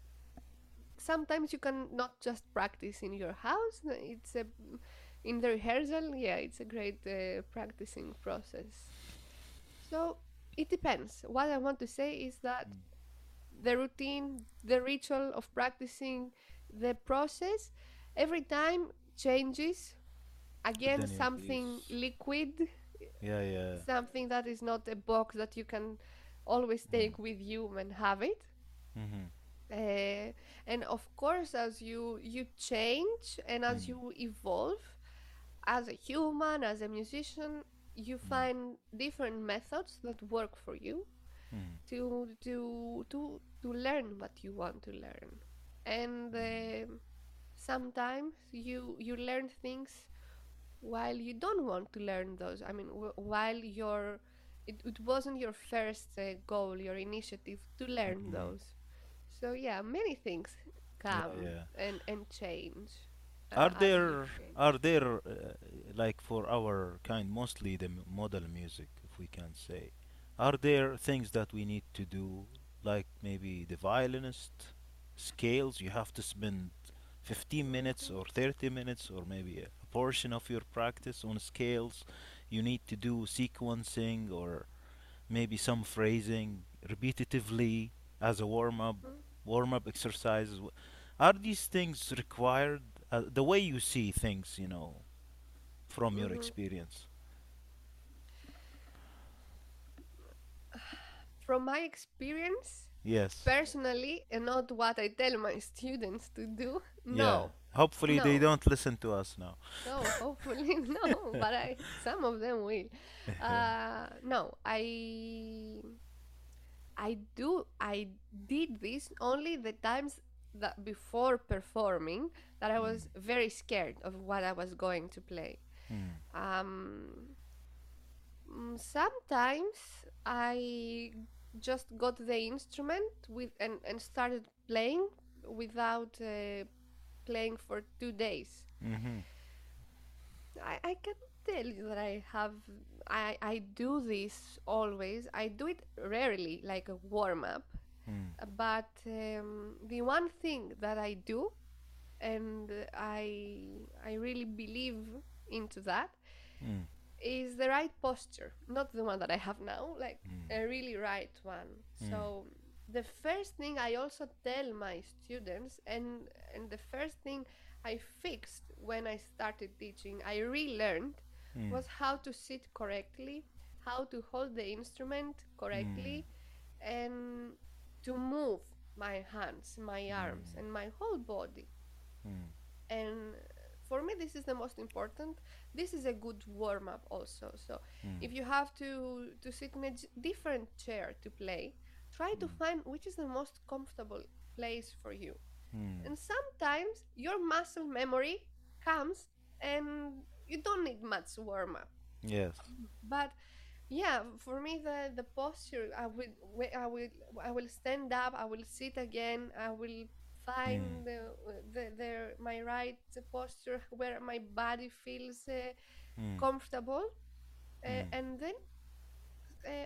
sometimes you can not just practice in your house. It's a in the rehearsal. Yeah, it's a great uh, practicing process. So it depends. What I want to say is that the routine, the ritual of practicing, the process, every time changes. But Again, then it something is. liquid, Yeah, yeah. something that is not a box that you can always Mm. take with you and have it. Mm-hmm. Uh, and of course, as you you change and as Mm. you evolve as a human, as a musician, you Mm. find different methods that work for you Mm. to to to to learn what you want to learn. And uh, sometimes you you learn things while you don't want to learn those. I mean, w- while your it, it wasn't your first uh, goal, your initiative to learn Mm. those. So yeah, many things Yeah, come yeah. and and change uh, Are as you there change. are there uh, like for our kind, mostly the m- model music, if we can say, are there things that we need to do, like maybe the violinist scales? You have to spend fifteen minutes Mhm. or thirty minutes or maybe a, a portion of your practice on scales. You need to do sequencing or maybe some phrasing repetitively as a warm up, Mm. warm up exercises? Wh- Are these things required? Uh, the way you see things, you know, from your Hmm. experience. From my experience, Yes. personally, and not what I tell my students to do, Yeah. no, Hopefully they no, don't listen to us now. no, hopefully no, but I, some of them will. Uh, no, I I do I did this only the times that before performing that I Mm, was very scared of what I was going to play. mm, Um, mm, Sometimes I just got the instrument with and, and started playing without uh, playing for two days. mhm, I, I can tell you that I have I, I do this always. I do it rarely like a warm up. mm, But um, the one thing that I do, and I I really believe into that, mm, is the right posture, not the one that I have now, like mm, a really right one. mm, So the first thing I also tell my students, and and the first thing I fixed when I started teaching, I relearned, mm, was how to sit correctly, how to hold the instrument mm, correctly, and to move my hands, my arms, and my whole body. mm, And for me, this is the most important. This is a good warm up also. So mm, if you have to to sit in a j- different chair to play, try to mm, find which is the most comfortable place for you. mm. And sometimes your muscle memory comes and you don't need much warm up. Yes. But yeah, for me the the posture, I will wa- I will I will stand up, I will sit again, I will Mm, find the the, the my right posture where my body feels uh, mm, comfortable, uh, mm, and then uh,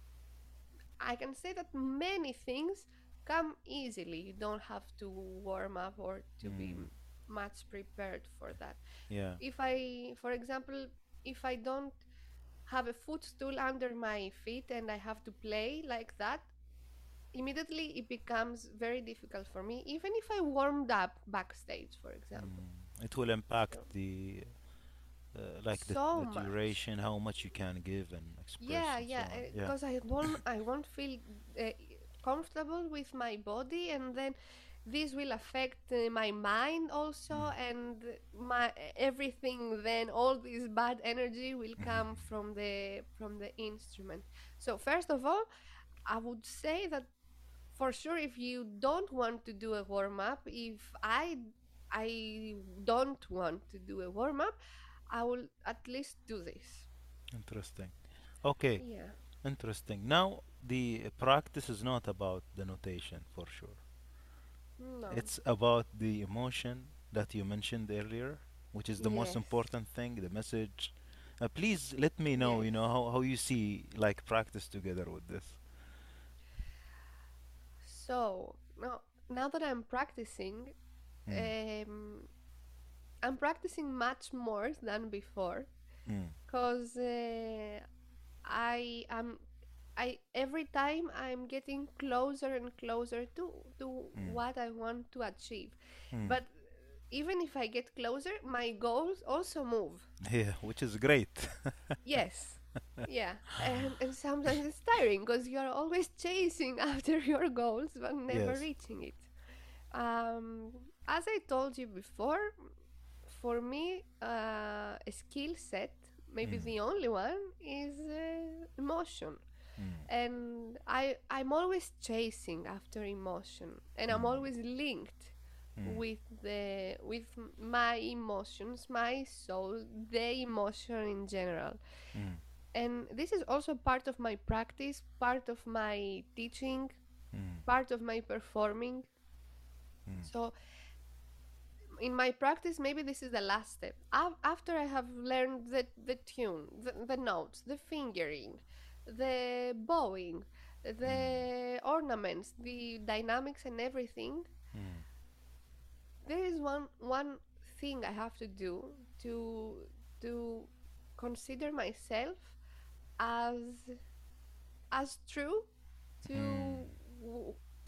I can say that many things come easily. You don't have to warm up or to be mm. m- much prepared for that. Yeah. If I, for example, if I don't have a footstool under my feet and I have to play like that, immediately it becomes very difficult for me, even if I warmed up backstage, for example. Mm. It will impact So, the uh, like the so the much. duration, how much you can give and express Yeah, and so yeah, on. Yeah. because I won't, I won't feel uh, comfortable with my body, and then this will affect uh, my mind also, Mm. and my everything. Then all this bad energy will come Mhm. from the from the instrument. So first of all, I would say that for sure, if you don't want to do a warm up, if I I don't want to do a warm up, I will at least do this. Interesting. Okay, Yeah. interesting. Now, the practice is not about the notation for sure. No. It's about the emotion that you mentioned earlier, which is the most Yes. important thing, the message. Uh, please let me know, Yes. you know, how, how you see like practice together with this. So now, now that I'm practicing, Mm, um, I'm practicing much more than before, mm, because uh, I am I every time I'm getting closer and closer to to mm, what I want to achieve. mm. But even if I get closer, my goals also move. Yeah, which is great. Yes. Yeah. And and sometimes it's tiring because you're always chasing after your goals but never Yes. reaching it. Um as I told you before, for me, uh, a skill set, maybe Mm, the only one, is uh, emotion. mm, And I I'm always chasing after emotion, and I'm mm, always linked mm, with the with my emotions, my soul, the emotion in general. mm, And this is also part of my practice, part of my teaching, mm, part of my performing. mm, So in my practice, maybe this is the last step. Af- after I have learned the, the tune, the, the notes, the fingering, the bowing, the ornaments, the dynamics, and everything, mm, there is one one thing I have to do to to consider myself as as true mm, to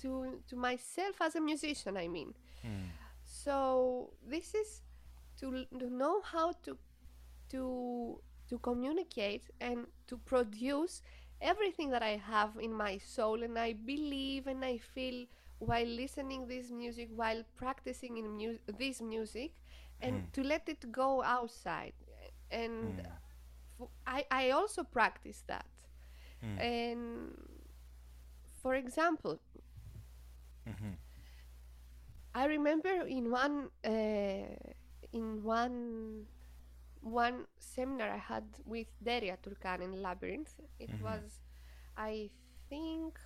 to to myself as a musician, I mean. Mm. So this is to, to know how to to to communicate and to produce everything that I have in my soul and I believe and I feel while listening this music, while practicing in mu- this music, and Mm. to let it go outside. And Mm. f- I I also practice that. Mm. And for example, Mhm. I remember in one uh, in one one seminar I had with Deria Turkan in Labyrinth. It Mhm. was, I think,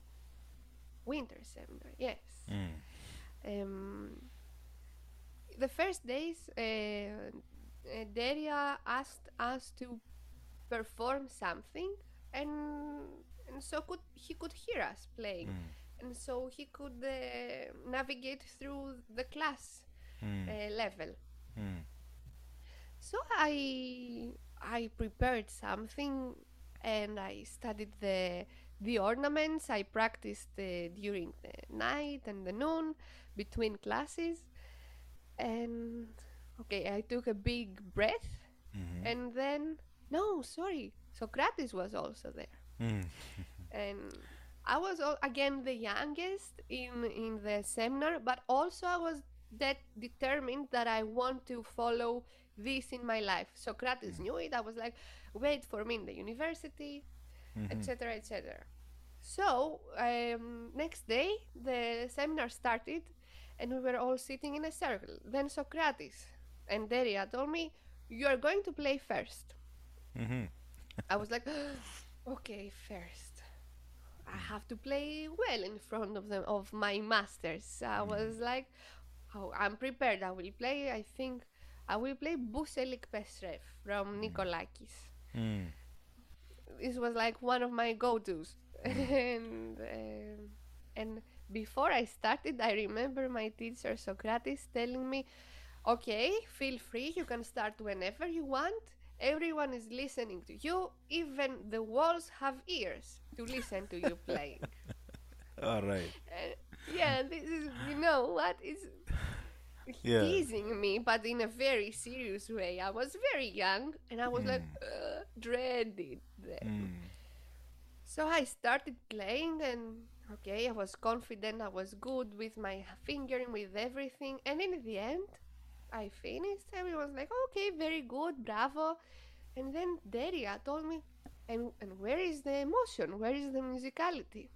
winter seminar. Yes. Mm. Um, the first days, uh, uh, Deria asked us to perform something, and and so could he could hear us playing, Mm. and so he could uh, navigate through the class Mm. uh, level. Mm. So I I prepared something and I studied the the ornaments. I practiced uh, during the night and the noon between classes. And okay, I took a big breath Mhm. and then no, sorry, Socrates was also there. Mm. And I was all, again the youngest in in the seminar, but also I was that determined that I want to follow this in my life. Socrates knew it. I was like, wait for me in the university, Mhm. et cetera, et cetera. So um, next day the seminar started, and we were all sitting in a circle. Then Socrates and Deria told me, "You are going to play first." Mhm. I was like, "Okay, first." I have to play well in front of them of my masters. I Mm. was like, oh, I'm prepared. I will play. I think I will play Buselik Pesrev from Nikolakis. Mm. This was like one of my go-tos, Mm. and um, and before I started, I remember my teacher Socrates telling me, "Okay, feel free. You can start whenever you want. Everyone is listening to you. Even the walls have ears to listen to you playing." All right. Uh, yeah, this is, you know what, is Yeah. teasing me, but in a very serious way. I was very young and I was like, Mm. uh, dreaded them. Mm. So I started playing, and okay, I was confident, I was good with my fingering, with everything. And in the end, I finished. Everyone's like, okay, very good, bravo. And then Deria told me, and, and where is the emotion? Where is the musicality?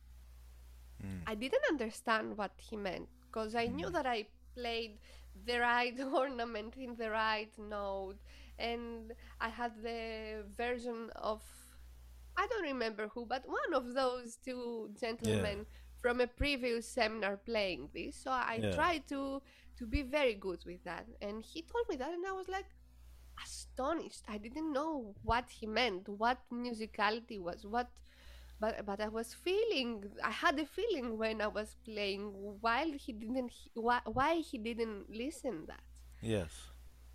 Mm. I didn't understand what he meant because I knew Mm. that I played the right ornament in the right note, and I had the version of, I don't remember who, but one of those two Yeah. gentlemen from a previous seminar playing this. So I Yeah. tried to to be very good with that, and he told me that, and I was like astonished. I didn't know what he meant, what musicality was, what but but I was feeling, I had a feeling when I was playing while he didn't he- why, why he didn't listen that. Yes.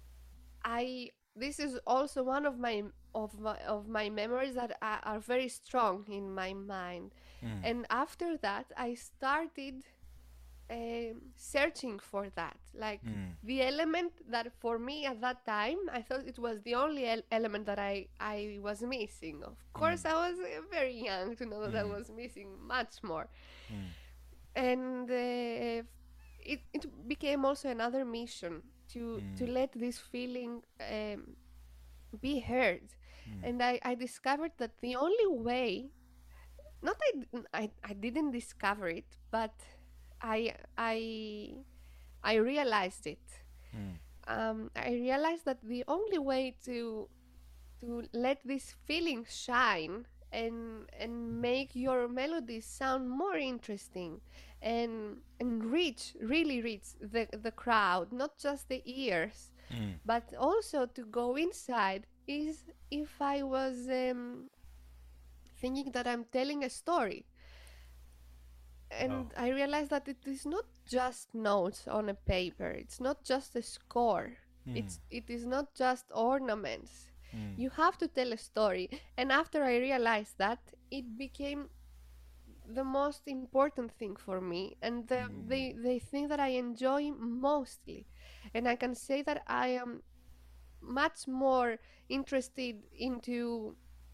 I This is also one of my of my of my memories that are, are very strong in my mind. Mm. And after that I started um, searching for that, like Mm. the element that for me at that time I thought it was the only el- element that I I was missing. Of Mm. course I was uh, very young to know that I Mm. was missing much more. Mm. And uh, it, it became also another mission to to Mm. let this feeling um, be heard. Mm. And I, I discovered that the only way, not I, d- I, I didn't discover it, but I I I realized it. Mm. Um, I realized that the only way to to let this feeling shine and and make your melodies sound more interesting and and reach, really reach the the crowd, not just the ears, Mm. but also to go inside, is if I was um, thinking that I'm telling a story. Oh. And I realized that it is not just notes on a paper. It's not just a score. Mm. It's it is not just ornaments. Mm. You have to tell a story. And after I realized that, it became the most important thing for me, and the Mm. the, the thing that I enjoy mostly. And I can say that I am much more interested into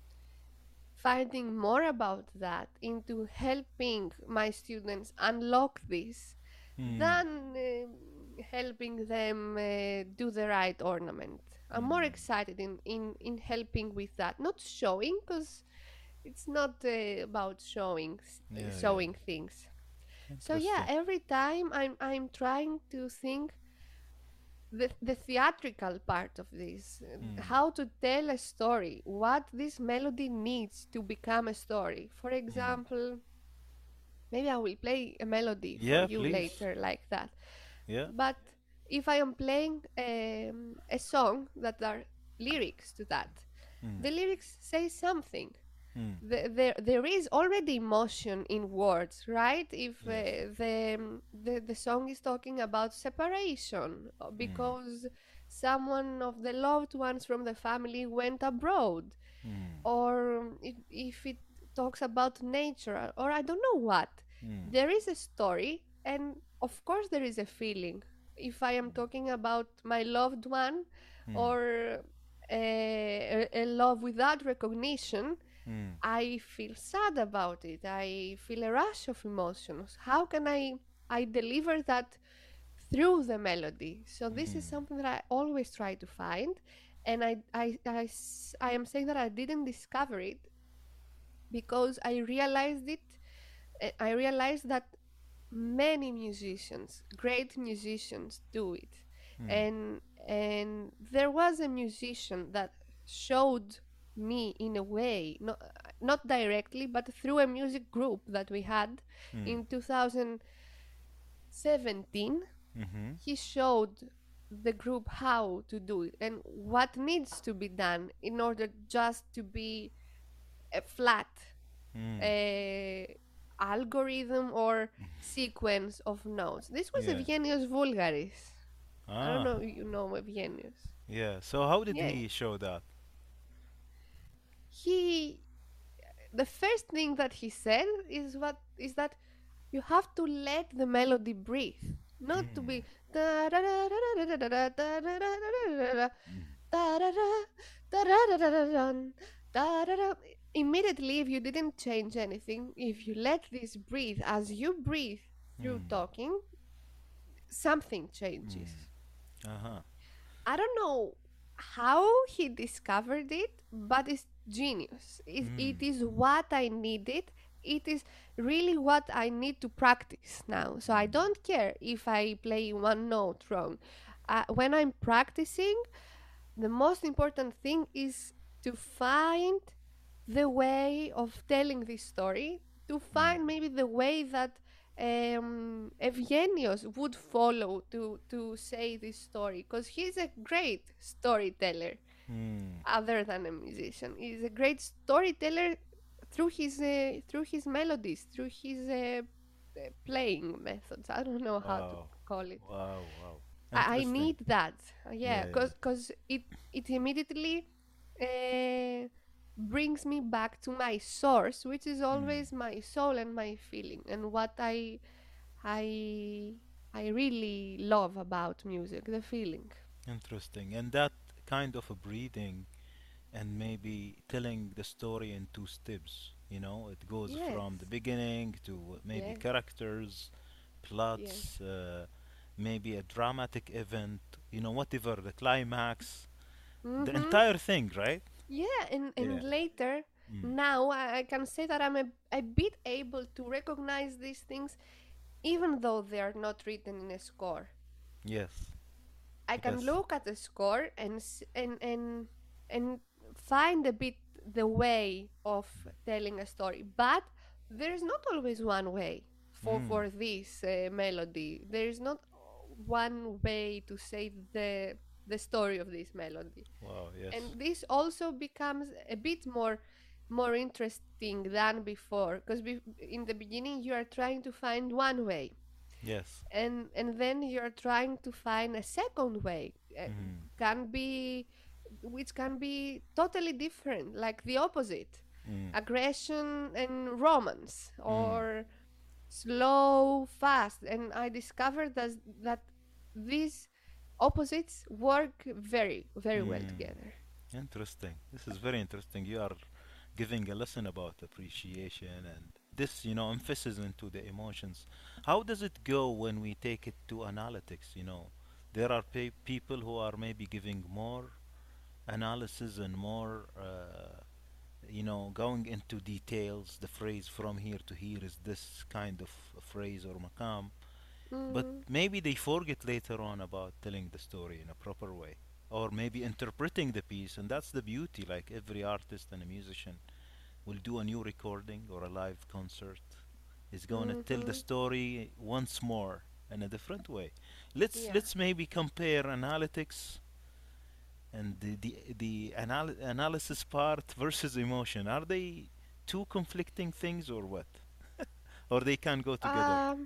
finding more about that, into helping my students unlock this, Mm. than uh, helping them uh, do the right ornament. I'm more Mm. excited in, in, in helping with that, not showing, because it's not uh, about showing Yeah, yeah. showing things. So yeah, Interesting. every time I'm I'm trying to think the, the theatrical part of this, uh, Mm. how to tell a story, what this melody needs to become a story. For Mm. example, maybe I will play a melody for Yeah, you please. later like that. Yeah. But if I am playing um, a song that are lyrics to that, Mm. the lyrics say something. Mm. The, there, there is already emotion in words, right? If Yes. uh, the, um, the the song is talking about separation uh, Mm. because someone of the loved ones from the family went abroad, Mm. or if, if it talks about nature, or I don't know what, Mm. there is a story, and of course there is a feeling. If I am talking about my loved one, Mm. or a, a love without recognition, Mm. I feel sad about it. I feel a rush of emotions. How can I I deliver that through the melody? So this is Mm. something that I always try to find, and I I I, s- I am saying that I didn't discover it because I realized it. uh, I realized that many musicians, great musicians, do it, Mm. and and there was a musician that showed me in a way, not not directly, but through a music group that we had Mm. in two thousand seventeen. Mm-hmm. He showed the group how to do it and what needs to be done in order just to be a flat Mm. uh, algorithm or sequence of notes. This was Yeah. Evgenios Vulgaris. I don't Ah. know if you know Evgenios. Yeah. So how did Yeah, he show that? he. The first thing that he said is what is that you have to let the melody breathe, not to Mm. be da da da da da da da da da da da Mm. da da da da da da da da da da da. Immediately, if you didn't change anything, if you let this breathe as you breathe through Mm. talking, something changes. Mm. Uh-huh. I don't know how he discovered it, but it's genius. It, Mm. it is what I needed. It is really what I need to practice now. So I Mm. don't care if I play one note wrong. Uh, when I'm practicing, the most important thing is to find the way of telling this story, to Mm. find maybe the way that um, Evgenios would follow to, to say this story, because he's a great storyteller Mm. other than a musician. He's a great storyteller through his uh, through his melodies, through his uh, uh, playing methods. I don't know how to Wow. call it. Wow. Wow. I, I Interesting. need that. Uh, Yeah, Yeah. Yeah. cause cause it it immediately uh, brings me back to my source, which is Mm. always my soul and my feeling, and what I I I really love about music, the feeling. Interesting. And that kind of a breathing and maybe telling the story in two steps. You know, it goes Yes, from the beginning to maybe yes, characters, yes. plots, uh, maybe a dramatic event, you know, whatever, the climax, the Mm-hmm. entire thing, right? Yeah, and Yeah. and later, Mm. now I, I can say that I'm a, a bit able to recognize these things, even though they are not written in a score. Yes. I can Yes. look at the score and s- and and and find a bit the way of telling a story, but there is not always one way for Mm. for this uh, melody. There is not one way to say the the story of this melody, Wow. Yes. and this also becomes a bit more more interesting than before, because be- in the beginning you are trying to find one way, Yes. and and then you're trying to find a second way, uh, Mm. can be which can be totally different, like the opposite. Mm. aggression and romance, Mm. or slow, fast. And I discovered that, that these opposites work very, very well Mm. together. Interesting. This is very interesting. You are giving a lesson about appreciation and this, you know, emphasis into the emotions. How does it go when we take it to analytics? You know, there are pe- people who are maybe giving more analysis and more, uh, you know, going into details. The phrase from here to here is this kind of a phrase or maqam, but Mm, maybe they forget later on about telling the story in a proper way. Or maybe interpreting the piece, and that's the beauty. Like every artist and a musician will do a new recording or a live concert, is going to tell the mm-hmm. story once more in a different way. Let's Yeah. let's maybe compare analytics and the the, the anal- analysis part versus emotion. Are they two conflicting things or what? Or they can go together? Um,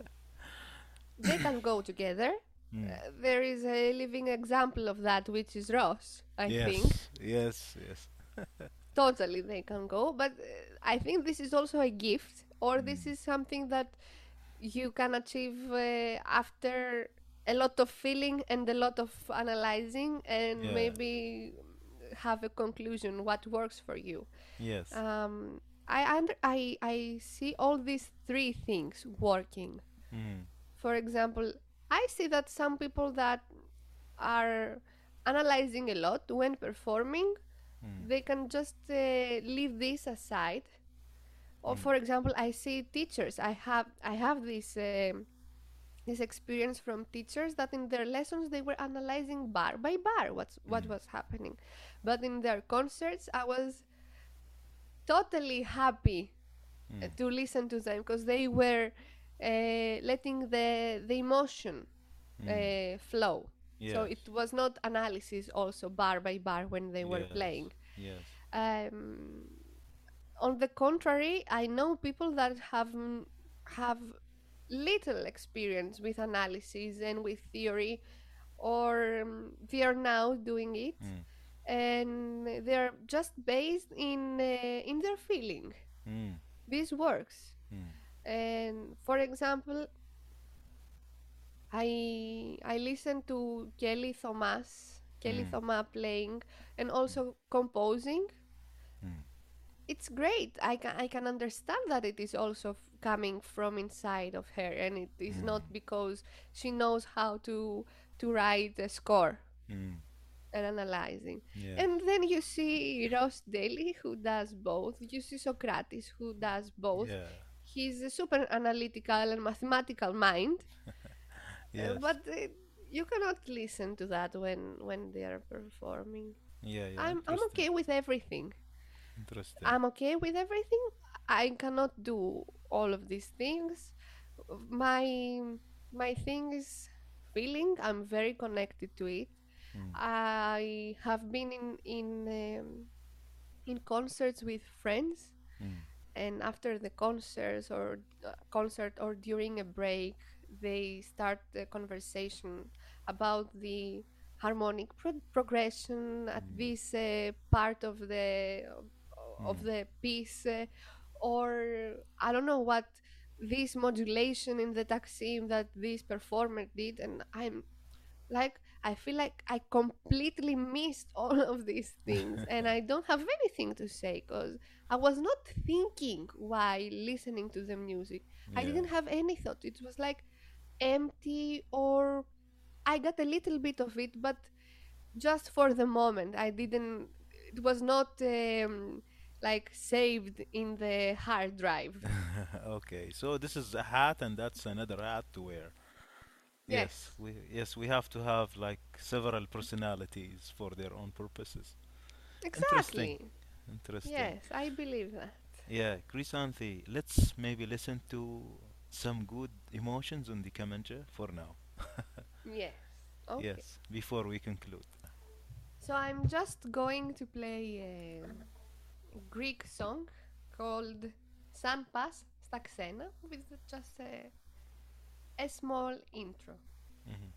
they can go together. Mm. Uh, there is a living example of that, which is Ross, I think. Yes, yes, yes. Totally, they can go. But uh, I think this is also a gift, or this Mm. is something that you can achieve uh, after a lot of feeling and a lot of analyzing, and Yeah. maybe have a conclusion what works for you. Yes. Um, I, under, I I see all these three things working. Mm. For example, I see that some people that are analyzing a lot when performing, Mm. they can just uh, leave this aside. Or Mm. for example, I see teachers. I have I have this um this experience from teachers that in their lessons they were analyzing bar by bar what's what Mm. was happening, but in their concerts I was totally happy uh, Mm. to listen to them because they were uh, letting the the emotion Mm. uh, flow. So Yes. it was not analysis also bar by bar when they were Yes. playing. Yes. Um, on the contrary, I know people that have have little experience with analysis and with theory, or um, they are now doing it, Mm. and they're just based in uh, in their feeling. Mm. This works. Mm. And for example, I I listen to Kelly Thomas, Kelly Mm. Thomas playing and also composing. Mm. It's great. I can I can understand that it is also f- coming from inside of her, and it is Mm. not because she knows how to to write a score Mm. and analyzing. Yes. And then you see Ross Daly who does both. You see Socrates who does both. Yeah. He's a super analytical and mathematical mind, uh, Yes. but uh, you cannot listen to that when when they are performing. Yeah. Yeah. I'm I'm Interesting. okay with everything. Interesting. I'm okay with everything. I cannot do all of these things. My my thing is feeling. I'm very connected to it. Mm. I have been in in um, in concerts with friends, Mm. and after the concerts or uh, concert or during a break, they start the conversation about the harmonic pro- progression at Mm. this uh, part of the of Mm. the piece, uh, or I don't know what this modulation in the taksim that this performer did, and I'm like, I feel like I completely missed all of these things and I don't have anything to say because I was not thinking while listening to the music. I Yeah. didn't have any thought. It was like empty, or I got a little bit of it, but just for the moment. I didn't, it was not um, like saved in the hard drive. Okay. So this is a hat, and that's another hat to wear. Yes. Yes, We yes we have to have like several personalities for their own purposes. Interesting. exactly. Interesting. Yes, I believe that. Yeah, Krisanthi, let's maybe listen to some good emotions on the Kamancha for now. Yes. Okay. Yes, before we conclude. So I'm just going to play a Greek song called San Pas στα ξένα with just a, a small intro. Mhm.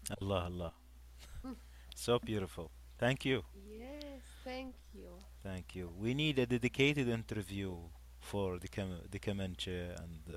Allah, Allah. So beautiful. Thank you. Yes, thank you. Thank you. We need a dedicated interview for the Cam- the Comanche, and uh,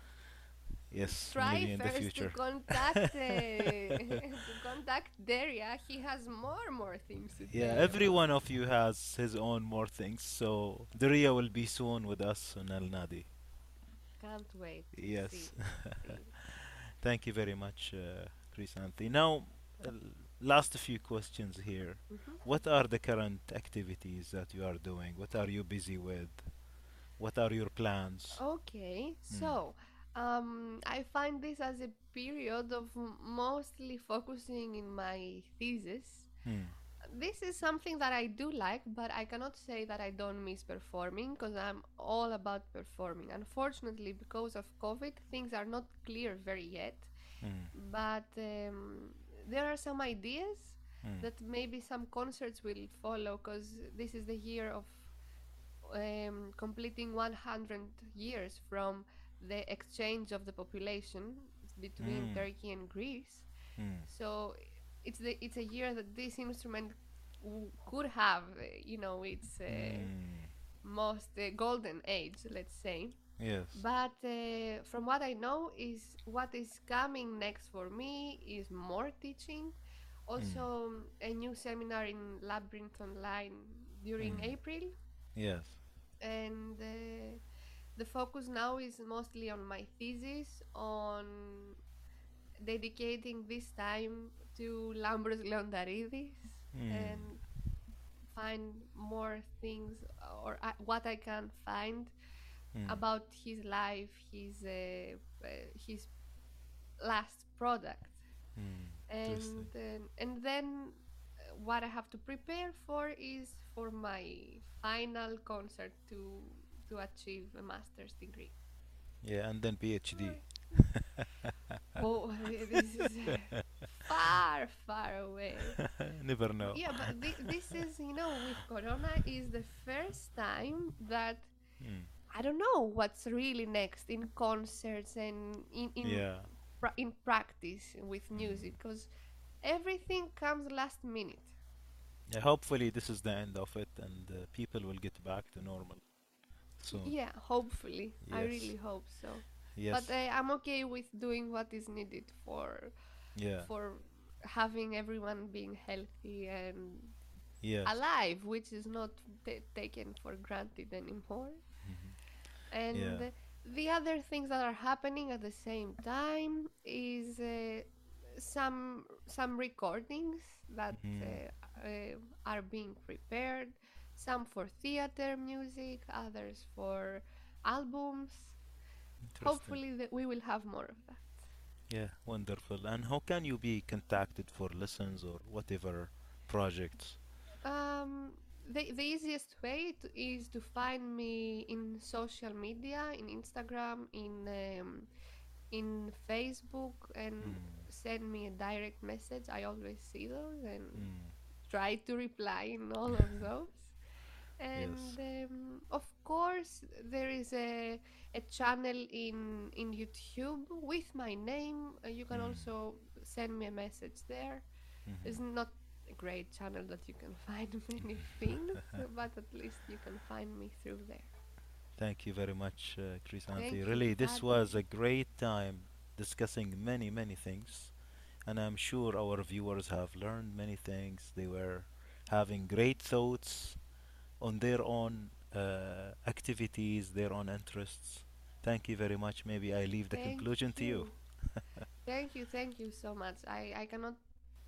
yes, Try maybe in the first to future. contact uh, to contact Daria. He has more more things to Yeah, tell you every about. one of you has his own more things. So Daria will be soon with us on Al Nadi. Can't wait to Yes. see. Really. Thank you very much, uh, Krisanthi. Now, uh, last few questions here. Mhm. What are the current activities that you are doing? What are you busy with? What are your plans? Okay, Hmm. so um, I find this as a period of m- mostly focusing in my thesis. Hmm. This is something that I do like, but I cannot say that I don't miss performing because I'm all about performing. Unfortunately, because of COVID, things are not clear very yet, Hmm. but um, there are some ideas Hmm. that maybe some concerts will follow because this is the year of um, completing one hundred years from the exchange of the population between Hmm. Turkey and Greece. Hmm. So it's the it's a year that this instrument w- could have, uh, you know, its uh, Hmm. most uh, golden age, let's say. Yes. But uh, from what I know, is what is coming next for me is more teaching. Also, Hmm. um, a new seminar in Labyrinth Online during Hmm. April, Yes. and uh, the focus now is mostly on my thesis, on dedicating this time to Lambros Leontaridis Hmm. and find more things, or I, what I can find Hmm. about his life, his uh, uh, his last product, Hmm. and Interesting. uh, and then uh, what I have to prepare for is for my final concert to to achieve a master's degree. Yeah, and then PhD. Right. Oh, this is far, far away. Never know. Yeah, but thi- this is, you know, with Corona is the first time that Hmm. I don't know what's really next in concerts and in in Yeah. pra- in practice with Hmm. music because everything comes last minute. Yeah, hopefully this is the end of it, and uh, people will get back to normal Y- soon. Yeah, hopefully. I Yes. really hope so. But Yes. uh, I'm okay with doing what is needed for Yeah. for having everyone being healthy and Yes. alive, which is not ta taken for granted anymore. Mhm. And Yeah. the other things that are happening at the same time is uh, some some recordings that Mhm. uh, uh, are being prepared, some for theater music, others for albums. Interesting. Hopefully that we will have more of that. Yeah, wonderful. And how can you be contacted for lessons or whatever projects? Um, the, the easiest way to, is to find me in social media, in Instagram, in um, in Facebook, and Mm. send me a direct message. I always see those and Mm. try to reply in all of those. Yes. And um, of course, there is a, a channel in in YouTube with my name. Uh, you can Mm. also send me a message there. Mhm. It's not a great channel that you can find many things, but at least you can find me through there. Thank you very much, uh, Krisanthi. Thank you for Really, this having was me. a great time discussing many, many things. And I'm sure our viewers have learned many things. They were having great thoughts on their own uh, activities, their own interests. Thank you very much. Maybe I leave the Thank conclusion to you. you. Thank you. Thank you so much. I, I cannot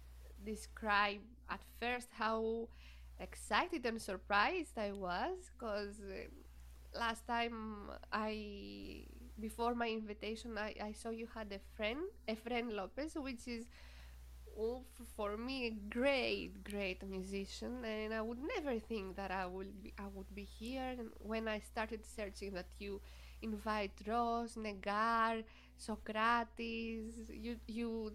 describe at first how excited and surprised I was because uh, last time I, before my invitation, I, I saw you had a friend, Efren Lopez, which is oh, f- for me a great, great musician, and I would never think that I would be I would be here. And when I started searching that you invite Ross, Negar, Socrates, you you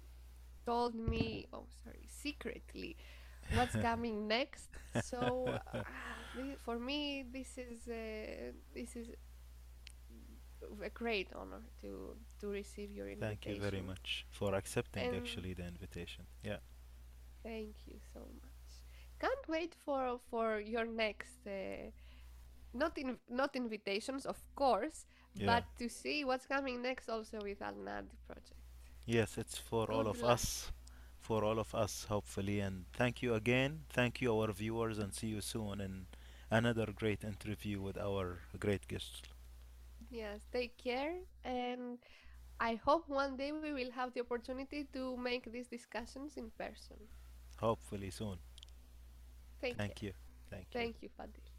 told me, oh sorry, secretly, what's coming next. So uh, thi- for me, this is uh, this is a great honor to to receive your Thank you very invitation. much for accepting And actually the invitation. Yeah. thank you so much. Can't wait for for your next uh, not in not invitations, of course, Yeah. but to see what's coming next also with Al Nadi project. Yes, it's for all Good of luck. us. For all of us, hopefully. And thank you again. Thank you, our viewers, and see you soon in another great interview with our great guest. Yes, take care, and I hope one day we will have the opportunity to make these discussions in person. Hopefully soon. Take Thank care. you. Thank you. Thank you, Fadil.